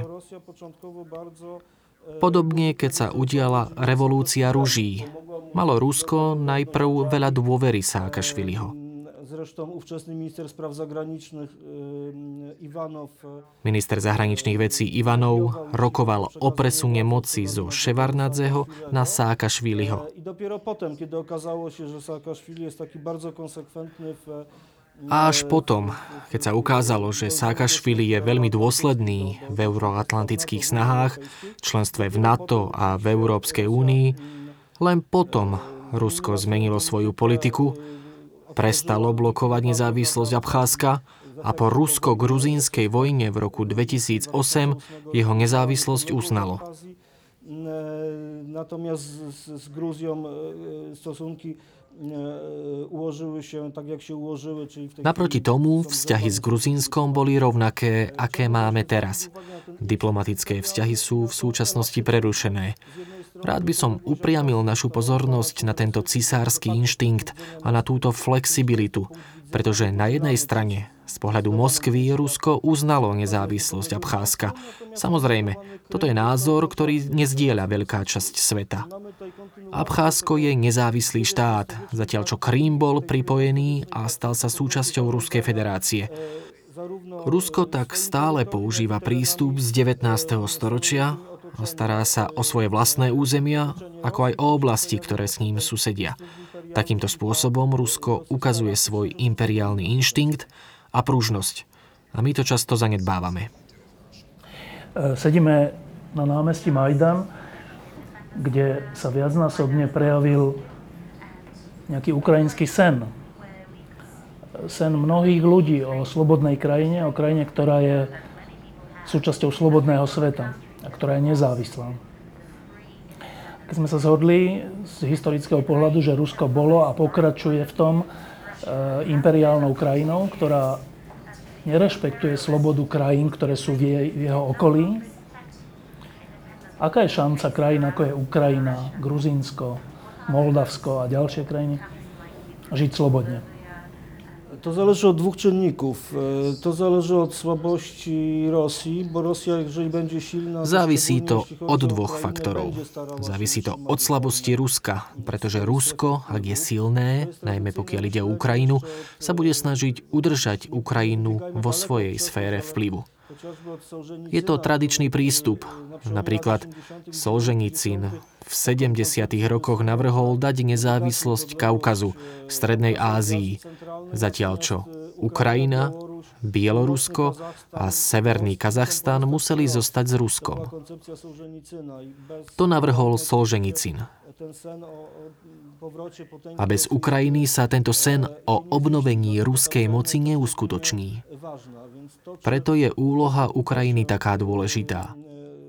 S6: Podobne, keď sa udiala revolúcia ruží, malo Rusko najprv veľa dôvery Sáakašviliho.
S9: Zresztą ówczesny minister spraw zagranicznych Ivanov.
S6: Minister zahraničných vecí Ivanov rokoval o presune moci zo Ševardnadzeho na Sáakašviliho.
S9: I dopiero potem, kiedy okazało się, że Saakaszwili jest taki bardzo konsekwentny w
S6: A až potom, keď sa ukázalo, že Sáakašvili je veľmi dôsledný v euroatlantických snahách, členstve v NATO a v Európskej únii, len potom Rusko zmenilo svoju politiku, prestalo blokovať nezávislosť Abcházska a po rusko-gruzínskej vojne v roku dvetisícosem jeho nezávislosť uznalo.
S9: Natomiast z Gruzją stosunki ułożyły się tak, jak się ułożyły, czyli w tej
S6: Naproti tomu vzťahy s Gruzínskom boli rovnaké, aké máme teraz. Diplomatické vzťahy sú v súčasnosti prerušené. Rád by som upriamil našu pozornosť na tento cisársky inštinkt a na túto flexibilitu, pretože na jednej strane z pohľadu Moskvy Rusko uznalo nezávislosť Abcházska. Samozrejme, toto je názor, ktorý nezdieľa veľká časť sveta. Abcházsko je nezávislý štát, zatiaľ čo Krím bol pripojený a stal sa súčasťou Ruskej federácie. Rusko tak stále používa prístup z devätnásteho storočia a stará sa o svoje vlastné územia, ako aj o oblasti, ktoré s ním susedia. Takýmto spôsobom Rusko ukazuje svoj imperiálny inštinkt a pružnosť. A my to často zanedbávame.
S1: Sedíme na námestí Majdan, kde sa viacnásobne prejavil nejaký ukrajinský sen. Sen mnohých ľudí o slobodnej krajine, o krajine, ktorá je súčasťou slobodného sveta a ktorá je nezávislá. Keď sme sa zhodli z historického pohľadu, že Rusko bolo a pokračuje v tom e, imperiálnou krajinou, ktorá nerešpektuje slobodu krajín, ktoré sú v, jej, v jeho okolí, aká je šanca krajín, ako je Ukrajina, Gruzínsko, Moldavsko a ďalšie krajiny, žiť slobodne?
S9: To zależy od dwóch czynników. To zależy od słabości Rosji, bo Rosja, jeżeli będzie silna...
S6: Závisí to od dvoch faktorov. Závisí to od slabosti Ruska, pretože Rusko, ak je silné, najmä pokiaľ ide o Ukrajinu, sa bude snažiť udržať Ukrajinu vo svojej sfére vplyvu. Je to tradičný prístup. Napríklad Solženicín v sedemdesiatych rokoch navrhol dať nezávislosť Kaukazu, Strednej Ázii, zatiaľ čo Ukrajina Bielorusko a Severný Kazachstan museli zostať s Ruskom. To navrhol Solženicyn. A bez Ukrajiny sa tento sen o obnovení ruskej moci neuskutoční. Preto je úloha Ukrajiny taká dôležitá.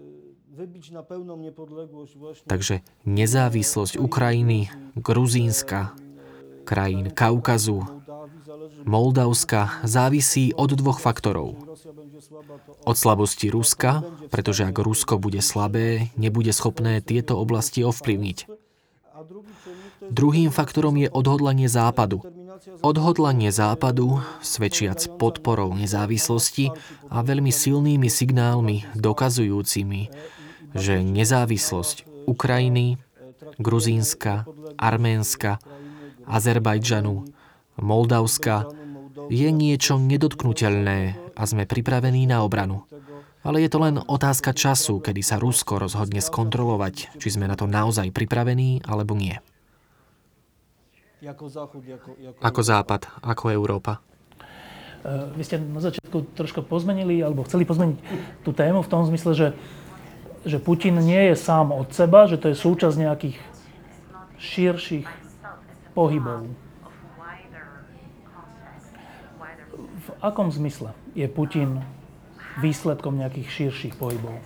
S6: Takže nezávislosť Ukrajiny, Gruzínska, krajín Kaukazu, Moldavska závisí od dvoch faktorov. Od slabosti Ruska, pretože ak Rusko bude slabé, nebude schopné tieto oblasti ovplyvniť. Druhým faktorom je odhodlanie Západu. Odhodlanie Západu, svedčiac podporou nezávislosti a veľmi silnými signálmi dokazujúcimi, že nezávislosť Ukrajiny, Gruzínska, Arménska, Azerbajdžanu, Moldavska je niečo nedotknuteľné a sme pripravení na obranu. Ale je to len otázka času, kedy sa Rusko rozhodne skontrolovať, či sme na to naozaj pripravení, alebo nie. Ako Západ, ako Európa.
S8: Vy ste na začiatku troška pozmenili, alebo chceli pozmeniť tú tému v tom zmysle, že, že Putin nie je sám od seba, že to je súčasť nejakých širších pohybov. V akom zmysle je Putin výsledkom nejakých širších pohybov?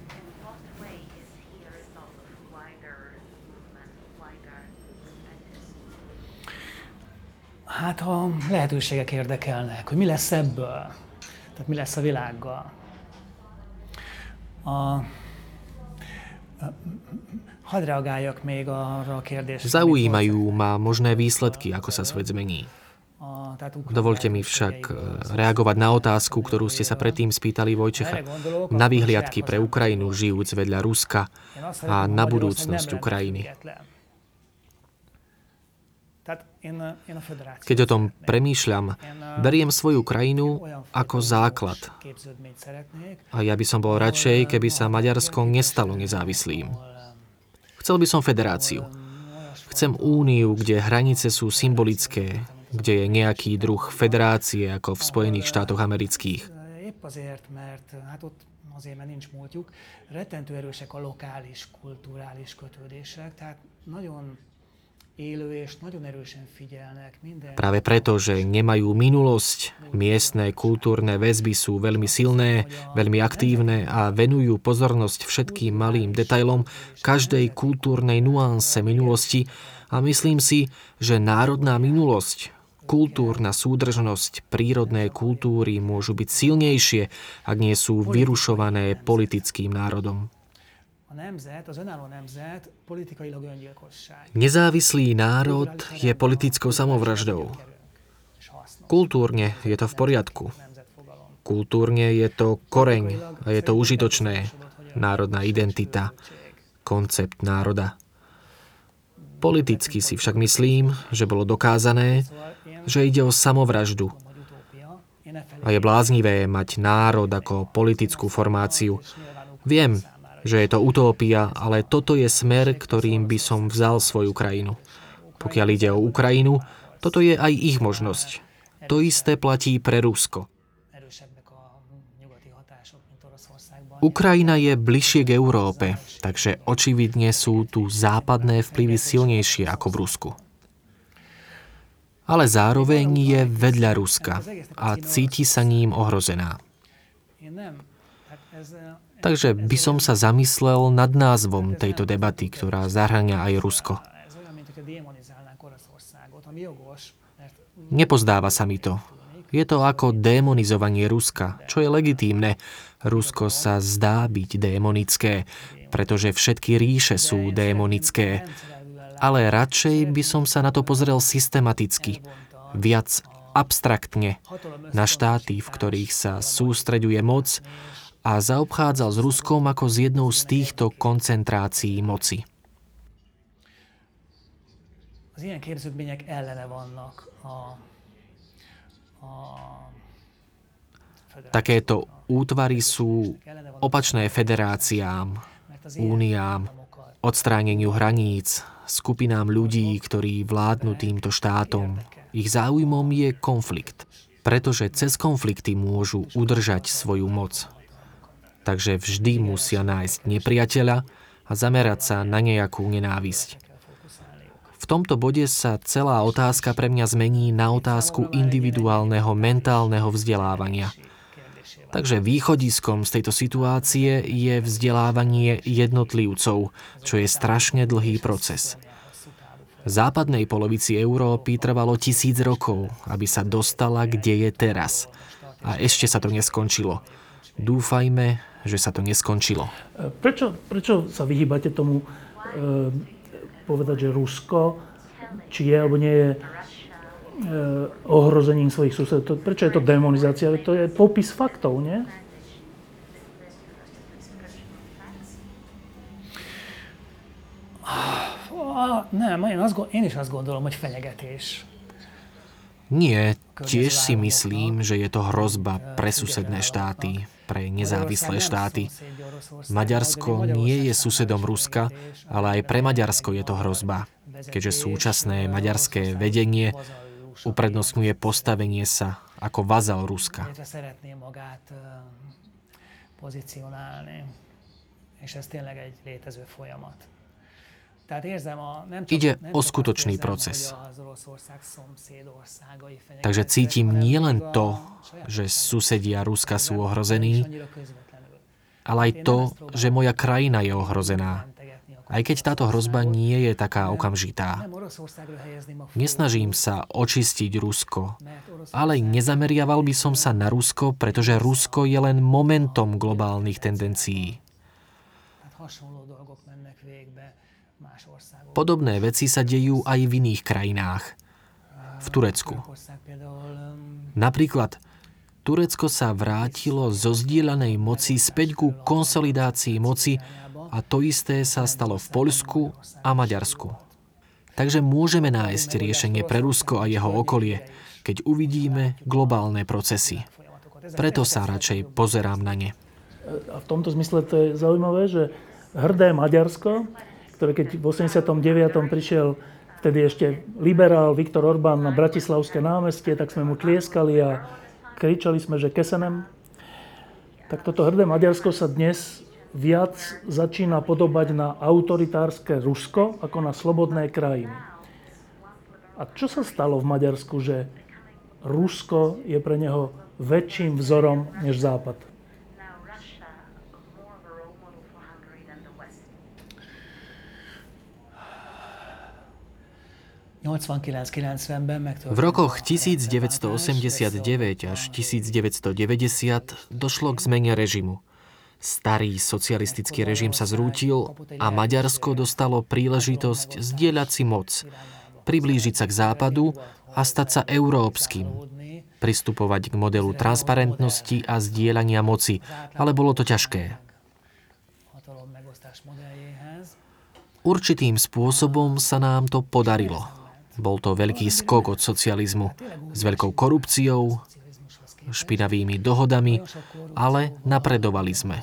S8: Hát a lehetőségek érdekelnek, hogy mi lesz ebből, tehát mi lesz a világgal. A, hadd reagáljak még arra a kérdésre.
S6: Zaujímajú ma možné výsledky, ako sa svet zmení. Dovolte mi však reagovať na otázku, ktorú ste sa predtým spýtali Vojčecha. Na výhliadky pre Ukrajinu, žijúc vedľa Ruska a na budúcnosť Ukrajiny. Keď o tom premýšľam, beriem svoju krajinu ako základ. A ja by som bol radšej, keby sa Maďarsko nestalo nezávislým. Chcel by som federáciu. Chcem úniu, kde hranice sú symbolické, kde je nejaký druh federácie, ako v Spojených štátoch amerických.
S8: Azért, mert hát ott azért, mert nincs múltjuk, rettentő erősek a lokális, kulturális kötődések, tehát nagyon élő és nagyon erősen figyelnek minden.
S6: Práve preto, že nemajú minulosť, miestne kultúrne väzby sú veľmi silné, veľmi aktívne a venujú pozornosť všetkým malým detailom každej kultúrnej nuanse minulosti a myslím si, že národná minulosť, kultúrna súdržnosť, prírodné kultúry môžu byť silnejšie, ak nie sú vyrušované politickým národom. Nezávislý národ je politickou samovraždou. Kultúrne je to v poriadku. Kultúrne je to koreň a je to užitočné. Národná identita, koncept národa. Politicky si však myslím, že bolo dokázané, že ide o samovraždu. A je bláznivé mať národ ako politickú formáciu. Viem, že je to utópia, ale toto je smer, ktorým by som vzal svoju krajinu. Pokiaľ ide o Ukrajinu, toto je aj ich možnosť. To isté platí pre Rusko. Ukrajina je bližšie k Európe, takže očividne sú tu západné vplyvy silnejšie ako v Rusku. Ale zároveň je vedľa Ruska a cíti sa ním ohrozená. Takže by som sa zamyslel nad názvom tejto debaty, ktorá zahŕňa aj Rusko. Nepozdáva sa mi to. Je to ako démonizovanie Ruska, čo je legitímne. Rusko sa zdá byť démonické, pretože všetky ríše sú démonické. Ale radšej by som sa na to pozrel systematicky, viac abstraktne, na štáty, v ktorých sa sústreďuje moc a zaobchádzal s Ruskom ako s jednou z týchto koncentrácií moci. Takéto útvary sú opačné federáciám, úniám, odstráneniu hraníc, skupinám ľudí, ktorí vládnu týmto štátom. Ich záujmom je konflikt. pretože cez konflikty môžu udržať svoju moc. Takže vždy musia nájsť nepriateľa a zamerať sa na nejakú nenávisť. V tomto bode sa celá otázka pre mňa zmení na otázku individuálneho mentálneho vzdelávania. Takže východiskom z tejto situácie je vzdelávanie jednotlivcov, čo je strašne dlhý proces. V západnej polovici Európy trvalo tisíc rokov, aby sa dostala, kde je teraz. A ešte sa to neskončilo. Dúfajme, že sa to neskončilo.
S8: Prečo, prečo sa vyhýbate tomu e, povedať, že Rusko, či je alebo nie je e, ohrozením svojich susedov? Prečo je to demonizácia? To je popis faktov, nie?
S10: Nem, én, azt, én is azt gondolom, hogy fenyegetés.
S6: Nie, tiež si myslím, že je to hrozba pre susedné štáty, pre nezávislé štáty. Maďarsko nie je susedom Ruska, ale aj pre Maďarsko je to hrozba, keďže súčasné maďarské vedenie uprednostňuje postavenie sa ako vazal Ruska. Ide o skutočný proces. Takže cítim nielen to, že susedia Ruska sú ohrození, ale aj to, že moja krajina je ohrozená. Aj keď táto hrozba nie je taká okamžitá. Nesnažím sa očistiť Rusko, ale nezameriaval by som sa na Rusko, pretože Rusko je len momentom globálnych tendencií. Podobné veci sa dejú aj v iných krajinách. V Turecku. Napríklad, Turecko sa vrátilo zo zdieľanej moci späť ku konsolidácii moci a to isté sa stalo v Poľsku a Maďarsku. Takže môžeme nájsť riešenie pre Rusko a jeho okolie, keď uvidíme globálne procesy. Preto sa radšej pozerám na ne.
S8: A v tomto zmysle to je zaujímavé, že hrdé Maďarsko, ktoré keď v osemdesiatom deviatom prišiel vtedy ešte liberál Viktor Orbán na Bratislavské námestie, tak sme mu tlieskali a kričali sme, že kesenem. Tak toto hrdé Maďarsko sa dnes viac začína podobať na autoritárske Rusko ako na slobodné krajiny. A čo sa stalo v Maďarsku, že Rusko je pre neho väčším vzorom než Západ?
S6: V rokoch devätnásťstoosemdesiatdeväť až devätnásťstodeväťdesiat došlo k zmene režimu. Starý socialistický režim sa zrútil a Maďarsko dostalo príležitosť zdieľať si moc, priblížiť sa k západu a stať sa európskym, pristupovať k modelu transparentnosti a zdieľania moci, ale bolo to ťažké. Určitým spôsobom sa nám to podarilo. Bol to veľký skok od socializmu s veľkou korupciou, špinavými dohodami, ale napredovali sme.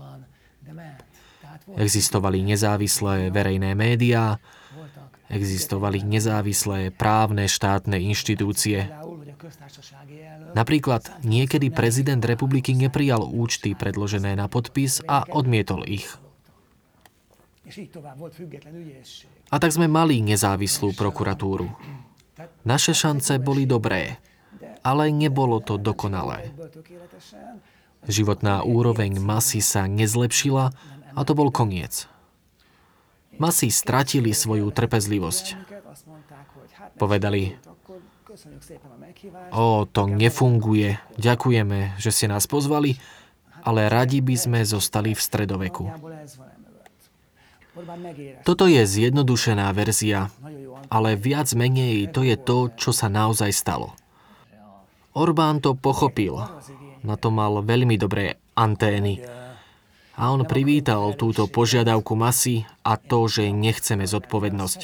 S6: Existovali nezávislé verejné médiá, existovali nezávislé právne štátne inštitúcie. Napríklad niekedy prezident republiky neprijal účty predložené na podpis a odmietol ich. A tak sme mali nezávislú prokuratúru. Naše šance boli dobré, ale nebolo to dokonalé. Životná úroveň masy sa nezlepšila a to bol koniec. Masy stratili svoju trpezlivosť. Povedali, o, to nefunguje, ďakujeme, že ste nás pozvali, ale radi by sme zostali v stredoveku. Toto je zjednodušená verzia, ale viac menej to je to, čo sa naozaj stalo. Orbán to pochopil. Na to mal veľmi dobré antény. A on privítal túto požiadavku masy a to, že nechceme zodpovednosť.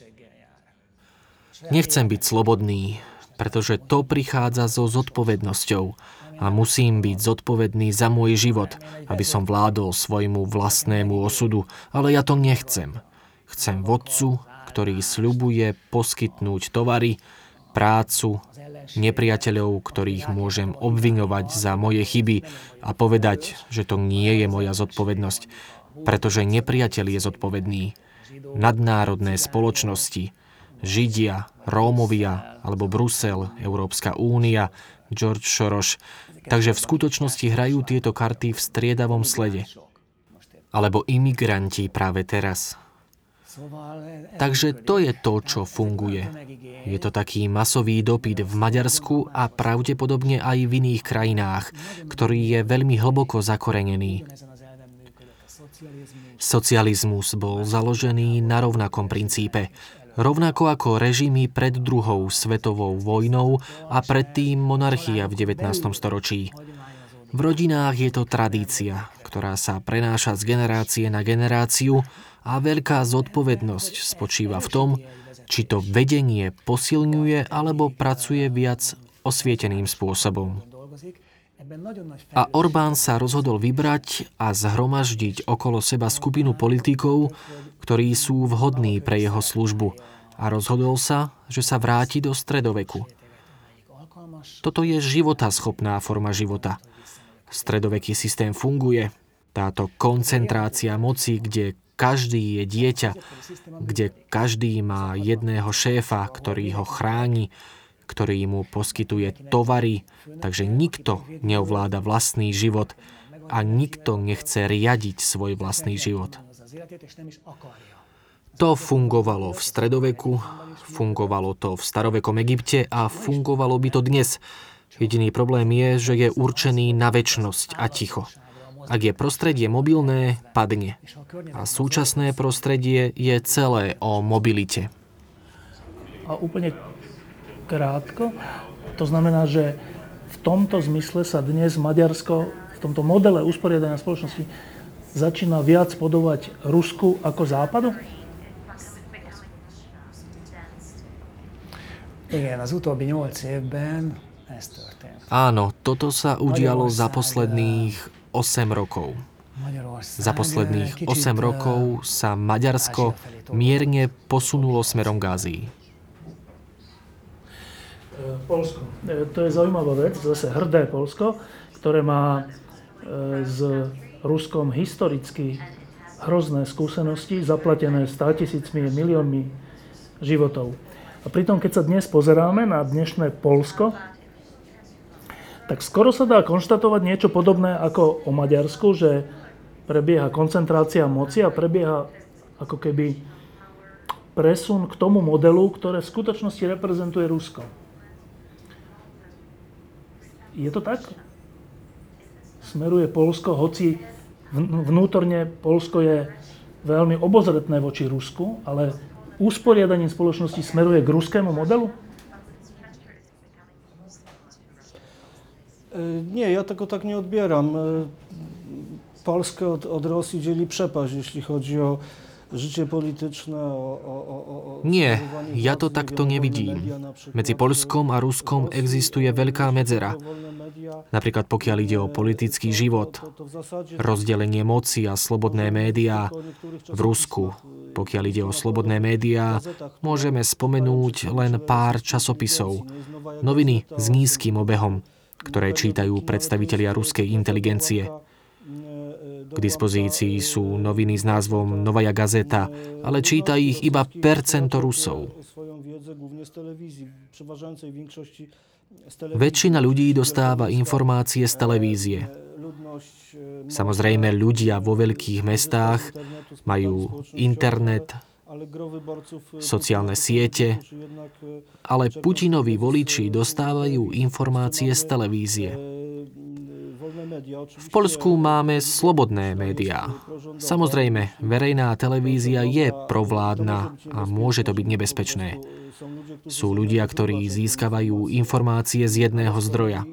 S6: Nechcem byť slobodný, pretože to prichádza so zodpovednosťou. A musím byť zodpovedný za môj život, aby som vládol svojmu vlastnému osudu. Ale ja to nechcem. Chcem vodcu, ktorý sľubuje poskytnúť tovary, prácu, nepriateľov, ktorých môžem obviňovať za moje chyby a povedať, že to nie je moja zodpovednosť, pretože nepriateľ je zodpovedný. Nadnárodné spoločnosti, Židia, Rómovia alebo Brusel, Európska únia, George Soros. Takže v skutočnosti hrajú tieto karty v striedavom slede. Alebo imigranti práve teraz. Takže to je to, čo funguje. Je to taký masový dopyt v Maďarsku a pravdepodobne aj v iných krajinách, ktorý je veľmi hlboko zakorenený. Socializmus bol založený na rovnakom princípe. Rovnako ako režimy pred druhou svetovou vojnou a predtým monarchia v devätnástom storočí. V rodinách je to tradícia, ktorá sa prenáša z generácie na generáciu a veľká zodpovednosť spočíva v tom, či to vedenie posilňuje alebo pracuje viac osvieteným spôsobom. A Orbán sa rozhodol vybrať a zhromaždiť okolo seba skupinu politikov, ktorí sú vhodní pre jeho službu, a rozhodol sa, že sa vráti do stredoveku. Toto je životaschopná forma života. Stredoveký systém funguje. Táto koncentrácia moci, kde každý je dieťa, kde každý má jedného šéfa, ktorý ho chráni, ktorý mu poskytuje tovary, takže nikto neovláda vlastný život a nikto nechce riadiť svoj vlastný život. To fungovalo v stredoveku, fungovalo to v starovekom Egypte a fungovalo by to dnes. Jediný problém je, že je určený na večnosť a ticho. Ak je prostredie mobilné, padne. A súčasné prostredie je celé o mobilite.
S8: A úplne krátko, to znamená, že v tomto zmysle sa dnes Maďarsko v tomto modele usporiadania spoločnosti začína viac podobať Rusku ako Západu?
S10: Igen, az utóbbi nyolc évben ez történt.
S6: Áno, toto sa udialo za posledných osem rokov. Za posledných osem rokov sa Maďarsko mierne posunulo smerom k Ázii.
S8: Poľsko. To je zaujímavá vec, zase hrdé Poľsko, ktoré má s Ruskom historicky hrozné skúsenosti, zaplatené státisícmi, miliónmi životov. A pritom, keď sa dnes pozeráme na dnešné Poľsko, tak skoro sa dá konštatovať niečo podobné ako o Maďarsku, že prebieha koncentrácia moci a prebieha ako keby presun k tomu modelu, ktoré v skutočnosti reprezentuje Rusko. Je to tak? Smeruje Poľsko, hoci vnútorne Poľsko je veľmi obozretné voči Rusku, ale usporiadaním spoločnosti smeruje k ruskému modelu?
S9: Nie, ja tego tak nie odbieram. Polskę od, od Rosji dzieli przepaść, jeśli chodzi o życie polityczne, o, o, o, o...
S6: Nie, ja to takto nevidím. Medzi Poľskom a Ruskom existuje veľká medzera. Napríklad pokiaľ ide o politický život, rozdelenie moci a slobodné médiá v Rusku. Pokiaľ ide o slobodné médiá, môžeme spomenúť len pár časopisov, noviny s nízkym obehom, ktoré čítajú predstavitelia ruskej inteligencie. K dispozícii sú noviny s názvom Novaja gazeta, ale číta ich iba percento Rusov. Väčšina ľudí dostáva informácie z televízie. Samozrejme, ľudia vo veľkých mestách majú internet, sociálne siete, ale Putinovi voliči dostávajú informácie z televízie. V Poľsku máme slobodné médiá. Samozrejme, verejná televízia je provládna a môže to byť nebezpečné. Sú ľudia, ktorí získavajú informácie z jedného zdroja.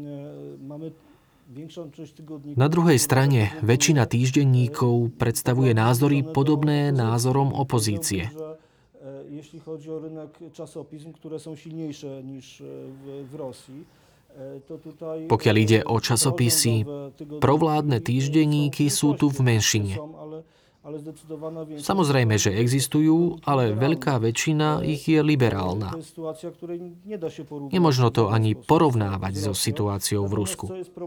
S6: Na druhej strane, väčšina týždenníkov predstavuje názory podobné názorom opozície.
S9: Jeśli chodzi o rynek czasopism, które są silniejsze niż w Rosji, to tutaj...
S6: Pokiaľ ide o časopisy, provládne týždenníky sú tu v menšine. Samozrejme, že existujú, ale veľká väčšina ich je liberálna. Nemožno to ani porovnávať so situáciou v Rusku.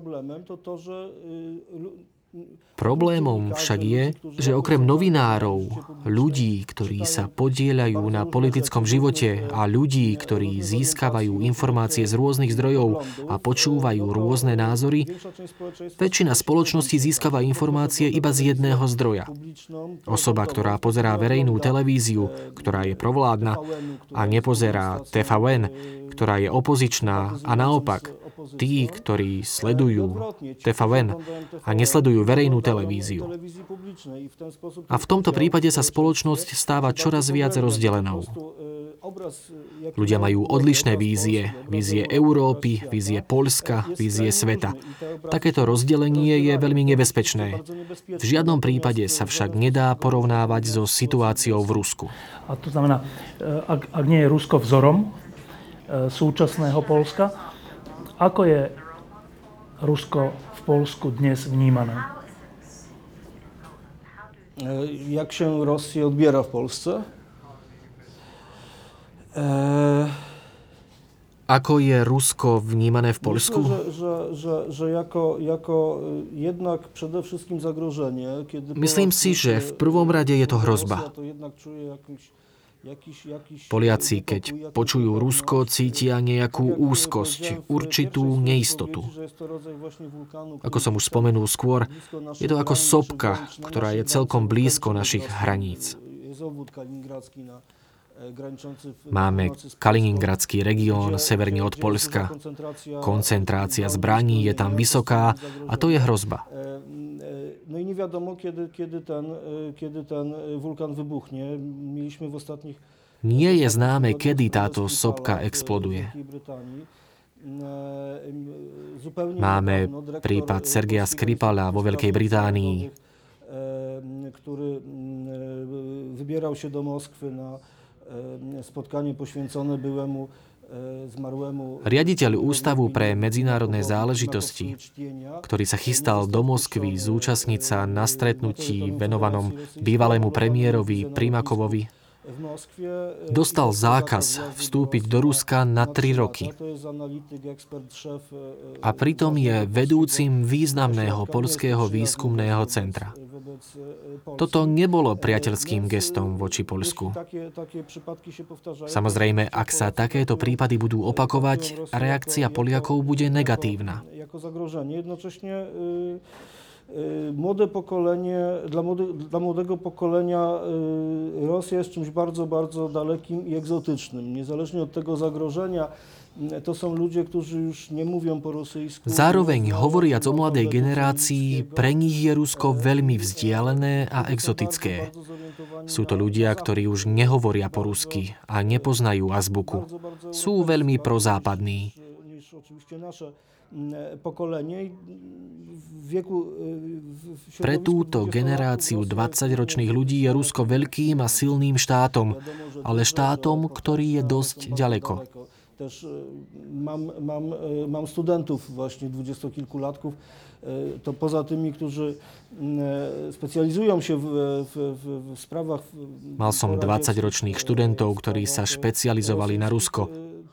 S6: Problémom však je, že okrem novinárov, ľudí, ktorí sa podieľajú na politickom živote a ľudí, ktorí získavajú informácie z rôznych zdrojov a počúvajú rôzne názory, väčšina spoločnosti získava informácie iba z jedného zdroja. Osoba, ktorá pozerá verejnú televíziu, ktorá je provládna, a nepozerá té vé en, ktorá je opozičná, a naopak, tí, ktorí sledujú té vé en a nesledujú verejnú televíziu. A v tomto prípade sa spoločnosť stáva čoraz viac rozdelenou. Ľudia majú odlišné vízie. Vízie Európy, vízie Poľska, vízie sveta. Takéto rozdelenie je veľmi nebezpečné. V žiadnom prípade sa však nedá porovnávať so situáciou v Rusku.
S8: A to znamená, ak, ak nie je Rusko vzorom súčasného Poľska, ako je Rusko v Polsku dnes vnímané?
S9: Jak się Rosję odbiera w Polsce?
S6: Eee... Ako je Rusko vnímané v Poľsku?
S9: Myślę, że, że, że jako, jako jednak przede wszystkim zagrożenie. Kiedy
S6: Myslím si, že v prvom rade je to hrozba. Poliaci, keď počujú Rusko, cítia nejakú úzkosť, určitú neistotu. Ako som už spomenul skôr, je to ako sopka, ktorá je celkom blízko našich hraníc. Máme Kaliningradský región severne od Poľska. Koncentrácia zbraní je tam vysoká a to je hrozba.
S9: No i nie wiadomo, kiedy, kiedy, ten, kiedy ten wulkan wybuchnie. Mieliśmy w ostatnich...
S6: Nie je známe, kedy táto sopka exploduje. Máme prípad Sergeja Skripala vo Veľkej Británii,
S9: ktorý vybieral się do Moskvy na spotkanie poświęcone byłemu
S6: Riaditeľ Ústavu pre medzinárodné záležitosti, ktorý sa chystal do Moskvy zúčastniť sa na stretnutí venovanom bývalému premiérovi Primakovovi, dostal zákaz vstúpiť do Ruska na tri roky. A pritom je vedúcim významného poľského výskumného centra. Toto nebolo priateľským gestom voči Poľsku. Samozrejme, ak sa takéto prípady budú opakovať, reakcia Poliakov bude negatívna.
S9: Młode pokolenie, dla, młode, dla młodego pokolenia Rosja jest czymś bardzo, bardzo dalekim i egzotycznym. Niezależnie od tego zagrożenia, to są ludzie, którzy już nie mówią po rosyjsku.
S6: Zároveň hovoriac o mladej generácii, pre nich je Rusko veľmi vzdialené a exotické. Sú to ľudia, ktorí už nehovoria po rusky a nepoznajú azbuku. Sú veľmi prozápadní. Pre túto generáciu dvadsaťročných ľudí je Rusko veľkým a silným štátom, ale štátom, ktorý je dosť ďaleko.
S9: Też mam, mam, mam studentów właśnie dwudziestokilkulatków, to poza tymi, którzy specjalizują się w, w, w sprawach...
S6: Mal som dvadsaťročných študentov, ktorí sa špecializovali na Rusko.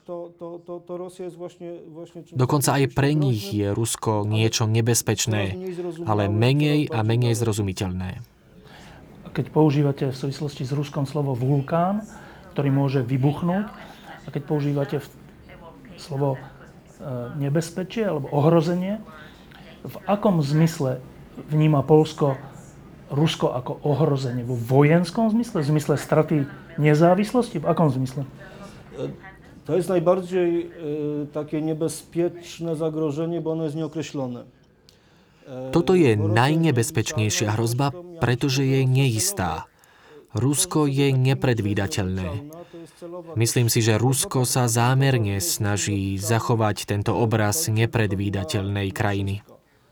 S6: Dokonca aj pre nich je Rusko niečo nebezpečné, ale menej a menej zrozumiteľné.
S8: Keď používate v súvislosti s Ruskom slovo vulkán, ktorý môže vybuchnúť, a keď používate slovo nebezpečie alebo ohrozenie, v akom zmysle vníma Poľsko Rusko ako ohrozenie? Vo vojenskom zmysle? V zmysle straty nezávislosti? V akom zmysle?
S9: To jest najbardziej e, takie niebezpieczne zagrożenie, bo ono jest nieokreślone. E,
S6: Toto je najnebezpečnejšia hrozba, pretože je neistá. Rusko je nepredvídateľné. Myslím si, že Rusko sa zámerne snaží zachovať tento obraz nepredvídateľnej krajiny.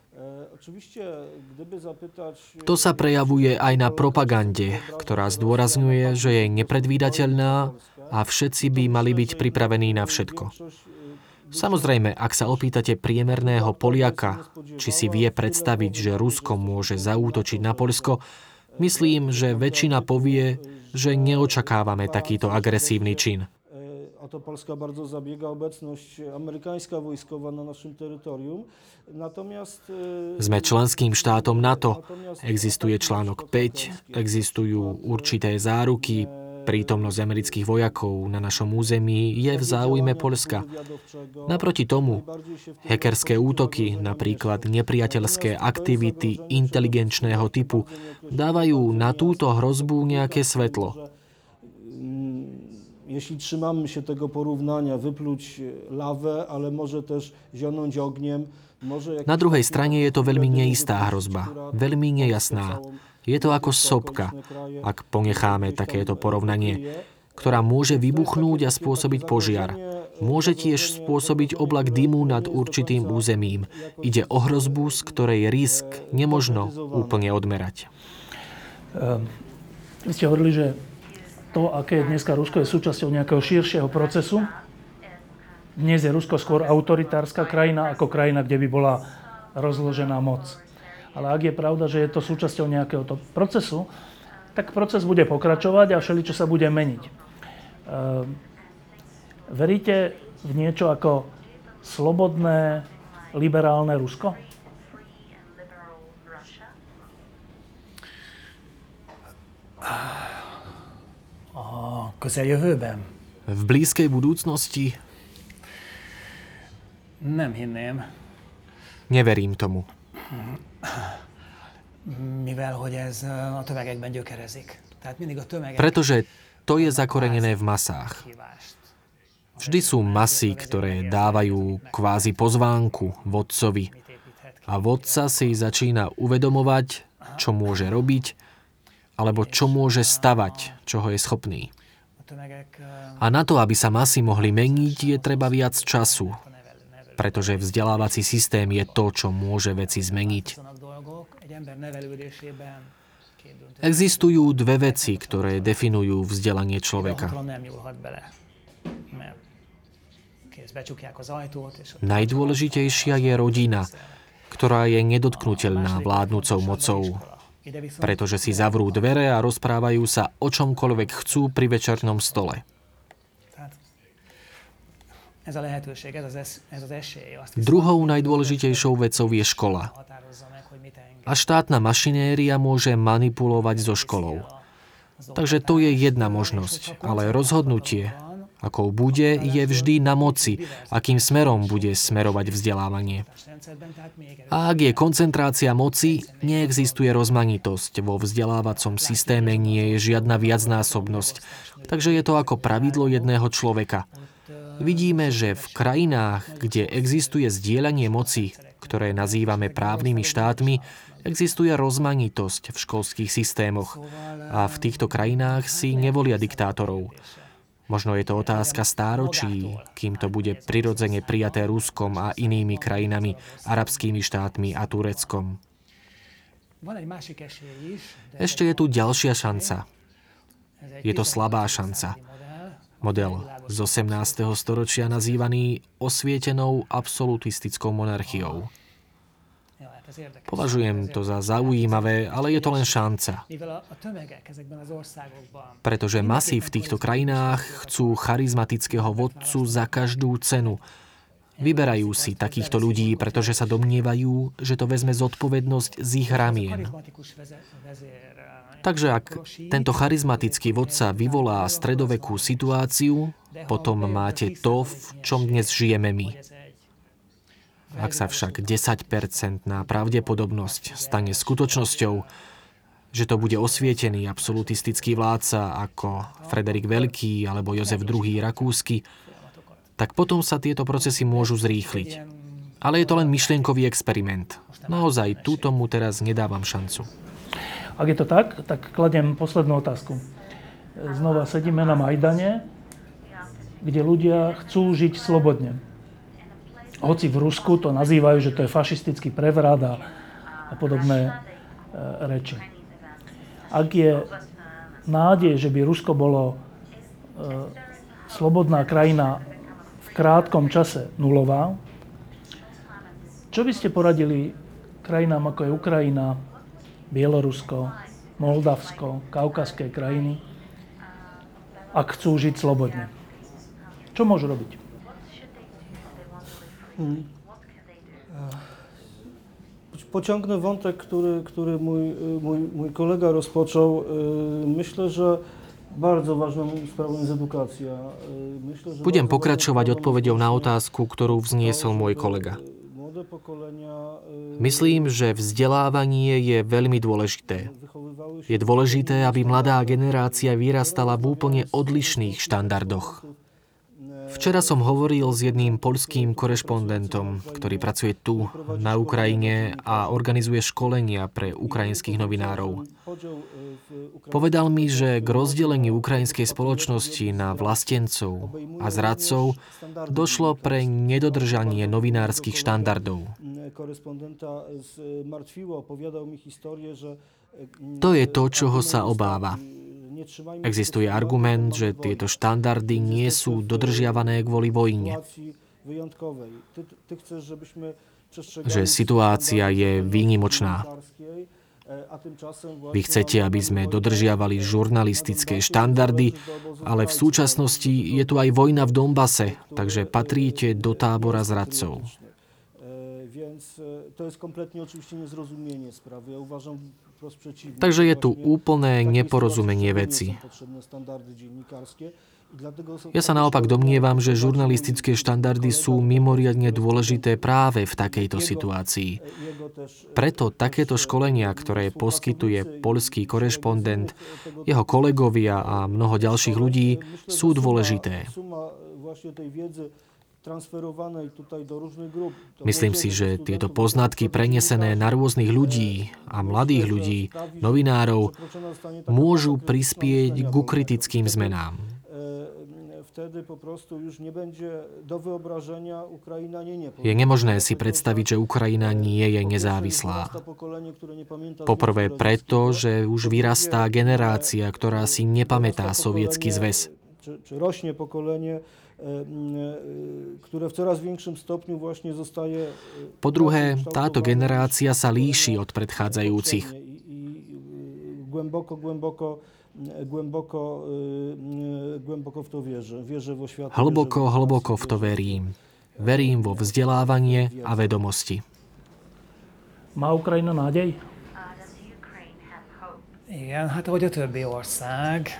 S6: To sa prejavuje aj na propagande, ktorá zdôrazňuje, že je nepredvídateľná a všetci by mali byť pripravení na všetko. Samozrejme, ak sa opýtate priemerného Poliaka, či si vie predstaviť, že Rusko môže zaútočiť na Poľsko, Myslím, že väčšina povie, že neočakávame takýto agresívny čin.
S9: O to Polska bardzo zabiega, obecność amerykańska wojskowa na naszym terytorium. Natomiast
S6: Sme členským štátom NATO. Existuje článok päť, existujú určité záruky. Prítomnosť amerických vojakov na našom území je v záujme Poľska. Naproti tomu, hackerské útoky, napríklad nepriateľské aktivity inteligenčného typu, dávajú na túto hrozbu nejaké svetlo.
S9: Jeśli trzymamy się tego porównania, wypluć lawę, ale może też zionąć ogniem.
S6: Na druhej strane je to veľmi neistá hrozba, veľmi nejasná. Je to ako sopka, ak ponecháme takéto porovnanie, ktorá môže vybuchnúť a spôsobiť požiar. Môže tiež spôsobiť oblak dymu nad určitým územím. Ide o hrozbu, z ktorej risk nemožno úplne odmerať.
S8: Vy ste hovorili, že to, aké je dneska Rusko, je súčasťou nejakého širšieho procesu. Dnes je Rusko skôr autoritárska krajina ako krajina, kde by bola rozložená moc. Ale ak je pravda, že je to súčasťou nejakého to procesu, tak proces bude pokračovať a všeličo sa bude meniť. E, veríte v niečo ako slobodné, liberálne Rusko?
S10: A közeljövőben?
S6: V blízkej budúcnosti?
S10: Nem hinném.
S6: Neverím tomu.
S10: Mivel, hogy ez a tömegekben gyökerezik. Tehát mindig a tömegek...
S6: Pretože to je zakorenené v masách. Vždy sú masy, ktoré dávajú kvázi pozvánku vodcovi. A vodca si začína uvedomovať, čo môže robiť, alebo čo môže stavať, čoho je schopný. A na to, aby sa masy mohli meniť, je treba viac času, pretože vzdelávací systém je to, čo môže veci zmeniť. Existujú dve veci, ktoré definujú vzdelanie človeka. Najdôležitejšia je rodina, ktorá je nedotknuteľná vládnucou mocou, pretože si zavrú dvere a rozprávajú sa o čomkoľvek chcú pri večernom stole. Druhou najdôležitejšou vecou je škola. A štátna mašinéria môže manipulovať so školou. Takže to je jedna možnosť, ale rozhodnutie, akou bude, je vždy na moci, akým smerom bude smerovať vzdelávanie. A ak je koncentrácia moci, neexistuje rozmanitosť. Vo vzdelávacom systéme nie je žiadna viacnásobnosť. Takže je to ako pravidlo jedného človeka. Vidíme, že v krajinách, kde existuje zdieľanie moci, ktoré nazývame právnymi štátmi, existuje rozmanitosť v školských systémoch. A v týchto krajinách si nevolia diktátorov. Možno je to otázka stáročí, kým to bude prirodzene prijaté Ruskom a inými krajinami, arabskými štátmi a Tureckom. Ešte je tu ďalšia šanca. Je to slabá šanca. Model z osemnásteho storočia nazývaný osvietenou absolutistickou monarchiou. Považujem to za zaujímavé, ale je to len šanca. Pretože masy v týchto krajinách chcú charizmatického vodcu za každú cenu. Vyberajú si takýchto ľudí, pretože sa domnievajú, že to vezme zodpovednosť z ich ramien. Takže ak tento charizmatický vodca vyvolá stredovekú situáciu, potom máte to, v čom dnes žijeme my. Ak sa však desaťpercentná pravdepodobnosť stane skutočnosťou, že to bude osvietený absolutistický vládca ako Frederik Veľký alebo Jozef druhý. Rakúsky, tak potom sa tieto procesy môžu zrýchliť. Ale je to len myšlienkový experiment. Naozaj, tu tomu teraz nedávam šancu.
S8: Ak je to tak, tak kladiem poslednú otázku. Znova sedíme na Majdane, kde ľudia chcú žiť slobodne. Hoci v Rusku to nazývajú, že to je fašistický prevrat a, a podobné e, reči. Ak je nádej, že by Rusko bolo e, slobodná krajina v krátkom čase nulová, čo by ste poradili krajinám ako je Ukrajina, Bielorusko, Moldavsko, kaukazské krajiny, ak chcú žiť slobodne? Čo môžu robiť?
S9: Hmm. Pociągnę wątek, który, który mój, mój, mój kolega rozpoczął. Myślę, że bardzo ważną sprawą jest edukacja. Myślę, że
S6: Budem pokračovať odpoveďou na otázku, ktorú vzniesol môj kolega. Myslím, že vzdelávanie je veľmi dôležité. Je dôležité, aby mladá generácia vyrastala v úplne odlišných štandardoch. Včera som hovoril s jedným poľským korešpondentom, ktorý pracuje tu, na Ukrajine a organizuje školenia pre ukrajinských novinárov. Povedal mi, že k rozdeleniu ukrajinskej spoločnosti na vlastencov a zradcov došlo pre nedodržanie novinárskych štandardov. To je to, čoho sa obáva. Existuje argument, že tieto štandardy nie sú dodržiavané kvôli vojne. Že situácia je výnimočná. Vy chcete, aby sme dodržiavali žurnalistické štandardy, ale v súčasnosti je tu aj vojna v Donbase, takže patríte do tábora zradcov. Takže je tu úplné neporozumenie veci. Ja sa naopak domnievam, že žurnalistické štandardy sú mimoriadne dôležité práve v takejto situácii. Preto takéto školenia, ktoré poskytuje poľský korešpondent, jeho kolegovia a mnoho ďalších ľudí, sú dôležité. Myslím si, že tieto poznatky prenesené na rôznych ľudí a mladých ľudí, novinárov, môžu prispieť ku kritickým zmenám. Je nemožné si predstaviť, že Ukrajina nie je nezávislá. Poprvé preto, že už vyrastá generácia, ktorá si nepamätá Sovietsky zväz.
S9: Rośnie pokolenie, ktoré v coraz większym stopniu właśnie zostaje...
S6: Po druhé, táto generácia sa líši od predchádzajúcich.
S9: Głęboko, głęboko, głęboko, głęboko v to wierzę. Wierzę vo świat.
S6: Hlboko, hlboko v to verím. Verím vo vzdelávanie a vedomosti.
S8: Má Ukrajina nádej?
S10: Igen, hát ahogy a többi ország.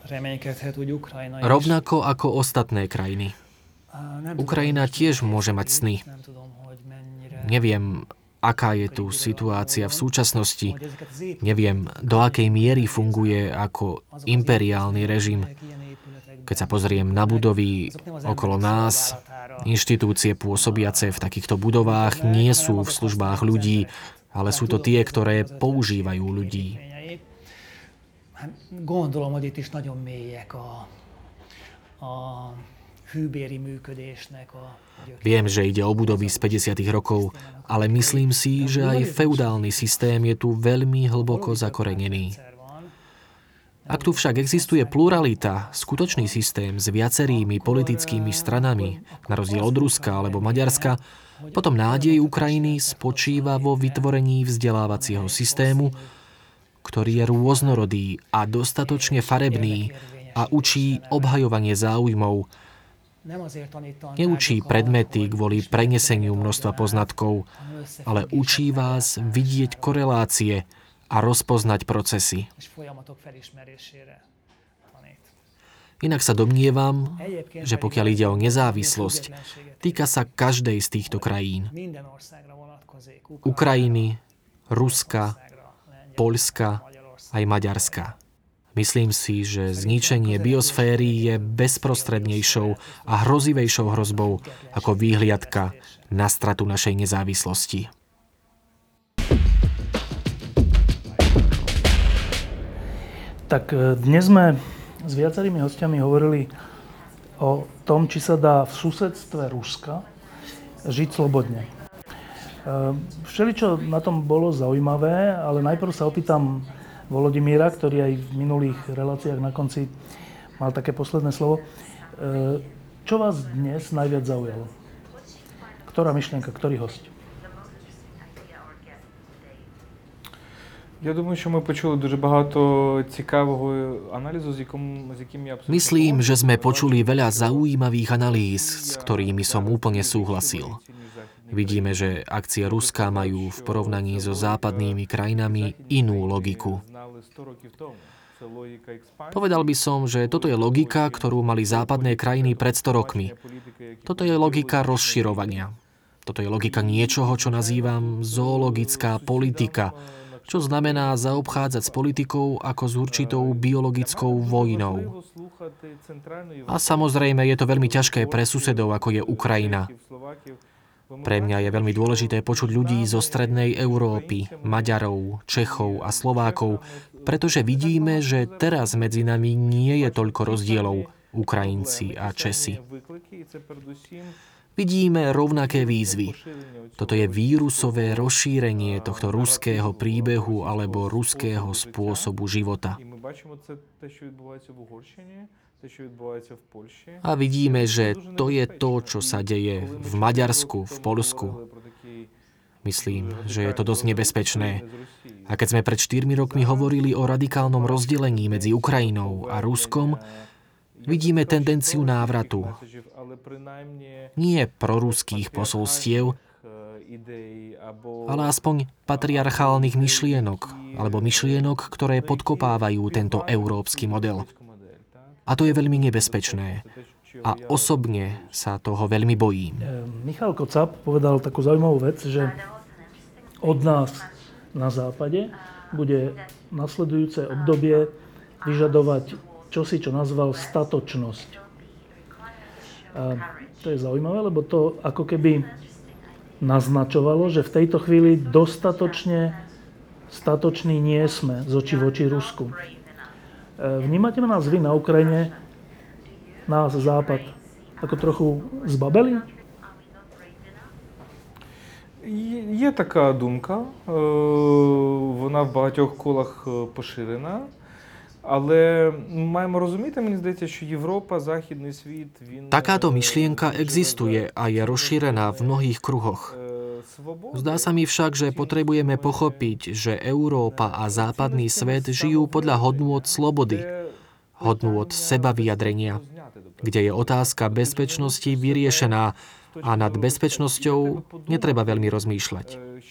S6: Rovnako ako ostatné krajiny. Ukrajina tiež môže mať sny. Neviem, aká je tu situácia v súčasnosti. Neviem, do akej miery funguje ako imperiálny režim. Keď sa pozriem na budovy okolo nás, inštitúcie pôsobiace v takýchto budovách nie sú v službách ľudí, ale sú to tie, ktoré používajú ľudí.
S10: Gondolom, hogy itt is nagyon mélyek a, a hűbéri működésnek a...
S6: Viem, že ide o budovy z päťdesiatych rokov, ale myslím si, že aj feudálny systém je tu veľmi hlboko zakorenený. Ak tu však existuje pluralita, skutočný systém s viacerými politickými stranami, na rozdiel od Ruska alebo Maďarska, potom nádej Ukrajiny spočíva vo vytvorení vzdelávacieho systému, ktorý je rôznorodý a dostatočne farebný a učí obhajovanie záujmov. Neučí predmety kvôli preneseniu množstva poznatkov, ale učí vás vidieť korelácie a rozpoznať procesy. Inak sa domnievam, že pokiaľ ide o nezávislosť, týka sa každej z týchto krajín. Ukrajiny, Ruska, Poľska aj Maďarska. Myslím si, že zničenie biosféry je bezprostrednejšou a hrozivejšou hrozbou ako výhliadka na stratu našej nezávislosti.
S8: Tak dnes sme s viacerými hostiami hovorili o tom, či sa dá v susedstve Ruska žiť slobodne. Všeličo na tom bolo zaujímavé, ale najprv sa opýtam Volodymyra, ktorý aj v minulých reláciách na konci mal také posledné slovo. Čo vás dnes najviac zaujalo? Ktorá myšlienka, ktorý hosť?
S11: Я думаю, що ми почули дуже багато цікавого аналізу, з яким, з яким я абсолютно...
S6: Myslím, že sme počuli veľa zaujímavých analýz, s ktorými som úplne súhlasil. Vidíme, že akcie Ruska majú v porovnaní so západnými krajinami inú logiku. Povedal by som, že toto je logika, ktorú mali západné krajiny pred sto rokmi. Toto je logika rozširovania. Toto je logika niečoho, čo nazývam zoologická politika, čo znamená zaobchádzať s politikou ako s určitou biologickou vojnou. A samozrejme je to veľmi ťažké pre susedov, ako je Ukrajina. Pre mňa je veľmi dôležité počuť ľudí zo strednej Európy, Maďarov, Čechov a Slovákov, pretože vidíme, že teraz medzi nami nie je toľko rozdielov, Ukrajinci a Česi. Vidíme rovnaké výzvy. Toto je vírusové rozšírenie tohto ruského príbehu alebo ruského spôsobu života. A vidíme, že to je to, čo sa deje v Maďarsku, v Poľsku. Myslím, že je to dosť nebezpečné. A keď sme pred štyrmi rokmi hovorili o radikálnom rozdelení medzi Ukrajinou a Ruskom, vidíme tendenciu návratu. Nie proruských posolstiev, ale aspoň patriarchálnych myšlienok, alebo myšlienok, ktoré podkopávajú tento európsky model. A to je veľmi nebezpečné. A osobne sa toho veľmi bojím.
S8: Michal Kocab povedal takú zaujímavú vec, že od nás na západe bude nasledujúce obdobie vyžadovať čosi, čo nazval statočnosť. A to je zaujímavé, lebo to ako keby naznačovalo, že v tejto chvíli dostatočne statoční nie sme z očí v oči Rusku. Vnímate nás vy na Ukrajine, nás Západ, ako trochu zbabeli?
S11: Є така думка, вона в багатьох колах поширена. Ale маємо розуміти, mені здається, що Європа, західний світ, він...
S6: Takáto myšlienka existuje a je rozšírená v mnohých kruhoch. Zdá sa mi však, že potrebujeme pochopiť, že Európa a západný svet žijú podľa hodnôt slobody, hodnôt sebavyjadrenia, kde je otázka bezpečnosti vyriešená a nad bezpečnosťou netreba veľmi rozmýšľať.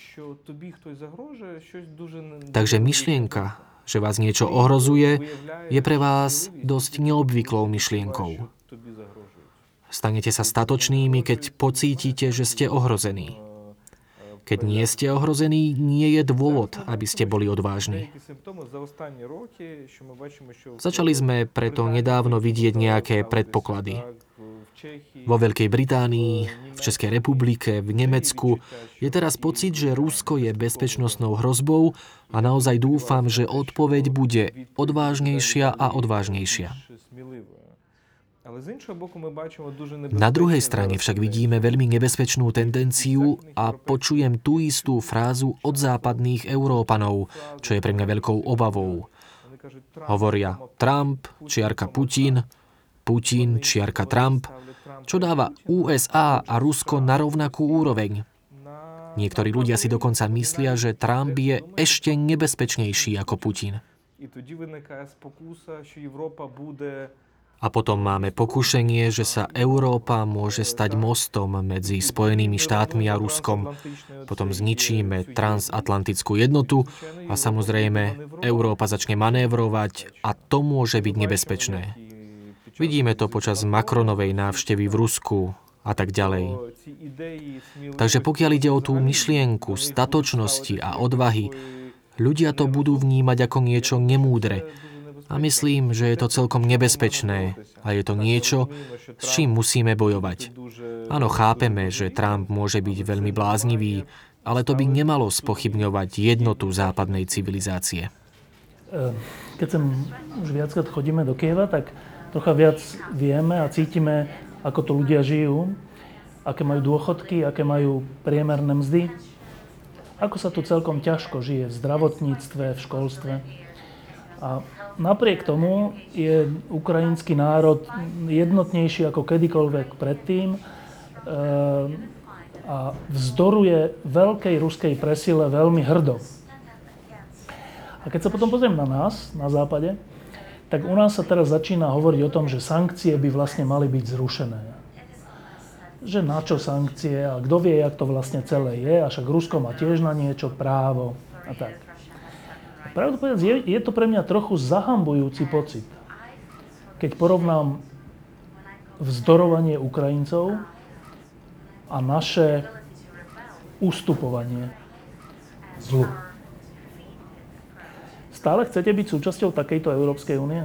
S6: Takže myšlienka, že vás niečo ohrozuje, je pre vás dosť neobvyklou myšlienkou. Stanete sa statočnými, keď pocítite, že ste ohrození. Keď nie ste ohrození, nie je dôvod, aby ste boli odvážni. Začali sme preto nedávno vidieť nejaké predpoklady. Vo Veľkej Británii, v Českej republike, v Nemecku je teraz pocit, že Rusko je bezpečnostnou hrozbou a naozaj dúfam, že odpoveď bude odvážnejšia a odvážnejšia. Na druhej strane však vidíme veľmi nebezpečnú tendenciu a počujem tú istú frázu od západných Európanov, čo je pre mňa veľkou obavou. Hovoria Trump, čiarka Putin, Putin, čiarka Trump, čo dáva ú es á a Rusko na rovnakú úroveň. Niektorí ľudia si dokonca myslia, že Trump je ešte nebezpečnejší ako Putin. A potom máme pokušenie, že sa Európa môže stať mostom medzi Spojenými štátmi a Ruskom. Potom zničíme transatlantickú jednotu a samozrejme Európa začne manévrovať a to môže byť nebezpečné. Vidíme to počas Macronovej návštevy v Rusku a tak ďalej. Takže pokiaľ ide o tú myšlienku statočnosti a odvahy, ľudia to budú vnímať ako niečo nemúdre. A myslím, že je to celkom nebezpečné a je to niečo, s čím musíme bojovať. Áno, chápeme, že Trump môže byť veľmi bláznivý, ale to by nemalo spochybňovať jednotu západnej civilizácie.
S8: Keď sem už viackrát chodíme do Kyjeva, tak trocha viac vieme a cítime, ako to ľudia žijú, aké majú dôchodky, aké majú priemerné mzdy, ako sa tu celkom ťažko žije v zdravotníctve, v školstve. A napriek tomu je ukrajinský národ jednotnejší ako kedykoľvek predtým a vzdoruje veľkej ruskej presile veľmi hrdo. A keď sa potom pozriem na nás, na západe, tak u nás sa teraz začína hovoriť o tom, že sankcie by vlastne mali byť zrušené. Že na čo sankcie a kto vie, jak to vlastne celé je, a však Rusko má tiež na niečo právo a tak. A pravdu povedať, je, je to pre mňa trochu zahambujúci pocit, keď porovnám vzdorovanie Ukrajincov a naše ustupovanie zlu. Stále chcete byť súčasťou takejto Európskej únie?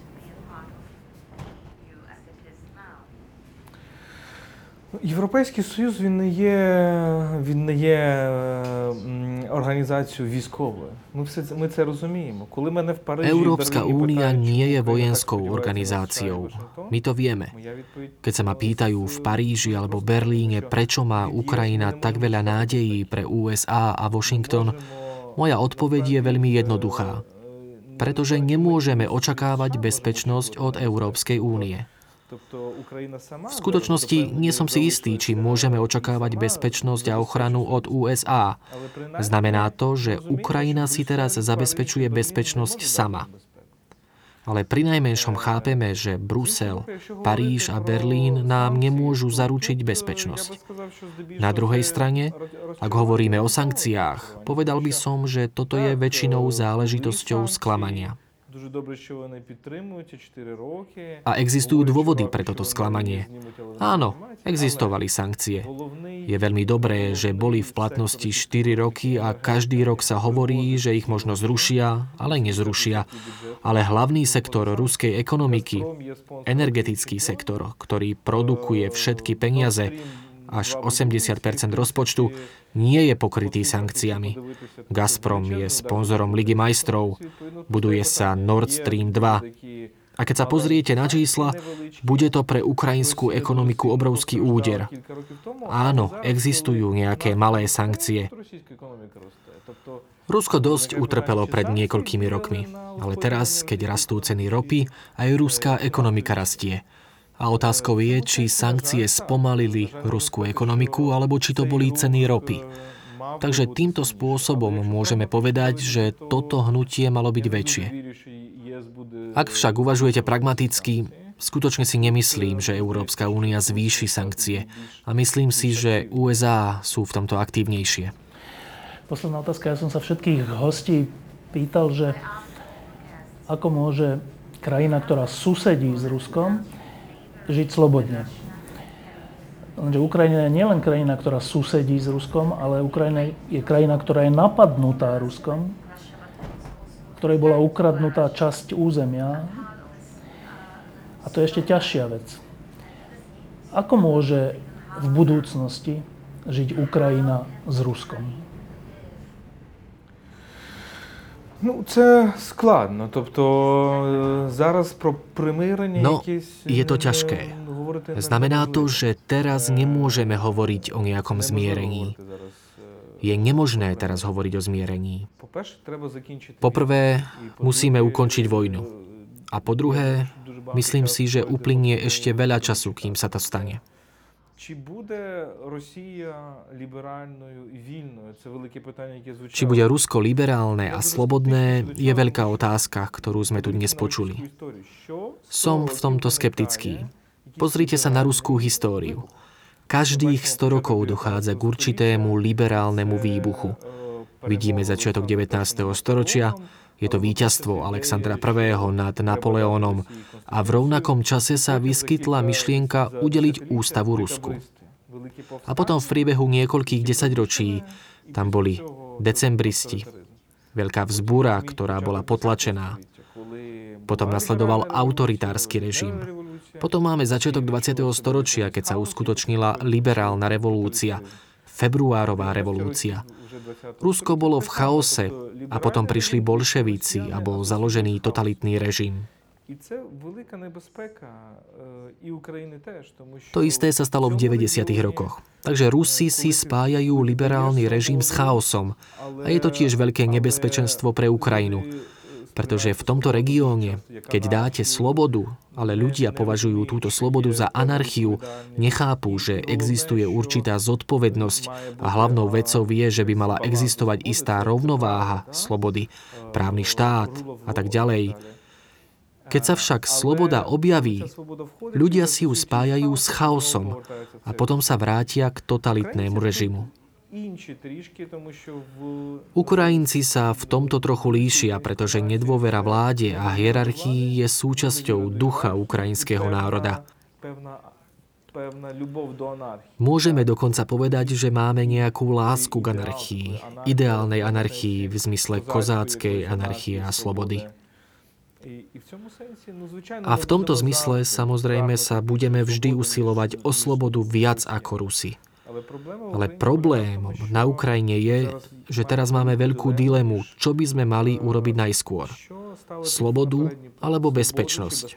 S11: Європейський Союз, він не є, він не є організацією військовою. Ми, все, ми це розуміємо. Коли мене в Парижі...
S6: Európska únia nie je vojenskou organizáciou. My to vieme. Keď sa ma pýtajú v Paríži alebo Berlíne, prečo má Ukrajina tak veľa nádejí pre ú es á a Washington, moja odpoveď je veľmi jednoduchá. Pretože nemôžeme očakávať bezpečnosť od Európskej únie. V skutočnosti nie som si istý, či môžeme očakávať bezpečnosť a ochranu od ú es á. Znamená to, že Ukrajina si teraz zabezpečuje bezpečnosť sama. Ale prinajmenšom chápeme, že Brusel, Paríž a Berlín nám nemôžu zaručiť bezpečnosť. Na druhej strane, ak hovoríme o sankciách, povedal by som, že toto je väčšinou záležitosťou sklamania. A existujú dôvody pre toto sklamanie. Áno, existovali sankcie. Je veľmi dobré, že boli v platnosti štyri roky a každý rok sa hovorí, že ich možno zrušia, ale nezrušia. Ale hlavný sektor ruskej ekonomiky, energetický sektor, ktorý produkuje všetky peniaze, až osemdesiat percent rozpočtu, nie je pokrytý sankciami. Gazprom je sponzorom Ligy majstrov, buduje sa Nord Stream dva. A keď sa pozriete na čísla, bude to pre ukrajinskú ekonomiku obrovský úder. Áno, existujú nejaké malé sankcie. Rusko dosť utrpelo pred niekoľkými rokmi, ale teraz, keď rastú ceny ropy, aj ruská ekonomika rastie. A otázkou je, či sankcie spomalili ruskú ekonomiku, alebo či to boli ceny ropy. Takže týmto spôsobom môžeme povedať, že toto hnutie malo byť väčšie. Ak však uvažujete pragmaticky, skutočne si nemyslím, že Európska únia zvýši sankcie. A myslím si, že ú es á sú v tomto aktívnejšie.
S8: Posledná otázka. Ja som sa všetkých hostí pýtal, že ako môže krajina, ktorá susedí s Ruskom, žiť slobodne. Lenže Ukrajina je nielen krajina, ktorá susedí s Ruskom, ale Ukrajina je krajina, ktorá je napadnutá Ruskom, ktorej bola ukradnutá časť územia. A to je ešte ťažšia vec. Ako môže v budúcnosti žiť Ukrajina s Ruskom?
S11: Ну, це складно. Тобто зараз про примирення
S6: no,
S11: якісь...
S6: je to ťažké. Znamená to, že teraz nemôžeme hovoriť o nejakom zmierení. Je nemožné teraz hovoriť o zmierení. Poprvé, musíme ukončiť vojnu. A po druhé, myslím si, že uplynie ešte veľa času, kým sa to stane.
S11: Чи буде Росія ліберальною і вільною? Це велике питання, яке звучало.
S6: Či bude Rusko liberálne a slobodné, je veľká otázka, ktorú sme tu dnes počuli. Som v tomto skeptický. Pozrite sa na ruskú históriu. Každých sto rokov dochádza k určitému liberálnemu výbuchu. Vidíme začiatok devätnásteho storočia, je to víťazstvo Alexandra prvého. nad Napoleónom a v rovnakom čase sa vyskytla myšlienka udeliť ústavu Rusku. A potom v priebehu niekoľkých desaťročí tam boli decembristi, veľká vzbúra, ktorá bola potlačená. Potom nasledoval autoritársky režim. Potom máme začiatok dvadsiateho storočia, keď sa uskutočnila liberálna revolúcia, februárová revolúcia. Rusko bolo v chaose a potom prišli bolševíci a bol založený totalitný režim. To isté sa stalo v deväťdesiatych rokoch. Takže Rusi si spájajú liberálny režim s chaosom a je to tiež veľké nebezpečenstvo pre Ukrajinu. Pretože v tomto regióne, keď dáte slobodu, ale ľudia považujú túto slobodu za anarchiu, nechápu, že existuje určitá zodpovednosť a hlavnou vecou je, že by mala existovať istá rovnováha slobody, právny štát a tak ďalej. Keď sa však sloboda objaví, ľudia si ju spájajú s chaosom a potom sa vrátia k totalitnému režimu. Ukrajinci sa v tomto trochu líšia, pretože nedôvera vláde a hierarchii je súčasťou ducha ukrajinského národa. Môžeme dokonca povedať, že máme nejakú lásku k anarchii, ideálnej anarchii v zmysle kozáckej anarchie a slobody. A v tomto zmysle samozrejme sa budeme vždy usilovať o slobodu viac ako Rusi. Ale problémom na Ukrajine je, že teraz máme veľkú dilemu, čo by sme mali urobiť najskôr. Slobodu alebo bezpečnosť.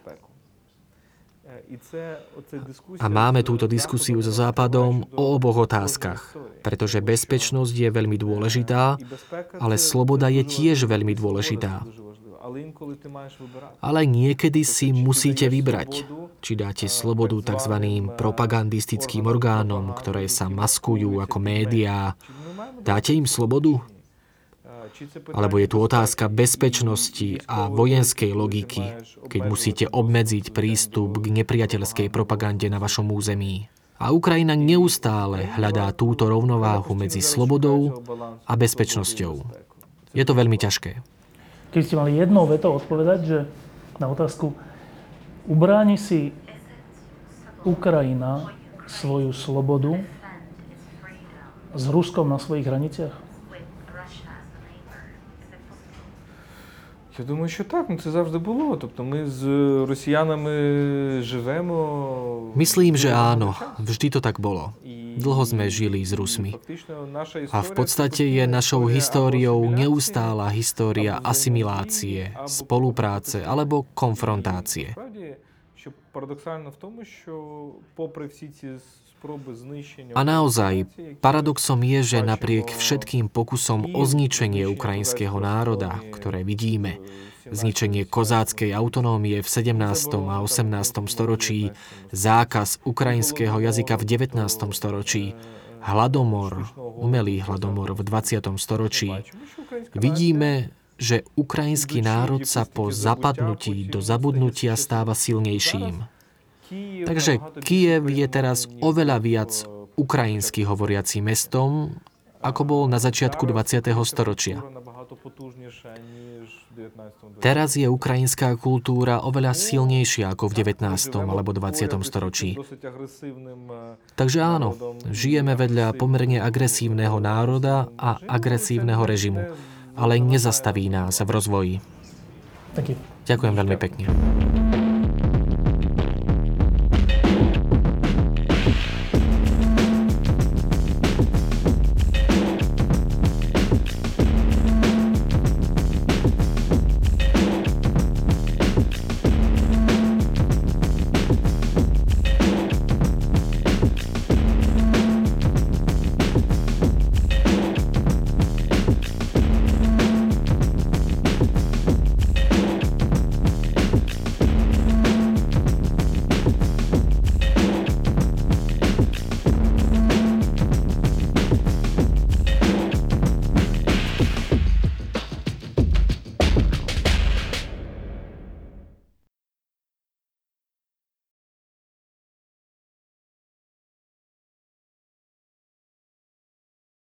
S6: A máme túto diskusiu so Západom o oboch otázkach, pretože bezpečnosť je veľmi dôležitá, ale sloboda je tiež veľmi dôležitá. Ale niekedy si musíte vybrať, či dáte slobodu tzv. Propagandistickým orgánom, ktoré sa maskujú ako médiá. Dáte im slobodu? Alebo je tu otázka bezpečnosti a vojenskej logiky, keď musíte obmedziť prístup k nepriateľskej propagande na vašom území. A Ukrajina neustále hľadá túto rovnováhu medzi slobodou a bezpečnosťou. Je to veľmi ťažké.
S8: Keby ste mali jednou vetou odpovedať, že na otázku, ubráni si Ukrajina svoju slobodu s Ruskom na svojich hraniciach?
S11: Я думаю, що так, ну це завжди було. Тобто ми з росіянами живемо.
S6: Myslím, že áno, vždy to tak bolo. Dlho sme žili s Rusmi. A v podstate je našou históriou neustála história asimilácie, spolupráce alebo konfrontácie. A naozaj, paradoxom je, že napriek všetkým pokusom o zničenie ukrajinského národa, ktoré vidíme, zničenie kozáckej autonómie v sedemnástom a osemnástom storočí, zákaz ukrajinského jazyka v devätnástom storočí, hladomor, umelý hladomor v dvadsiatom storočí, vidíme, že ukrajinský národ sa po zapadnutí do zabudnutia stáva silnejším. Takže Kyjev je teraz oveľa viac ukrajinsky hovoriacím mestom, ako bol na začiatku dvadsiateho storočia. Teraz je ukrajinská kultúra oveľa silnejšia ako v devätnástom alebo dvadsiatom storočí. Takže áno, žijeme vedľa pomerne agresívneho národa a agresívneho režimu, ale nezastaví nás v rozvoji. Ďakujem veľmi pekne.